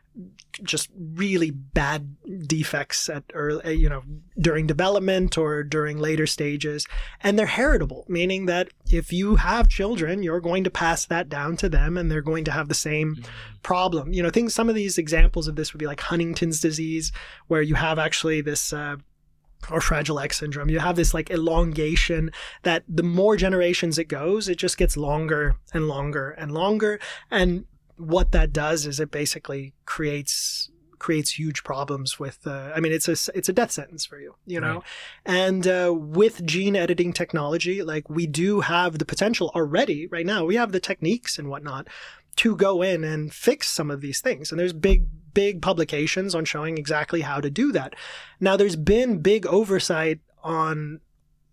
just really bad defects at early, you know, during development or during later stages, and they're heritable, meaning that if you have children, you're going to pass that down to them, and they're going to have the same mm-hmm. problem. You know, things. Some of these examples of this would be like Huntington's disease, where you have actually this. Uh, or Fragile X syndrome. You have this like elongation that the more generations it goes, it just gets longer and longer and longer. And what that does is it basically creates creates huge problems with, uh, I mean, it's a, it's a death sentence for you, you know? Right. And uh, with gene editing technology, like we do have the potential already right now. We have the techniques and whatnot to go in and fix some of these things. And there's big, big publications on showing exactly how to do that. Now, there's been big oversight on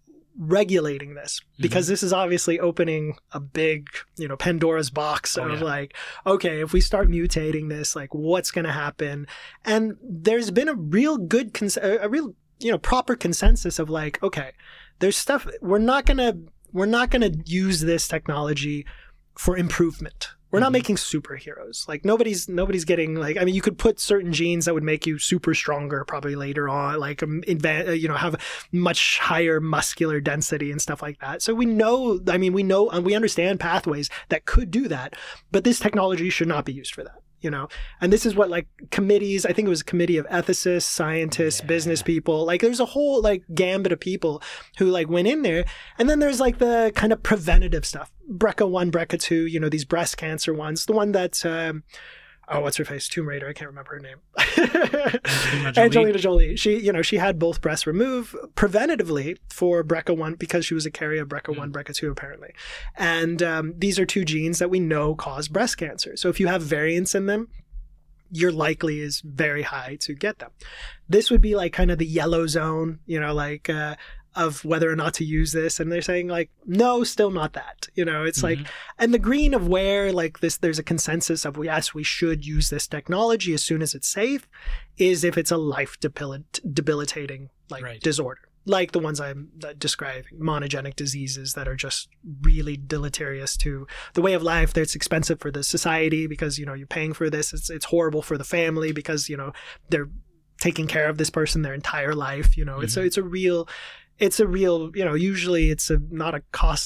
regulating this because mm-hmm. this is obviously opening a big, you know, Pandora's box oh, of yeah. like, okay, if we start mutating this, like what's going to happen? And there's been a real good, cons- a real, you know, proper consensus of like, okay, there's stuff we're not going to, we're not going to use this technology for improvement. We're not mm-hmm. making superheroes. Like nobody's nobody's getting like. I mean, you could put certain genes that would make you super stronger probably later on, like um, inva- you know, have much higher muscular density and stuff like that. So we know. I mean, we know and we understand pathways that could do that, but this technology should not be used for that. You know, and this is what like committees, I think it was a committee of ethicists, scientists, yeah. business people, like there's a whole like gambit of people who like went in there. And then there's like the kind of preventative stuff, B R C A one, B R C A two, you know, these breast cancer ones, the one that, um, oh, what's her face? Tomb Raider. I can't remember her name. Angelina Jolie. Angelina Jolie. She, you know, she had both breasts removed preventatively for B R C A one because she was a carrier of B R C A one, mm. B R C A two apparently. And um, these are two genes that we know cause breast cancer. So if you have variants in them, your likely is very high to get them. This would be like kind of the yellow zone, you know, like uh, of whether or not to use this. And they're saying like, no, still not that, you know, it's mm-hmm. like, and the green of where like this, there's a consensus of, yes, we should use this technology as soon as it's safe is if it's a life debil- debilitating like right. disorder, like the ones I'm describing, monogenic diseases that are just really deleterious to the way of life. That's expensive for the society because, you know, you're paying for this. It's, it's horrible for the family because, you know, they're taking care of this person their entire life. You know, mm-hmm. it's a, it's a real, It's a real, you know, usually it's a not a cost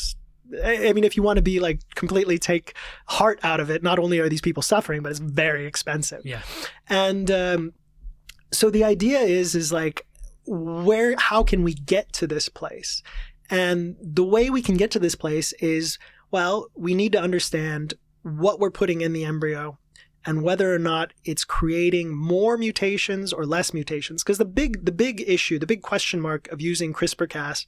I mean, if you want to be like completely take heart out of it, not only are these people suffering, but it's very expensive. Yeah. And um, so the idea is, is like, where, how can we get to this place? And the way we can get to this place is, well, we need to understand what we're putting in the embryo and whether or not it's creating more mutations or less mutations. Because the big, the big issue, the big question mark of using CRISPR-Cas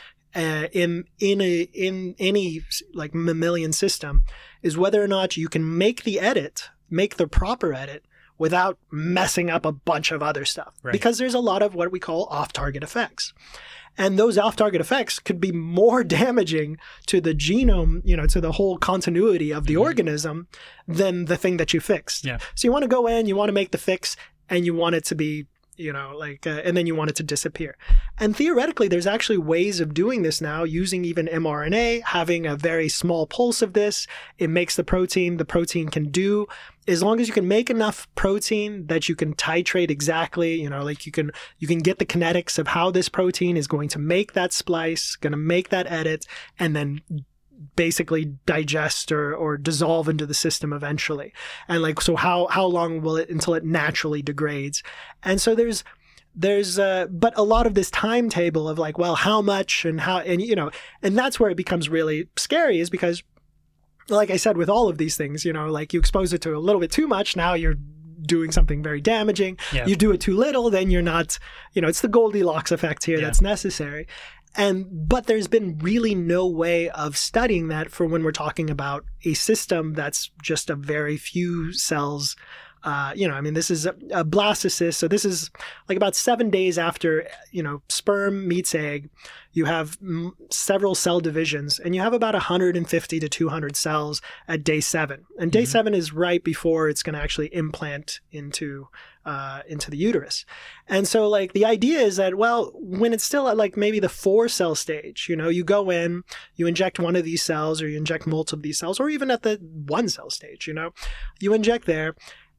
uh, in in a in any like mammalian system is whether or not you can make the edit, make the proper edit, without messing up a bunch of other stuff. Right. Because there's a lot of what we call off-target effects. And those off-target effects could be more damaging to the genome, you know, to the whole continuity of the mm-hmm. organism than the thing that you fixed. Yeah. So you want to go in, you want to make the fix, and you want it to be, you know, like, uh, and then you want it to disappear. And theoretically, there's actually ways of doing this now using even mRNA, having a very small pulse of this. It makes the protein, the protein can do, as long as you can make enough protein that you can titrate exactly, you know, like you can, you can get the kinetics of how this protein is going to make that splice, going to make that edit, and then basically digest or, or dissolve into the system eventually. And like, so how, how long will it until it naturally degrades? And so there's, there's, uh, but a lot of this timetable of like, well, how much and how, and you know, and that's where it becomes really scary, is because, like I said, with all of these things, you know, like you expose it to a little bit too much, now you're doing something very damaging. Yeah. You do it too little, then you're not, you know, it's the Goldilocks effect here yeah. that's necessary. And, but there's been really no way of studying that for when we're talking about a system that's just a very few cells. Uh, you know, I mean, this is a, a blastocyst. So this is like about seven days after, you know, sperm meets egg, you have m- several cell divisions, and you have about one hundred fifty to two hundred cells at day seven. And day mm-hmm. seven is right before it's going to actually implant into uh, into the uterus. And so like the idea is that, well, when it's still at like maybe the four cell stage, you know, you go in, you inject one of these cells, or you inject multiple of these cells, or even at the one cell stage, you know, you inject there.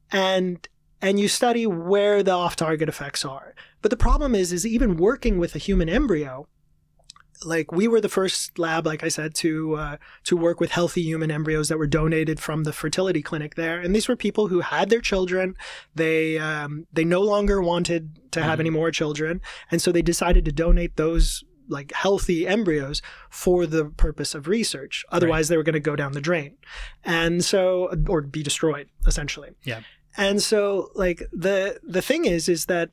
And and you study where the off-target effects are. But the problem is, is even working with a human embryo, like we were the first lab, like I said, to uh, to work with healthy human embryos that were donated from the fertility clinic there. And these were people who had their children. They um, they no longer wanted to have mm-hmm. any more children. And so they decided to donate those like healthy embryos for the purpose of research. Otherwise, right. they were going to go down the drain. And so, or be destroyed, essentially. Yeah. And so like the, the thing is, is that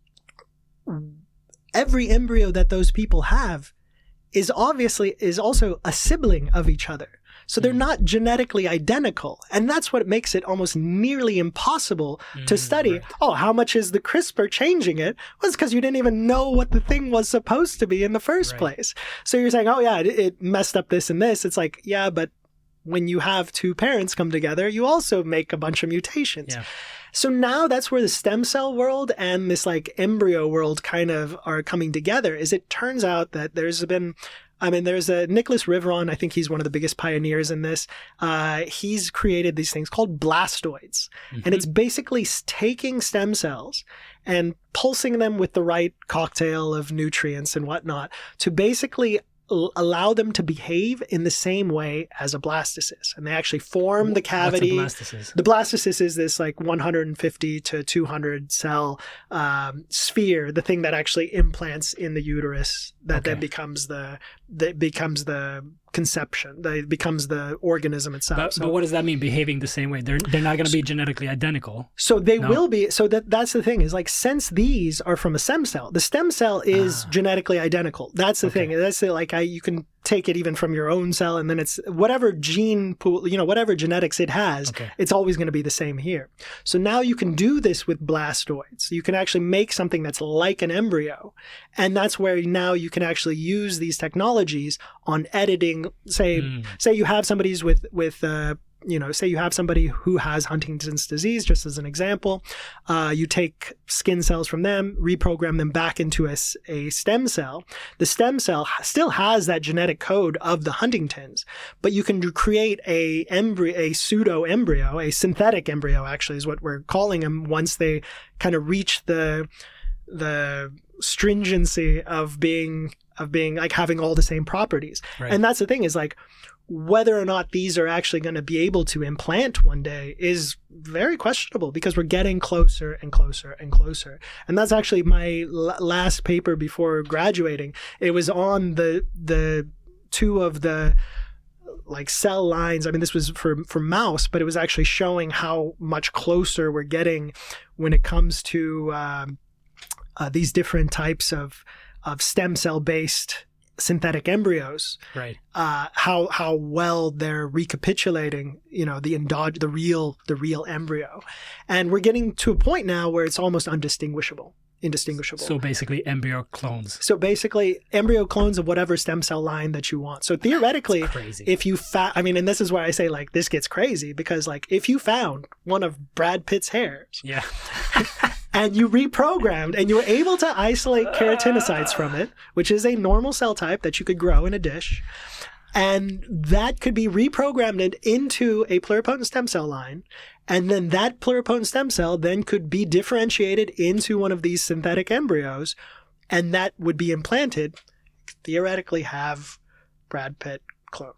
every embryo that those people have is obviously, is also a sibling of each other. So they're mm. not genetically identical. And that's what makes it almost nearly impossible mm, to study. Right. Oh, how much is the CRISPR changing it? Well, it's because you didn't even know what the thing was supposed to be in the first right. place. So you're saying, oh yeah, it, it messed up this and this. It's like, yeah, but when you have two parents come together, you also make a bunch of mutations. Yeah. So now that's where the stem cell world and this like embryo world kind of are coming together, is it turns out that there's been, I mean, there's a Nicholas Riveron, I think he's one of the biggest pioneers in this. Uh, he's created these things called blastoids. Mm-hmm. And it's basically taking stem cells and pulsing them with the right cocktail of nutrients and whatnot to basically allow them to behave in the same way as a blastocyst. And they actually form the cavity. What's a blastocyst? The blastocyst is this like one hundred fifty to two hundred cell um, sphere, the thing that actually implants in the uterus that okay. then becomes the, that becomes the conception, that becomes the organism itself. But, so, but what does that mean, behaving the same way? They're they're not going to be genetically identical. So they no? will be. So that that's the thing, is like, since these are from a stem cell, the stem cell is ah. genetically identical. That's the okay. thing. That's the, like I you can take it even from your own cell, and then it's whatever gene pool, you know, whatever genetics it has, okay. it's always going to be the same here. So now you can do this with blastoids. You can actually make something that's like an embryo. And that's where now you can actually use these technologies on editing. Say, mm. say you have somebody's with, with, uh, you know, say you have somebody who has Huntington's disease, just as an example. Uh, you take skin cells from them, reprogram them back into a, a stem cell. The stem cell still has that genetic code of the Huntington's, but you can create a embryo, a pseudo embryo, a synthetic embryo, actually is what we're calling them, once they kind of reach the the stringency of being of being like having all the same properties. Right. And that's the thing is like whether or not these are actually going to be able to implant one day is very questionable because we're getting closer and closer and closer. And that's actually my l- last paper before graduating. It was on the the two of the like cell lines. I mean, this was for, for mouse, but it was actually showing how much closer we're getting when it comes to um, uh, these different types of, of stem cell based synthetic embryos. Right. Uh, how how well they're recapitulating, you know, the endog- the real the real embryo, and we're getting to a point now where it's almost undistinguishable. Indistinguishable. So basically embryo clones. So basically embryo clones of whatever stem cell line that you want. So theoretically, crazy. if you fa- I mean, and this is why I say like this gets crazy because like if you found one of Brad Pitt's hairs, yeah, and you reprogrammed and you were able to isolate keratinocytes from it, which is a normal cell type that you could grow in a dish, and that could be reprogrammed into a pluripotent stem cell line. And then that pluripotent stem cell then could be differentiated into one of these synthetic embryos, and that would be implanted, theoretically have Brad Pitt clone.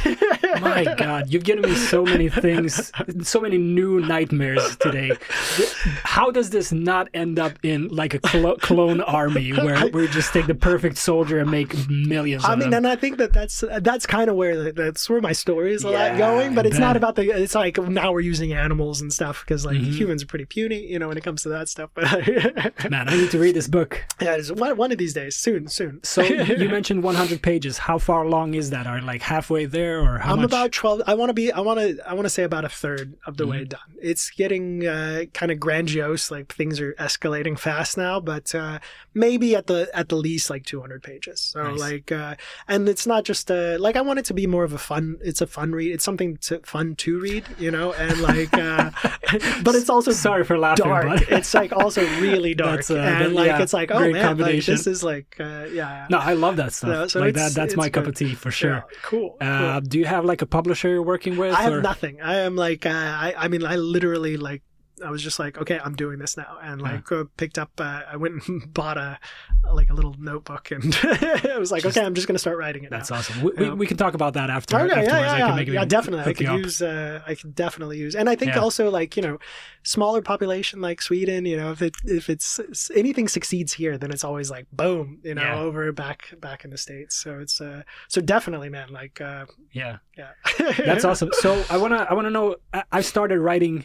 My God, you've given me so many things, so many new nightmares today. How does this not end up in like a clo- clone army where we just take the perfect soldier and make millions I of mean, them? and I think that that's that's kind of where that's where my story is a Yeah, lot going. But I it's bet. not about the. It's like now we're using animals and stuff because like Mhm. humans are pretty puny, you know, when it comes to that stuff. But Man, I need to read this book. yeah, it's one one of these days, soon, soon. So you mentioned one hundred pages. How far long is that? Are like halfway there, or how I'm much? about twelve. I want to be. I want to. I want to say about a third of the Mm-hmm. way done. It's getting uh, kind of grandiose. Like things are escalating fast now, but uh, maybe at the at the least like two hundred pages. So Nice. like, uh, and it's not just uh, like I want it to be more of a fun. It's a fun read. It's something to, fun to read, you know, and like, uh, but it's also Sorry for laughing, dark. but It's like also really dark, That's, uh, and that- like yeah, it's like oh great man, like, combination. this is like uh, yeah. no, I love that stuff. No, so like it's- that. That's it's my cup good. of tea for sure. Yeah, cool. Uh, cool. do you have like a publisher you're working with? I have or? nothing. I am like, uh, I, I mean, I literally like, I was just like, okay, I'm doing this now, and like uh, picked up. Uh, I went and bought a like a little notebook, and I was like, Just- okay, I'm just gonna start writing it. That's now. awesome. We, we, Yeah. we can talk about that after. Okay, afterwards. yeah, yeah, I yeah, can make it yeah, definitely. I hook could you up. use, uh, I could definitely use, and I think Yeah. also like you know, smaller population like Sweden. You know, if it if it's anything succeeds here, then it's always like boom, you know, Yeah. over back back in the States. So it's uh, so definitely, man, like uh, Yeah, yeah, that's awesome. So I wanna I wanna know. I, I've started writing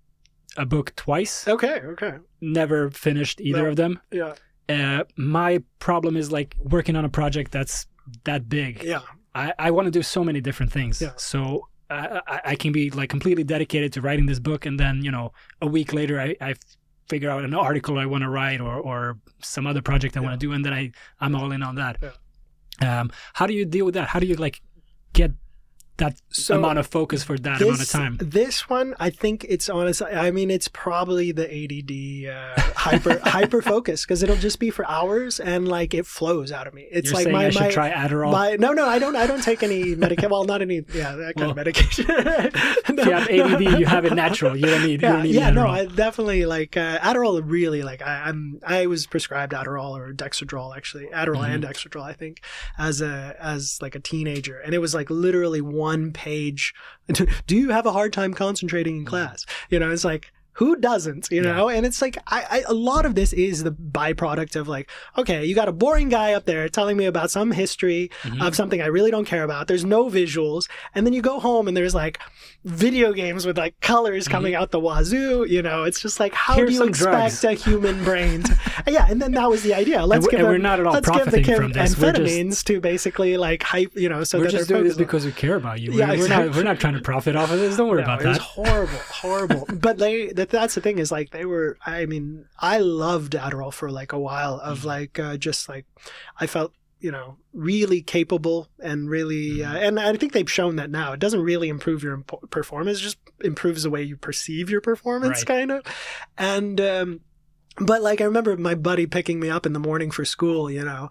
a book twice. Okay, okay, Never finished either No. of them. yeah, Uh, my problem is like working on a project that's that big. yeah. I, I want to do so many different things. Yeah. So I, I, I can be like completely dedicated to writing this book, and then you know a week later I, I figure out an article I want to write or or some other project I Yeah. want to do, and then I I'm all in on that. Yeah. Um, how do you deal with that? How do you like get that So amount of focus for that amount of time? This one, I think it's honest. I mean, it's probably the A D D uh, hyper hyper focus because it'll just be for hours and like it flows out of me. It's You're like saying my I should my, try Adderall. my no no I don't I don't take any medication. Well, not any yeah that kind Well, of medication. If you have A D D, you have it natural. You don't need. you Yeah, don't need yeah, no, Adderall. I definitely like uh, Adderall. Really, like I, I'm, I was prescribed Adderall or Dexedrol, actually, Adderall Mhm. and Dexedrol, I think, as a as like a teenager, and it was like literally one page. Do you have a hard time concentrating in class? You know, it's like. Who doesn't, you know? And it's like, I, I, a lot of this is the byproduct of like, okay, you got a boring guy up there telling me about some history Mhm. of something I really don't care about. There's no visuals. And then you go home and there's like video games with like colors coming out the wazoo. You know, it's just like, how Here's do you some expect drugs. a human brain to, yeah. And then that was the idea. Let's we- give and them, we're not at all let's give the profiting kid from this. We're just- amphetamines to basically like hype, you know, so We're that just they're doing this focused on- because we care about you. Yeah, we're, we're exactly. not. We're not trying to profit off of this. Don't worry No, about it was that. horrible, horrible. But they, that, that's the thing is like they were. I mean, I loved Adderall for like a while. Of Mm-hmm. like uh, just like I felt, you know, really capable and really, uh, Mm-hmm. and I think they've shown that now. It doesn't really improve your imp- performance; it just improves the way you perceive your performance, Right. kind of. And um, but like I remember my buddy picking me up in the morning for school, you know.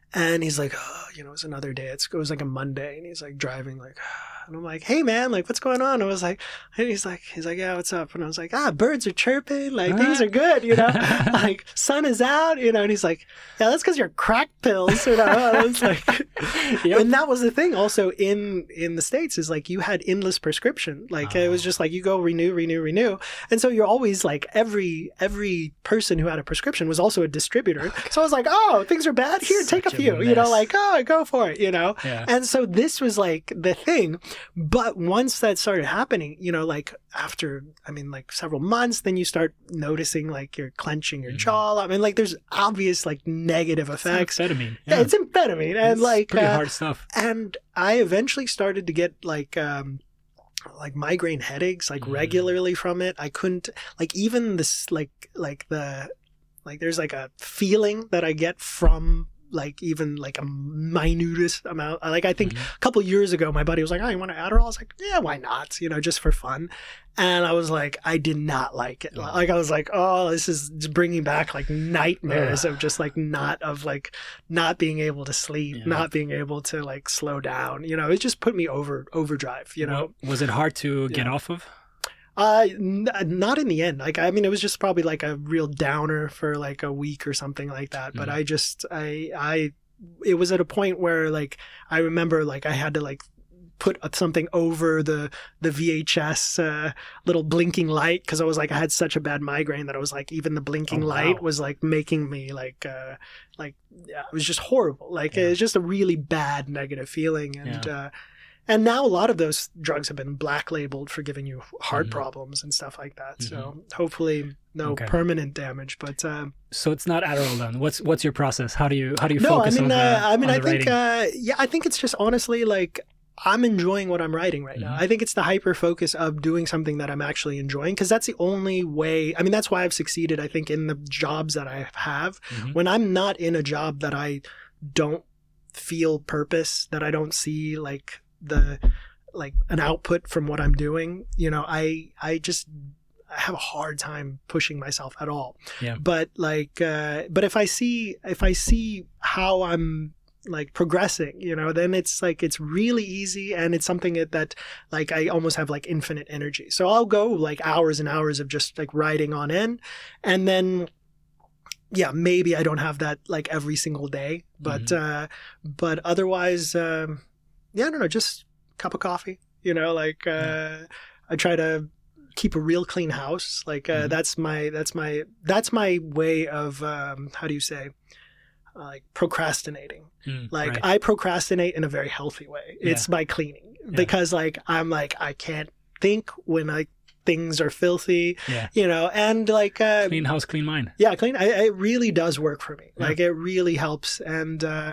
And he's like, oh, you know, it's another day. It's, it was like a Monday, and he's like driving, like, and I'm like, hey man, like, what's going on? I was like, and he's like, he's like, yeah, what's up? And I was like, ah, birds are chirping, like things are good, you know, like sun is out, you know. And he's like, yeah, that's because you're crack pills, you know. I was like, yep. And that was the thing. Also in in the States is like you had endless prescription, like oh. It was just like you go renew, renew, renew, and so you're always like every every person who had a prescription was also a distributor. So I was like, oh, things are bad here, take a few, a you know, like oh, go for it, you know. Yeah. And so this was like the thing. But once that started happening, you know, like after, I mean, like several months, then you start noticing like you're clenching your mm-hmm. jaw. I mean, like there's obvious like negative effects. It's amphetamine. Yeah. yeah, it's amphetamine. And it's like pretty uh, hard stuff. And I eventually started to get like, um, like migraine headaches, like mm. regularly from it. I couldn't, like even this, like, like the, like there's like a feeling that I get from like even like a minutest amount. Like I think mm-hmm. a couple of years ago, my buddy was like, oh, you want an Adderall? I was like, yeah, why not? You know, just for fun. And I was like, I did not like it. Yeah. Like I was like, oh, this is just bringing back like nightmares yeah. of just like not of like not being able to sleep, yeah. not being able to like slow down. You know, it just put me over overdrive, you know. Well, was it hard to get yeah. off of? Uh, n- not in the end. Like, I mean, it was just probably like a real downer for like a week or something like that. But mm. I just, I, I, it was at a point where like, I remember like I had to like put something over the, the V H S, uh, little blinking light. Cause I was like, I had such a bad migraine that I was like, even the blinking oh, light wow. was like making me like, uh, like, yeah, it was just horrible. Like, yeah. It was just a really bad negative feeling. And, yeah. uh, And now a lot of those drugs have been black labeled for giving you heart mm-hmm. problems and stuff like that. Mm-hmm. So hopefully no okay. permanent damage. But um, so it's not Adderall then. What's what's your process? How do you how do you no, focus I mean, on uh, the, I mean, on I the think uh, yeah, I think it's just honestly like I'm enjoying what I'm writing right mm-hmm. now. I think it's the hyper focus of doing something that I'm actually enjoying, because that's the only way. I mean, that's why I've succeeded. I think in the jobs that I have, mm-hmm. when I'm not in a job that I don't feel purpose, that I don't see like the like an output from what I'm doing, you know, I, I just I have a hard time pushing myself at all. Yeah. But like, uh, but if I see, if I see how I'm like progressing, you know, then it's like, it's really easy. And it's something that, that like, I almost have like infinite energy. So I'll go like hours and hours of just like writing on end. And then, yeah, maybe I don't have that like every single day, but, mm-hmm. uh, but otherwise, um, yeah, I don't know, just cup of coffee, you know, like, uh, yeah. I try to keep a real clean house. Like, uh, mm-hmm. that's my, that's my, that's my way of, um, how do you say, uh, like procrastinating. Mm, like right. I procrastinate in a very healthy way. Yeah. It's by cleaning yeah. because like, I'm like, I can't think when I, things are filthy, yeah. you know, and like, uh, clean house, clean mind. Yeah. Clean. I, it really does work for me. Yeah. Like it really helps. And, uh,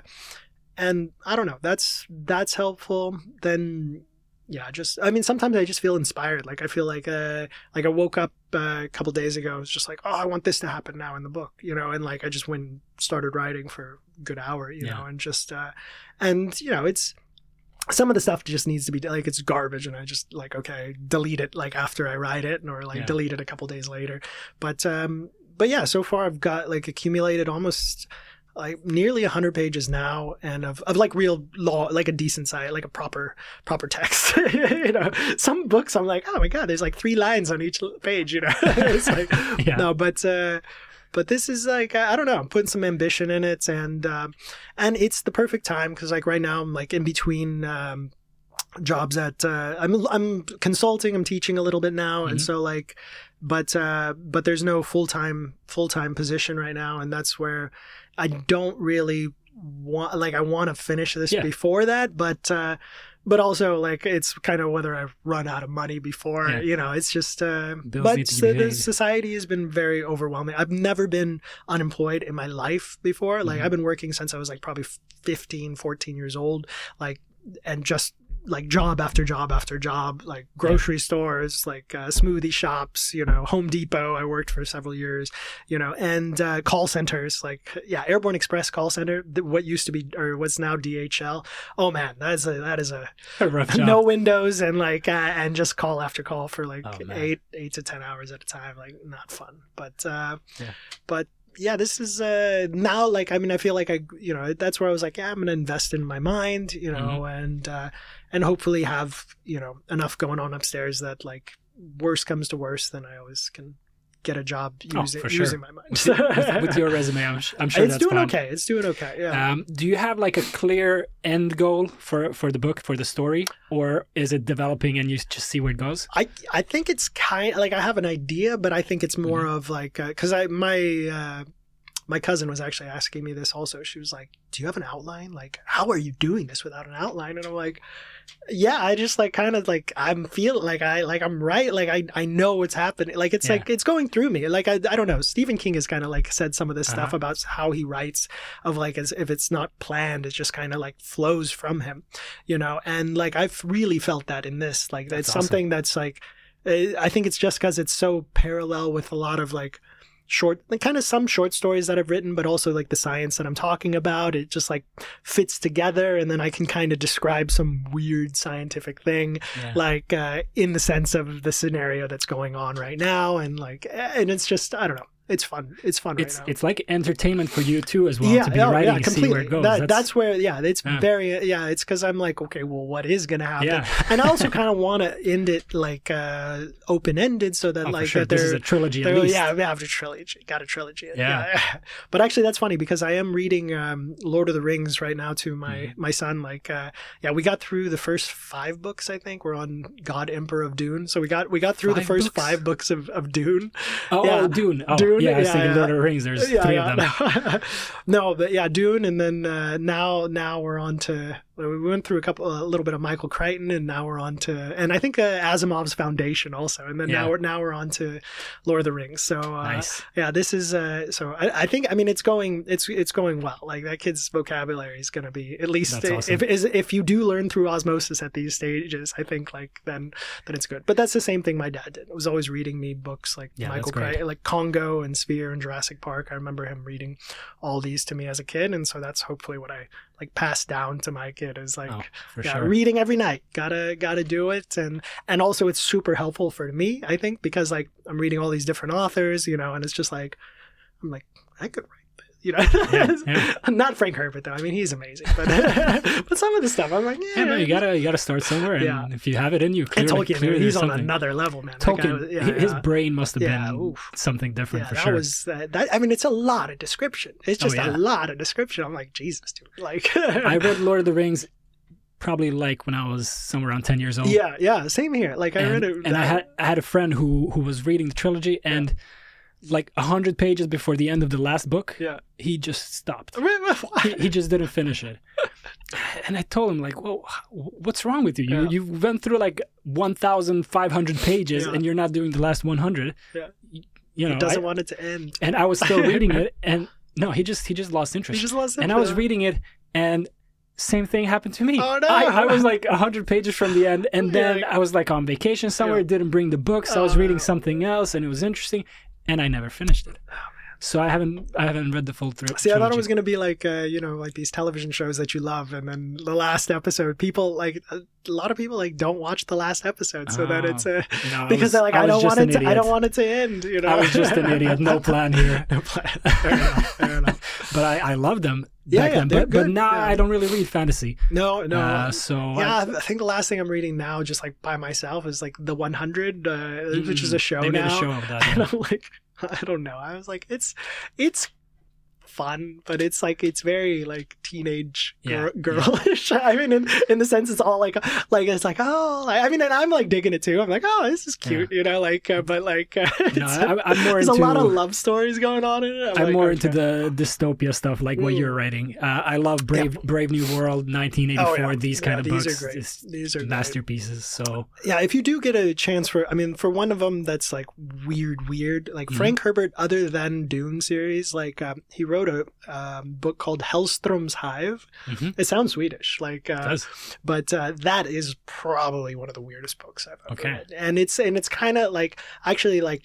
And I don't know, that's, that's helpful. Then, yeah, just, I mean, sometimes I just feel inspired. Like I feel like, uh, like I woke up uh, a couple days ago. I was just like, oh, I want this to happen now in the book, you know? And like, I just went and started writing for a good hour, you yeah. know, and just, uh, and you know, it's, some of the stuff just needs to be like, it's garbage. And I just like, okay, delete it like after I write it, or like yeah. delete it a couple days later. But, um, but yeah, so far I've got like accumulated almost like nearly a hundred pages now, and of, of like real law, like a decent site, like a proper, proper text. You know, some books I'm like, oh my God, there's like three lines on each page, you know, it's like, yeah. no, but, uh, but this is like, I don't know, I'm putting some ambition in it, and, um, and it's the perfect time. Cause like right now I'm like in between, um, jobs at, uh, I'm, I'm consulting, I'm teaching a little bit now. Mm-hmm. And so like, but, uh, but there's no full-time, full-time position right now. And that's where I don't really want, like, I want to finish this yeah. before that, but, uh, but also like, it's kind of whether I run out of money before, yeah. you know, it's just, uh, Bills but so the society has been very overwhelming. I've never been unemployed in my life before. Like mm-hmm. I've been working since I was like probably fifteen, fourteen years old, like, and just like job after job after job, like grocery yeah. stores, like uh, smoothie shops, you know, Home Depot. I worked for several years, you know, and uh, call centers, like, yeah, Airborne Express call center, what used to be, or what's now D H L. Oh man, that is a, that is a, a rough job. No windows, and like, uh, and just call after call for like oh, eight, eight to ten hours at a time. Like not fun, but, uh, yeah. but yeah, this is uh, now like, I mean, I feel like I, you know, that's where I was like, yeah, I'm going to invest in my mind, you know, mm-hmm. and, uh, and hopefully have, you know, enough going on upstairs that like worst comes to worst, then I always can get a job using, oh, sure. using my mind. with, with, with your resume, I'm, I'm sure it's that's doing fine. okay. It's doing okay. Yeah. Um, do you have like a clear end goal for, for the book, for the story, or is it developing and you just see where it goes? I I think it's kind like I have an idea, but I think it's more mm-hmm. of like because uh, I my uh, my cousin was actually asking me this also. She was like, "Do you have an outline? Like, how are you doing this without an outline?" And I'm like, yeah, I just like kind of like I'm feeling like I like I'm right, like I I know what's happening, like it's yeah. like it's going through me, like I I don't know. Stephen King has kind of like said some of this uh-huh. stuff about how he writes, of like as if it's not planned, it just kind of like flows from him, you know. And like I've really felt that in this, like that's it's awesome. Something that's like I think it's just because it's so parallel with a lot of like short, like kind of some short stories that I've written, but also like the science that I'm talking about. It just like fits together, and then I can kind of describe some weird scientific thing, yeah. like uh, in the sense of the scenario that's going on right now, and like, and it's just I don't know. It's fun. It's fun it's, right now. It's like entertainment for you too as well, yeah, to be oh, writing yeah, and completely. see where it goes. That, that's, that's where, yeah, it's yeah. very, yeah, it's because I'm like, okay, well, what is going to happen? Yeah. And I also kind of want to end it like uh, open-ended so that oh, like, for sure. that This is a trilogy at least. Yeah, we have a trilogy. Got a trilogy. Yeah. yeah. But actually, that's funny because I am reading um, Lord of the Rings right now to my, mm. my son. Like, uh, yeah, we got through the first five books, I think. We're on God Emperor of Dune. So we got we got through five the first books? five books of, of Dune. Oh, yeah. oh Dune. Oh, Dune. Yeah, I was yeah, thinking yeah. Lord of the Rings. There's yeah, three yeah. of them. No, but yeah, Dune, and then uh, now now we're on to we went through a couple a little bit of Michael Crichton, and now we're on to and I think uh, Asimov's Foundation also, and then yeah. now we're now we're on to Lord of the Rings. So uh, nice. Yeah, this is uh, so I, I think I mean it's going it's it's going well. Like that kid's vocabulary is going to be at least That's awesome. if is if you do learn through osmosis at these stages, I think like then then it's good. But that's the same thing my dad did. He was always reading me books like yeah, Michael Crichton, like Congo and Sphere and Jurassic Park. I remember him reading all these to me as a kid, and so that's hopefully what I like pass down to my kid is like oh, for yeah, sure. reading every night. Gotta gotta do it, and and also it's super helpful for me, I think, because like I'm reading all these different authors, you know, and it's just like I'm like I could write. You know, yeah, yeah. Not Frank Herbert though. I mean, he's amazing, but but some of the stuff I'm like, yeah, yeah no, you gotta you gotta start somewhere, and yeah. if you have it in you, clearly, and Tolkien, clearly he's on something. another level, man. Tolkien, was, yeah, his yeah. brain must have yeah, been oof. something different yeah, for that sure. Was, uh, that, I mean, it's a lot of description. It's just oh, yeah. a lot of description. I'm like, Jesus, dude. Like, I read Lord of the Rings probably like when I was somewhere around ten years old. Yeah, yeah, same here. Like I and, read it, and I had I had a friend who who was reading the trilogy, and yeah. like a hundred pages before the end of the last book, yeah. he just stopped. Why? he, he just didn't finish it. And I told him like, "Well, what's wrong with you? You yeah. you went through like one thousand five hundred pages, yeah. and you're not doing the last one hundred." Yeah, you know, he doesn't I, want it to end. And I was still reading it, and no, he just he just lost interest. He just lost interest. And I was reading it, and same thing happened to me. Oh no! I, I was like a hundred pages from the end, and then yeah. I was like on vacation somewhere. Yeah. Didn't bring the books. So oh, I was reading no. something else, and it was interesting, and I never finished it. Oh, man. So I haven't I haven't read the full through. See, I thought it was going to be like uh, you know, like these television shows that you love, and then the last episode, people like a lot of people like don't watch the last episode, so oh, that it's uh, no, because was, they're like, I, I don't want it. To, idiot. I don't want it to end. You know, I was just an idiot. No plan here. no plan. Fair enough. Fair enough. But I, I loved them Yeah, back yeah, then. they're But, but good. now Yeah. I don't really read fantasy. No, no. Uh, so yeah, I, I think the last thing I'm reading now, just like by myself, is like The one hundred, uh, mm, which is a show they made now. a show of that. And Yeah. I'm like, I don't know. I was like, it's, it's fun, but it's like it's very like teenage Yeah, gir- girlish. Yeah. I mean, in, in the sense, it's all like, like it's like, oh, like, I mean, and I'm like digging it too. I'm like, oh, this is cute, yeah. you know, like, uh, but like, uh, No, I, I'm more there's into, a lot of love stories going on in it. I'm, I'm like, more okay. into the dystopia stuff, like what Mm. you're writing. Uh, I love Brave Yeah. Brave New World, nineteen eighty-four. Oh, yeah. These Yeah, kind of these books, are great. Just These are great. masterpieces. So Yeah, if you do get a chance for, I mean, for one of them that's like weird, weird, like Mhm. Frank Herbert, other than Dune series, like um, he wrote a um, book called Hellstrom's Hive. mhm, It sounds Swedish, like, it uh, does. but uh, that is probably one of the weirdest books I've ever Okay. read. And it's and it's kind of like actually like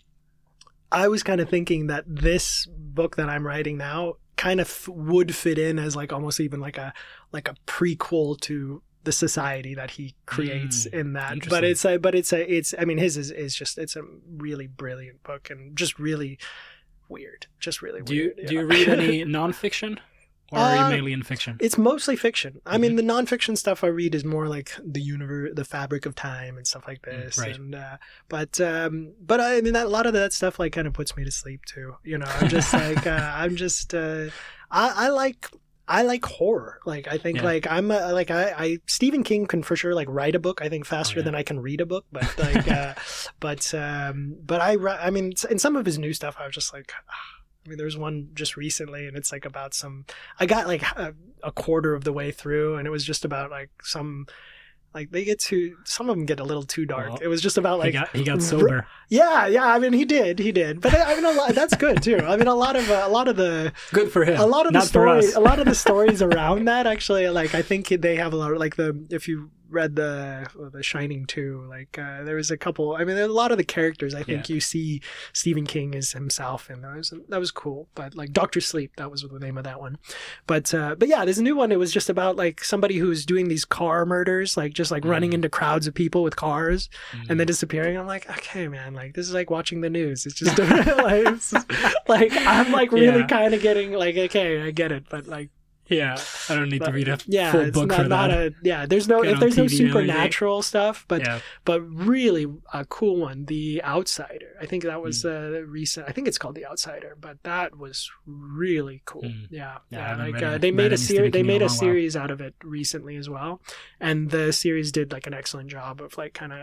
I was kind of thinking that this book that I'm writing now kind of f- would fit in as like almost even like a like a prequel to the society that he creates Mm, in that. But interesting. it's a but it's a it's I mean his is, is just it's a really brilliant book and just really weird, just really Do you weird. do yeah. you read any nonfiction, or are Uh, you mainly in fiction? It's mostly fiction. I mean, the nonfiction stuff I read is more like the universe, the fabric of time, and stuff like this. right. And uh, but um, but I mean, that, a lot of that stuff like kind of puts me to sleep too. You know, I'm just like uh, I'm just uh, I, I like. I like horror. Like I think Yeah. like I'm a, like I, I Stephen King can for sure like write a book. I think faster Oh, yeah. than I can read a book. But like uh, but um, but I re- I mean in some of his new stuff I was just like. I mean, there's one just recently, and it's like about some. I got like a, a quarter of the way through, and it was just about like some, like they get too. Some of them get a little too dark. Well, it was just about like. he got he got sober. Yeah, yeah. I mean, he did, he did. But I mean, a lot, that's good too. I mean, a lot of uh, a lot of the Good for him. a lot of the Not for stories, us. a lot of the stories around that actually, like I think they have a lot of like the if you read the the Shining two, like uh, there was a couple. I mean, there, a lot of the characters I think Yeah. you see Stephen King as himself, and that was that was cool. But like Doctor Sleep, that was the name of that one. But uh, but yeah, there's a new one. It was just about like somebody who's doing these car murders, like just like running Mm. into crowds of people with cars Mm. and then disappearing. I'm like, okay, man, like this is like watching the news. It's just like, it's just- like I'm like really Yeah. kind of getting like, okay, I get it, but like. Yeah, I don't need But, to read a yeah, full it's book not, for not that. a yeah. There's no Get if on there's no T V every day. supernatural stuff, but yeah. but really a cool one, The Outsider. I think that was uh, recent. I think it's called The Outsider, but that was really cool. Mm. Yeah, Yeah, I yeah. haven't Like read uh, any- they read made any a Stephen series. They King in a made a long while. series out of it recently as well, and the series did like an excellent job of like kind of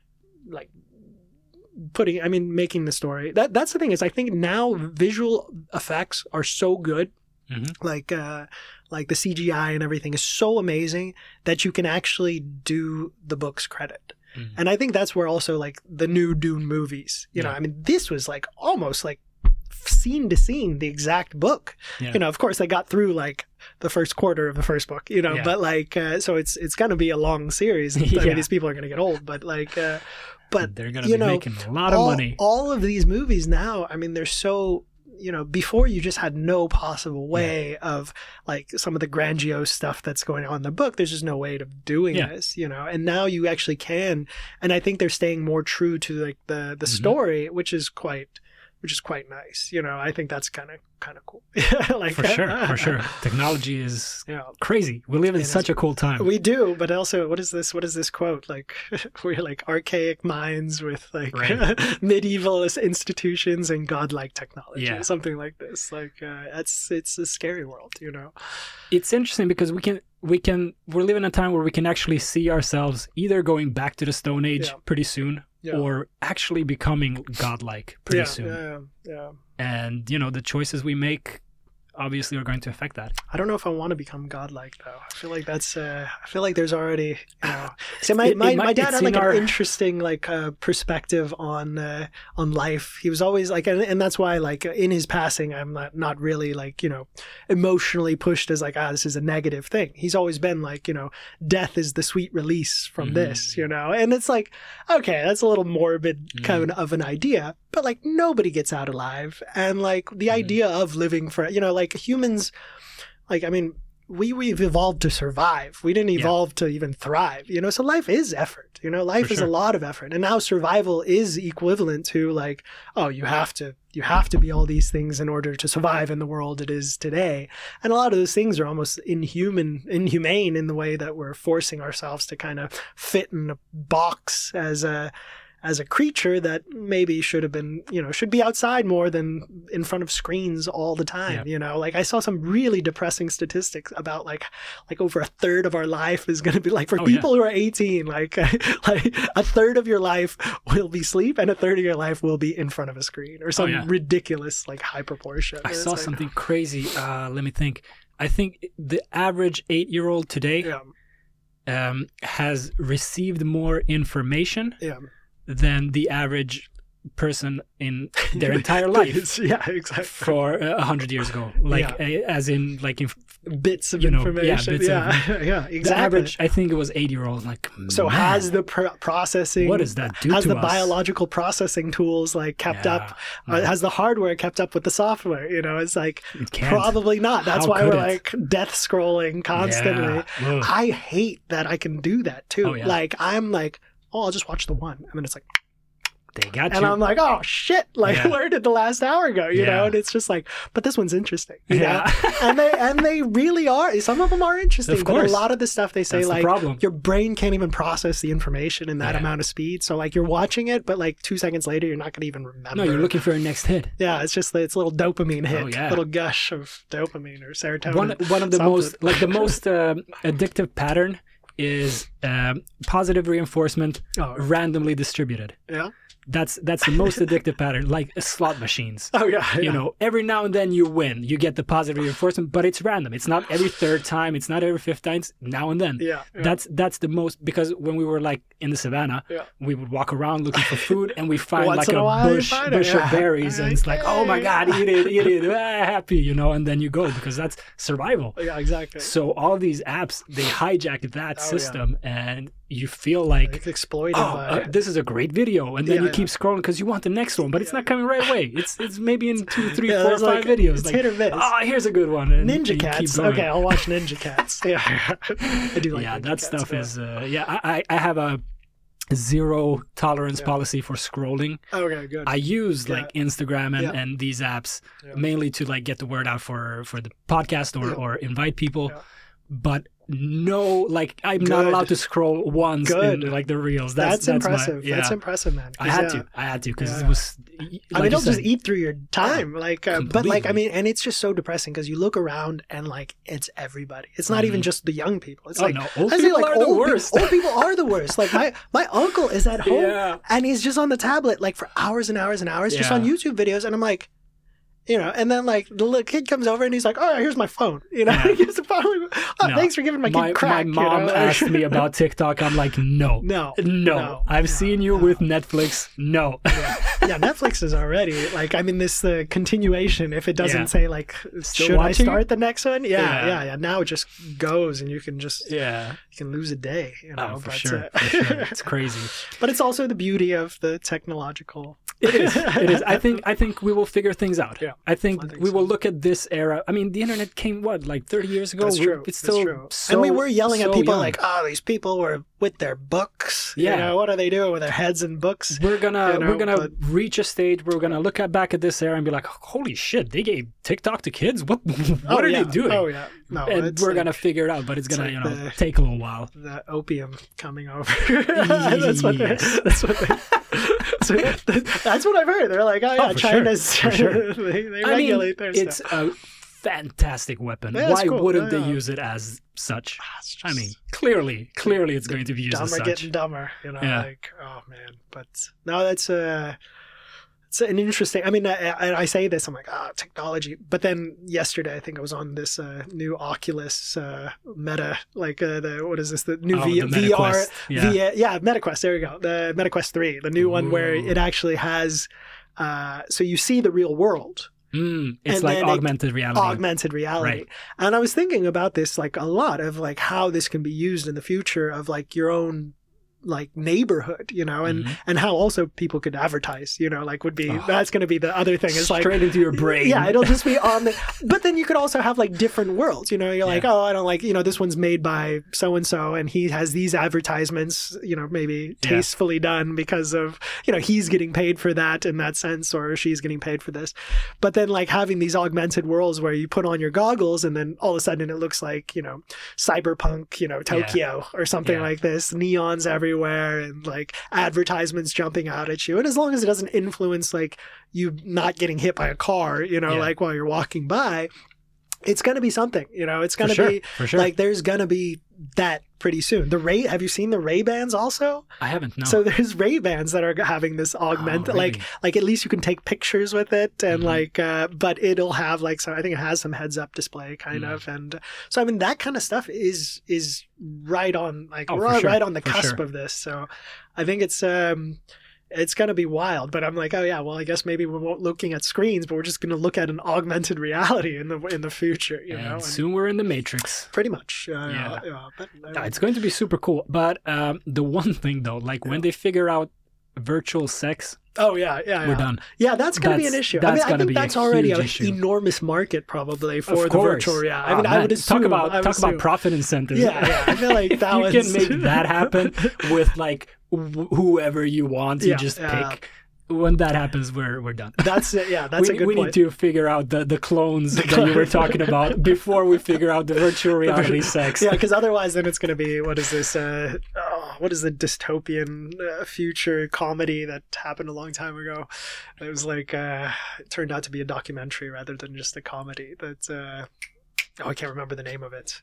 like putting. I mean, making the story. That that's the thing is I think now visual effects are so good. Mhm. Like uh like the C G I and everything is so amazing that you can actually do the book's credit. Mhm. And I think that's where also like the new Dune movies, you know, Yeah. I mean, this was like almost like scene to scene, the exact book. Yeah. You know, of course they got through like the first quarter of the first book, you know, Yeah. but like, uh, so it's, it's going to be a long series. I Yeah. mean, these people are going to get old, but like, uh, but they're gonna you be know, making a lot of all, money. all of these movies now, I mean, they're so, you know, before you just had no possible way of like some of the grandiose stuff that's going on in the book. There's just no way of doing Yeah. this, you know, and now you actually can. And I think they're staying more true to like the, the Mhm. story, which is quite, which is quite nice. You know, I think that's kind of, kind of cool. like, For sure, for sure. Technology is Yeah. crazy. We live in It is- such a cool time. We do, but also, what is this? What is this quote? Like, we're like archaic minds with like Right. medieval institutions and godlike technology, Yeah. something like this. Like, uh, that's it's a scary world, you know. It's interesting because we can we can we're living in a time where we can actually see ourselves either going back to the Stone Age Yeah. pretty soon, Yeah. or actually becoming godlike pretty yeah, soon. yeah, yeah. And you know, the choices we make obviously are going to affect that. I don't know if I want to become godlike though. I feel like that's. Uh, I feel like there's already. You know. See, my It- it my, might- my dad it's had like in an our- interesting like uh, perspective on uh, on life. He was always like, and, and that's why like in his passing, I'm not not really like you know emotionally pushed as like ah this is a negative thing. He's always been like you know death is the sweet release from Mhm. this, you know, and it's like okay, that's a little morbid Mm. kind of an idea, but like nobody gets out alive, and like the Mhm. idea of living for you know like humans. Like, I mean, we, we've evolved to survive. We didn't Yeah. evolve to even thrive, you know? So life is effort, you know? Life For is sure. a lot of effort. And now survival is equivalent to like, oh, you have to, you have to be all these things in order to survive in the world it is today. And a lot of those things are almost inhuman, inhumane in the way that we're forcing ourselves to kind of fit in a box as a, as a creature that maybe should have been, you know, should be outside more than in front of screens all the time, Yeah. you know, like I saw some really depressing statistics about like, like over a third of our life is going to be like for Oh, people who are eighteen, like, like a third of your life will be sleep and a third of your life will be in front of a screen or some yeah. ridiculous like high proportion. I And saw it's like, something crazy. Uh, let me think. I think the average eight-year-old today Yeah. um, has received more information Yeah. than the average person in their entire life yeah, exactly. for a hundred years ago. Like, Yeah. uh, as in, like, in Bits of you know, yeah, information. bits of- yeah, yeah, the exactly. average, I think it was eight-year-olds. Like, So man, has the pr- processing, what does that do has to the us? biological processing tools like kept Yeah, up? no. Uh, has the hardware kept up with the software? You know, it's like It can't. probably not. That's How why could we're it? like death scrolling constantly. Yeah. Ugh. I hate that I can do that too. Oh, yeah. Like I'm like, oh, I'll just watch the one, and then it's like, They got and you. I'm like, oh shit, like Yeah. where did the last hour go? You Yeah. know, and it's just like, but this one's interesting. You Yeah. know? and they and they really are. Some of them are interesting, Of but course. a lot of the stuff they say, That's the like problem. your brain can't even process the information in that Yeah. amount of speed. So like you're watching it, but like two seconds later, you're not going to even remember. No, you're looking for a next hit. Yeah, it's just it's a little dopamine hit, Oh, yeah. little gush of dopamine or serotonin. One one of the something. most like the most um addictive pattern is um, positive reinforcement Oh. randomly distributed. Yeah. That's that's the most addictive pattern, like slot machines. Oh yeah. You yeah. know, every now and then you win, you get the positive reinforcement, but it's random. It's not every third time. It's not every fifth time. It's now and then. Yeah. yeah. That's that's the most, because when we were like in the savannah, Yeah. we would walk around looking for food, and we find Once like in a a, while you bush find it, bush yeah. of berries, and it's like, oh my Yay. god, eat it, eat it, ah, happy, you know, and then you go because that's survival. yeah, exactly. So all these apps, they hijack that Oh, yeah. system, and you feel like, It's exploited oh, by uh, this is a great video, and then Yeah, you yeah. keep scrolling because you want the next one, but it's not coming right away. It's it's maybe in two, three, Yeah, four, there's five like- videos. it's like, hit or miss. oh, here's a good one. And Ninja you keep Cats. going. Okay, I'll watch Ninja Cats. Yeah, I do like. yeah, Ninja that Cats, stuff yeah. is. Uh, yeah, I I- I have a zero tolerance Yeah. policy for scrolling. Okay, good. I use Yeah. like Instagram and, Yeah. and these apps Yeah. mainly to like get the word out for for the podcast or Yeah. or invite people, Yeah. but no, like I'm not Good. allowed to scroll once Good. in like the reels. That's that's, that's, impressive. My, yeah. That's impressive, man. I 'Cause, had yeah, to. I had to because Yeah. it was. I Like mean, you it'll just said, eat through your time. Like, uh, but like, I Completely. mean, and it's just so depressing because you look around and like it's everybody. It's not even Mhm. just the young people. It's Oh, like, no. Old I say, people like, are the old pe- worst. old people are the worst. Like my my uncle is at home Yeah. and he's just on the tablet like for hours and hours and hours just Yeah. on YouTube videos, and I'm like. You know, and then like the little kid comes over and he's like, "Oh, here's my phone." You know, Yeah. he gives the phone. Oh, No. thanks for giving my kid my, crack. my you mom know? asked me about TikTok. I'm like, no, No, no. no, I've no, seen you no. with Netflix. No. yeah. yeah, Netflix is already like, I mean, this the continuation. If it doesn't Yeah. say like, Still should I watching? start the next one? Yeah, Yeah. yeah, yeah, Now it just goes, and you can just yeah. you can lose a day. You know, Oh, for but, sure. uh, For sure. It's crazy. but it's also the beauty of the technological. It is. It is. I think. I think we will figure things out. Yeah, I think, I think we so. will look at this era. I mean, the internet came what, like thirty years ago. That's We- true. It's That's still true. so. and we were yelling so at people young. like, "Oh, these people were with their books. Yeah. You know, what are they doing with their heads in books?" We're gonna you know, we're gonna but- reach a stage where we're gonna look at back at this era and be like, holy shit, they gave TikTok to kids. What what Oh, are yeah. they doing? Oh yeah, no, and it's we're like gonna figure it out, but it's gonna like you know the- take a little while. the opium coming over. that's what. They, Yes. that's what. They, so that's what I've heard. They're like, oh yeah, Oh, for sure. China's. For sure. they, they I mean, regulate their it's stuff. a fantastic weapon. Yeah, it's Why cool. wouldn't Yeah, they yeah. use it as such? It's I just mean, clearly, clearly, it's going to be used as dumber such. getting dumber. You know, Yeah. like oh man. But no, that's uh it's an interesting. I mean, I, I, I say this, I'm like, ah, technology. But then yesterday, I think I was on this uh, new Oculus uh, Meta, like uh, the what is this? The new Oh, v- the V R, MetaQuest. Yeah. V- yeah, MetaQuest. There we go. The MetaQuest three, the new one where Ooh. it actually has. Uh, so you see the real world, Mm, it's And like then it- augmented reality. augmented reality. Right. And I was thinking about this like a lot of like how this can be used in the future of like your own like neighborhood, you know, and Mhm. and how also people could advertise, you know, like would be Oh. that's going to be the other thing is like Straight into your brain. yeah, it'll just be on the. But then you could also have like different worlds. You know, you're like, Yeah. oh, I don't like. You know, this one's made by so and so, and he has these advertisements. You know, maybe Yeah. tastefully done because of you know he's getting paid for that in that sense, or she's getting paid for this. But then like having these augmented worlds where you put on your goggles, and then all of a sudden it looks like you know cyberpunk, you know Tokyo or something Yeah. like this, neons everywhere, and like advertisements jumping out at you. And as long as it doesn't influence like you not getting hit by a car, you know, Yeah. like while you're walking by, it's going to be something, you know, it's going to For sure, be for sure. like, there's going to be that pretty soon. The Ray, have you seen the Ray Bans also? I haven't, no. So there's Ray Bans that are having this augment, Oh, like, really? like at least you can take pictures with it and Mhm. like, uh, but it'll have like, so I think it has some heads up display kind Mm. of. And so, I mean, that kind of stuff is, is right on, like Oh, we're for all sure, right on the for cusp sure. of this. So I think it's, um, it's going to be wild, but I'm like, oh yeah, well, I guess maybe we won't looking at screens, but we're just going to look at an augmented reality in the in the future, you and know. And soon we're in the Matrix. pretty much, uh, Yeah. yeah. yeah but, uh, Yeah, it's going to be super cool. But um, the one thing though, like when they figure out virtual sex, oh yeah, yeah, we're yeah. done. Yeah, that's going to be an That's- issue. I that's mean, I gonna think be a that's already huge an issue. enormous market probably for Of the course. virtual reality. I Oh, mean, I man, would assume. talk about I would talk about assume. profit incentives. Yeah, yeah. I feel like if that you was can make that happen with like wh- whoever you want. You Yeah, just yeah. pick. When that happens, we're we're done. That's it. Yeah, that's we, a good we point. need to figure out the, the clones that you were talking about before we figure out the virtual reality sex. Yeah, because otherwise, then it's going to be what is this? Uh, oh, what is the dystopian uh, future comedy that happened a long time ago? It was like uh, it turned out to be a documentary rather than just a comedy. That uh, oh, I can't remember the name of it.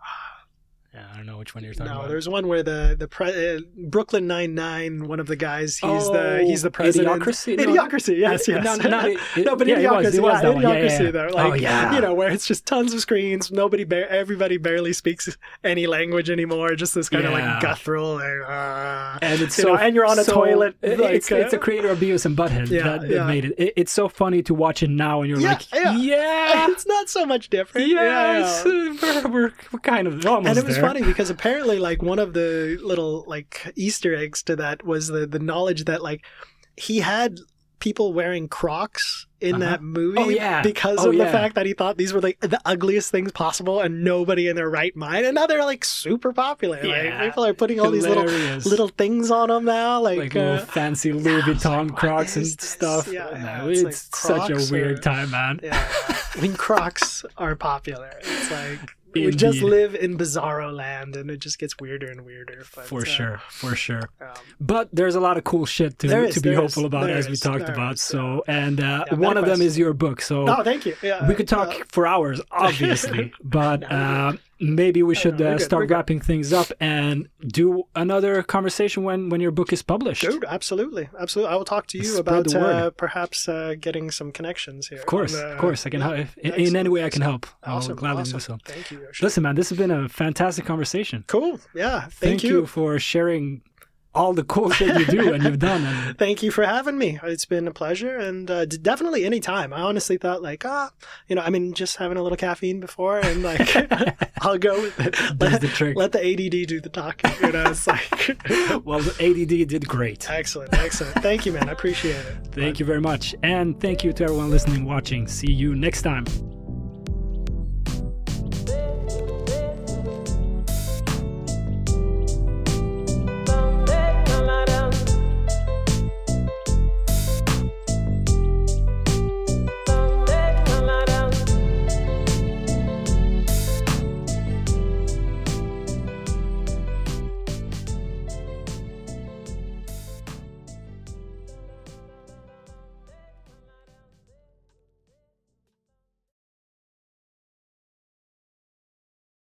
Yeah, I don't know which one you're talking No, about. there's one where the the pre- uh, Brooklyn Nine-Nine, one of the guys, he's Oh, the he's the president. Idiocracy? No. Idiocracy, yes, yes. No, no, it- it- no, but yeah, it Idiocracy, was- it was yeah, that one. Yeah, Idiocracy. yeah, yeah. There, like, Oh, yeah. you know, where it's just tons of screens, nobody, ba- everybody barely speaks any language anymore. Just this kind of Yeah. like guttural, like, uh, And it's you so, know, and you're on a so- toilet. it- like, it's, it's uh, the creator of Beavis and Butthead Yeah, that, that yeah. made it. it. It's so funny to watch it now, and you're Yeah, like, yeah. yeah, it's not so much different. yeah, yeah. it's, uh, we're, we're, we're kind of almost And it was there. funny because apparently, like, one of the little like Easter eggs to that was the the knowledge that like he had people wearing Crocs in Uh-huh. that movie Oh, yeah. because Oh, of yeah. the fact that he thought these were like the ugliest things possible and nobody in their right mind, and now they're like super popular. Yeah. Like people are putting all these little Hilarious. little things on them now, like, like uh, little fancy Louis I was Vuitton like, what Crocs and is this? stuff. Yeah, No, yeah, it's it's like such a Crocs weird or- time, man. yeah. When Crocs are popular, it's like we just Indeed. live in bizarro land, and it just gets weirder and weirder. But, For uh, sure, for sure. Um, But there's a lot of cool shit to, There is, to be there hopeful is, about, there as we is, talked there about. is, So, and uh, Yeah, one of them MetaQuest. is your book. So oh, thank you. Yeah, we could talk uh, for hours, obviously, but uh, maybe we should no, we're uh, good, start we're good. wrapping things up and do another conversation when when your book is published. Dude, absolutely, absolutely. I will talk to you Spread about the word. uh, perhaps uh, getting some connections here. Of course, on, uh, of course, I can yeah, help. If, in, in excellent, any way I can excellent. help, I'll Awesome, gladly awesome. do so. Thank you. Yoshi. Listen, man, this has been a fantastic conversation. Cool. Yeah. Thank, Thank you for sharing all the cool shit you do and you've done. And Thank you for having me. It's been a pleasure, and uh, d- definitely any time. I honestly thought like, ah, you know, I mean, just having a little caffeine before, and like, I'll go with it. That's Let, the trick. let the A D D do the talking. You know, it's like, well, the A D D did great. excellent, excellent. Thank you, man. I appreciate it. Thank you very much. And thank you to everyone listening, watching. See you next time.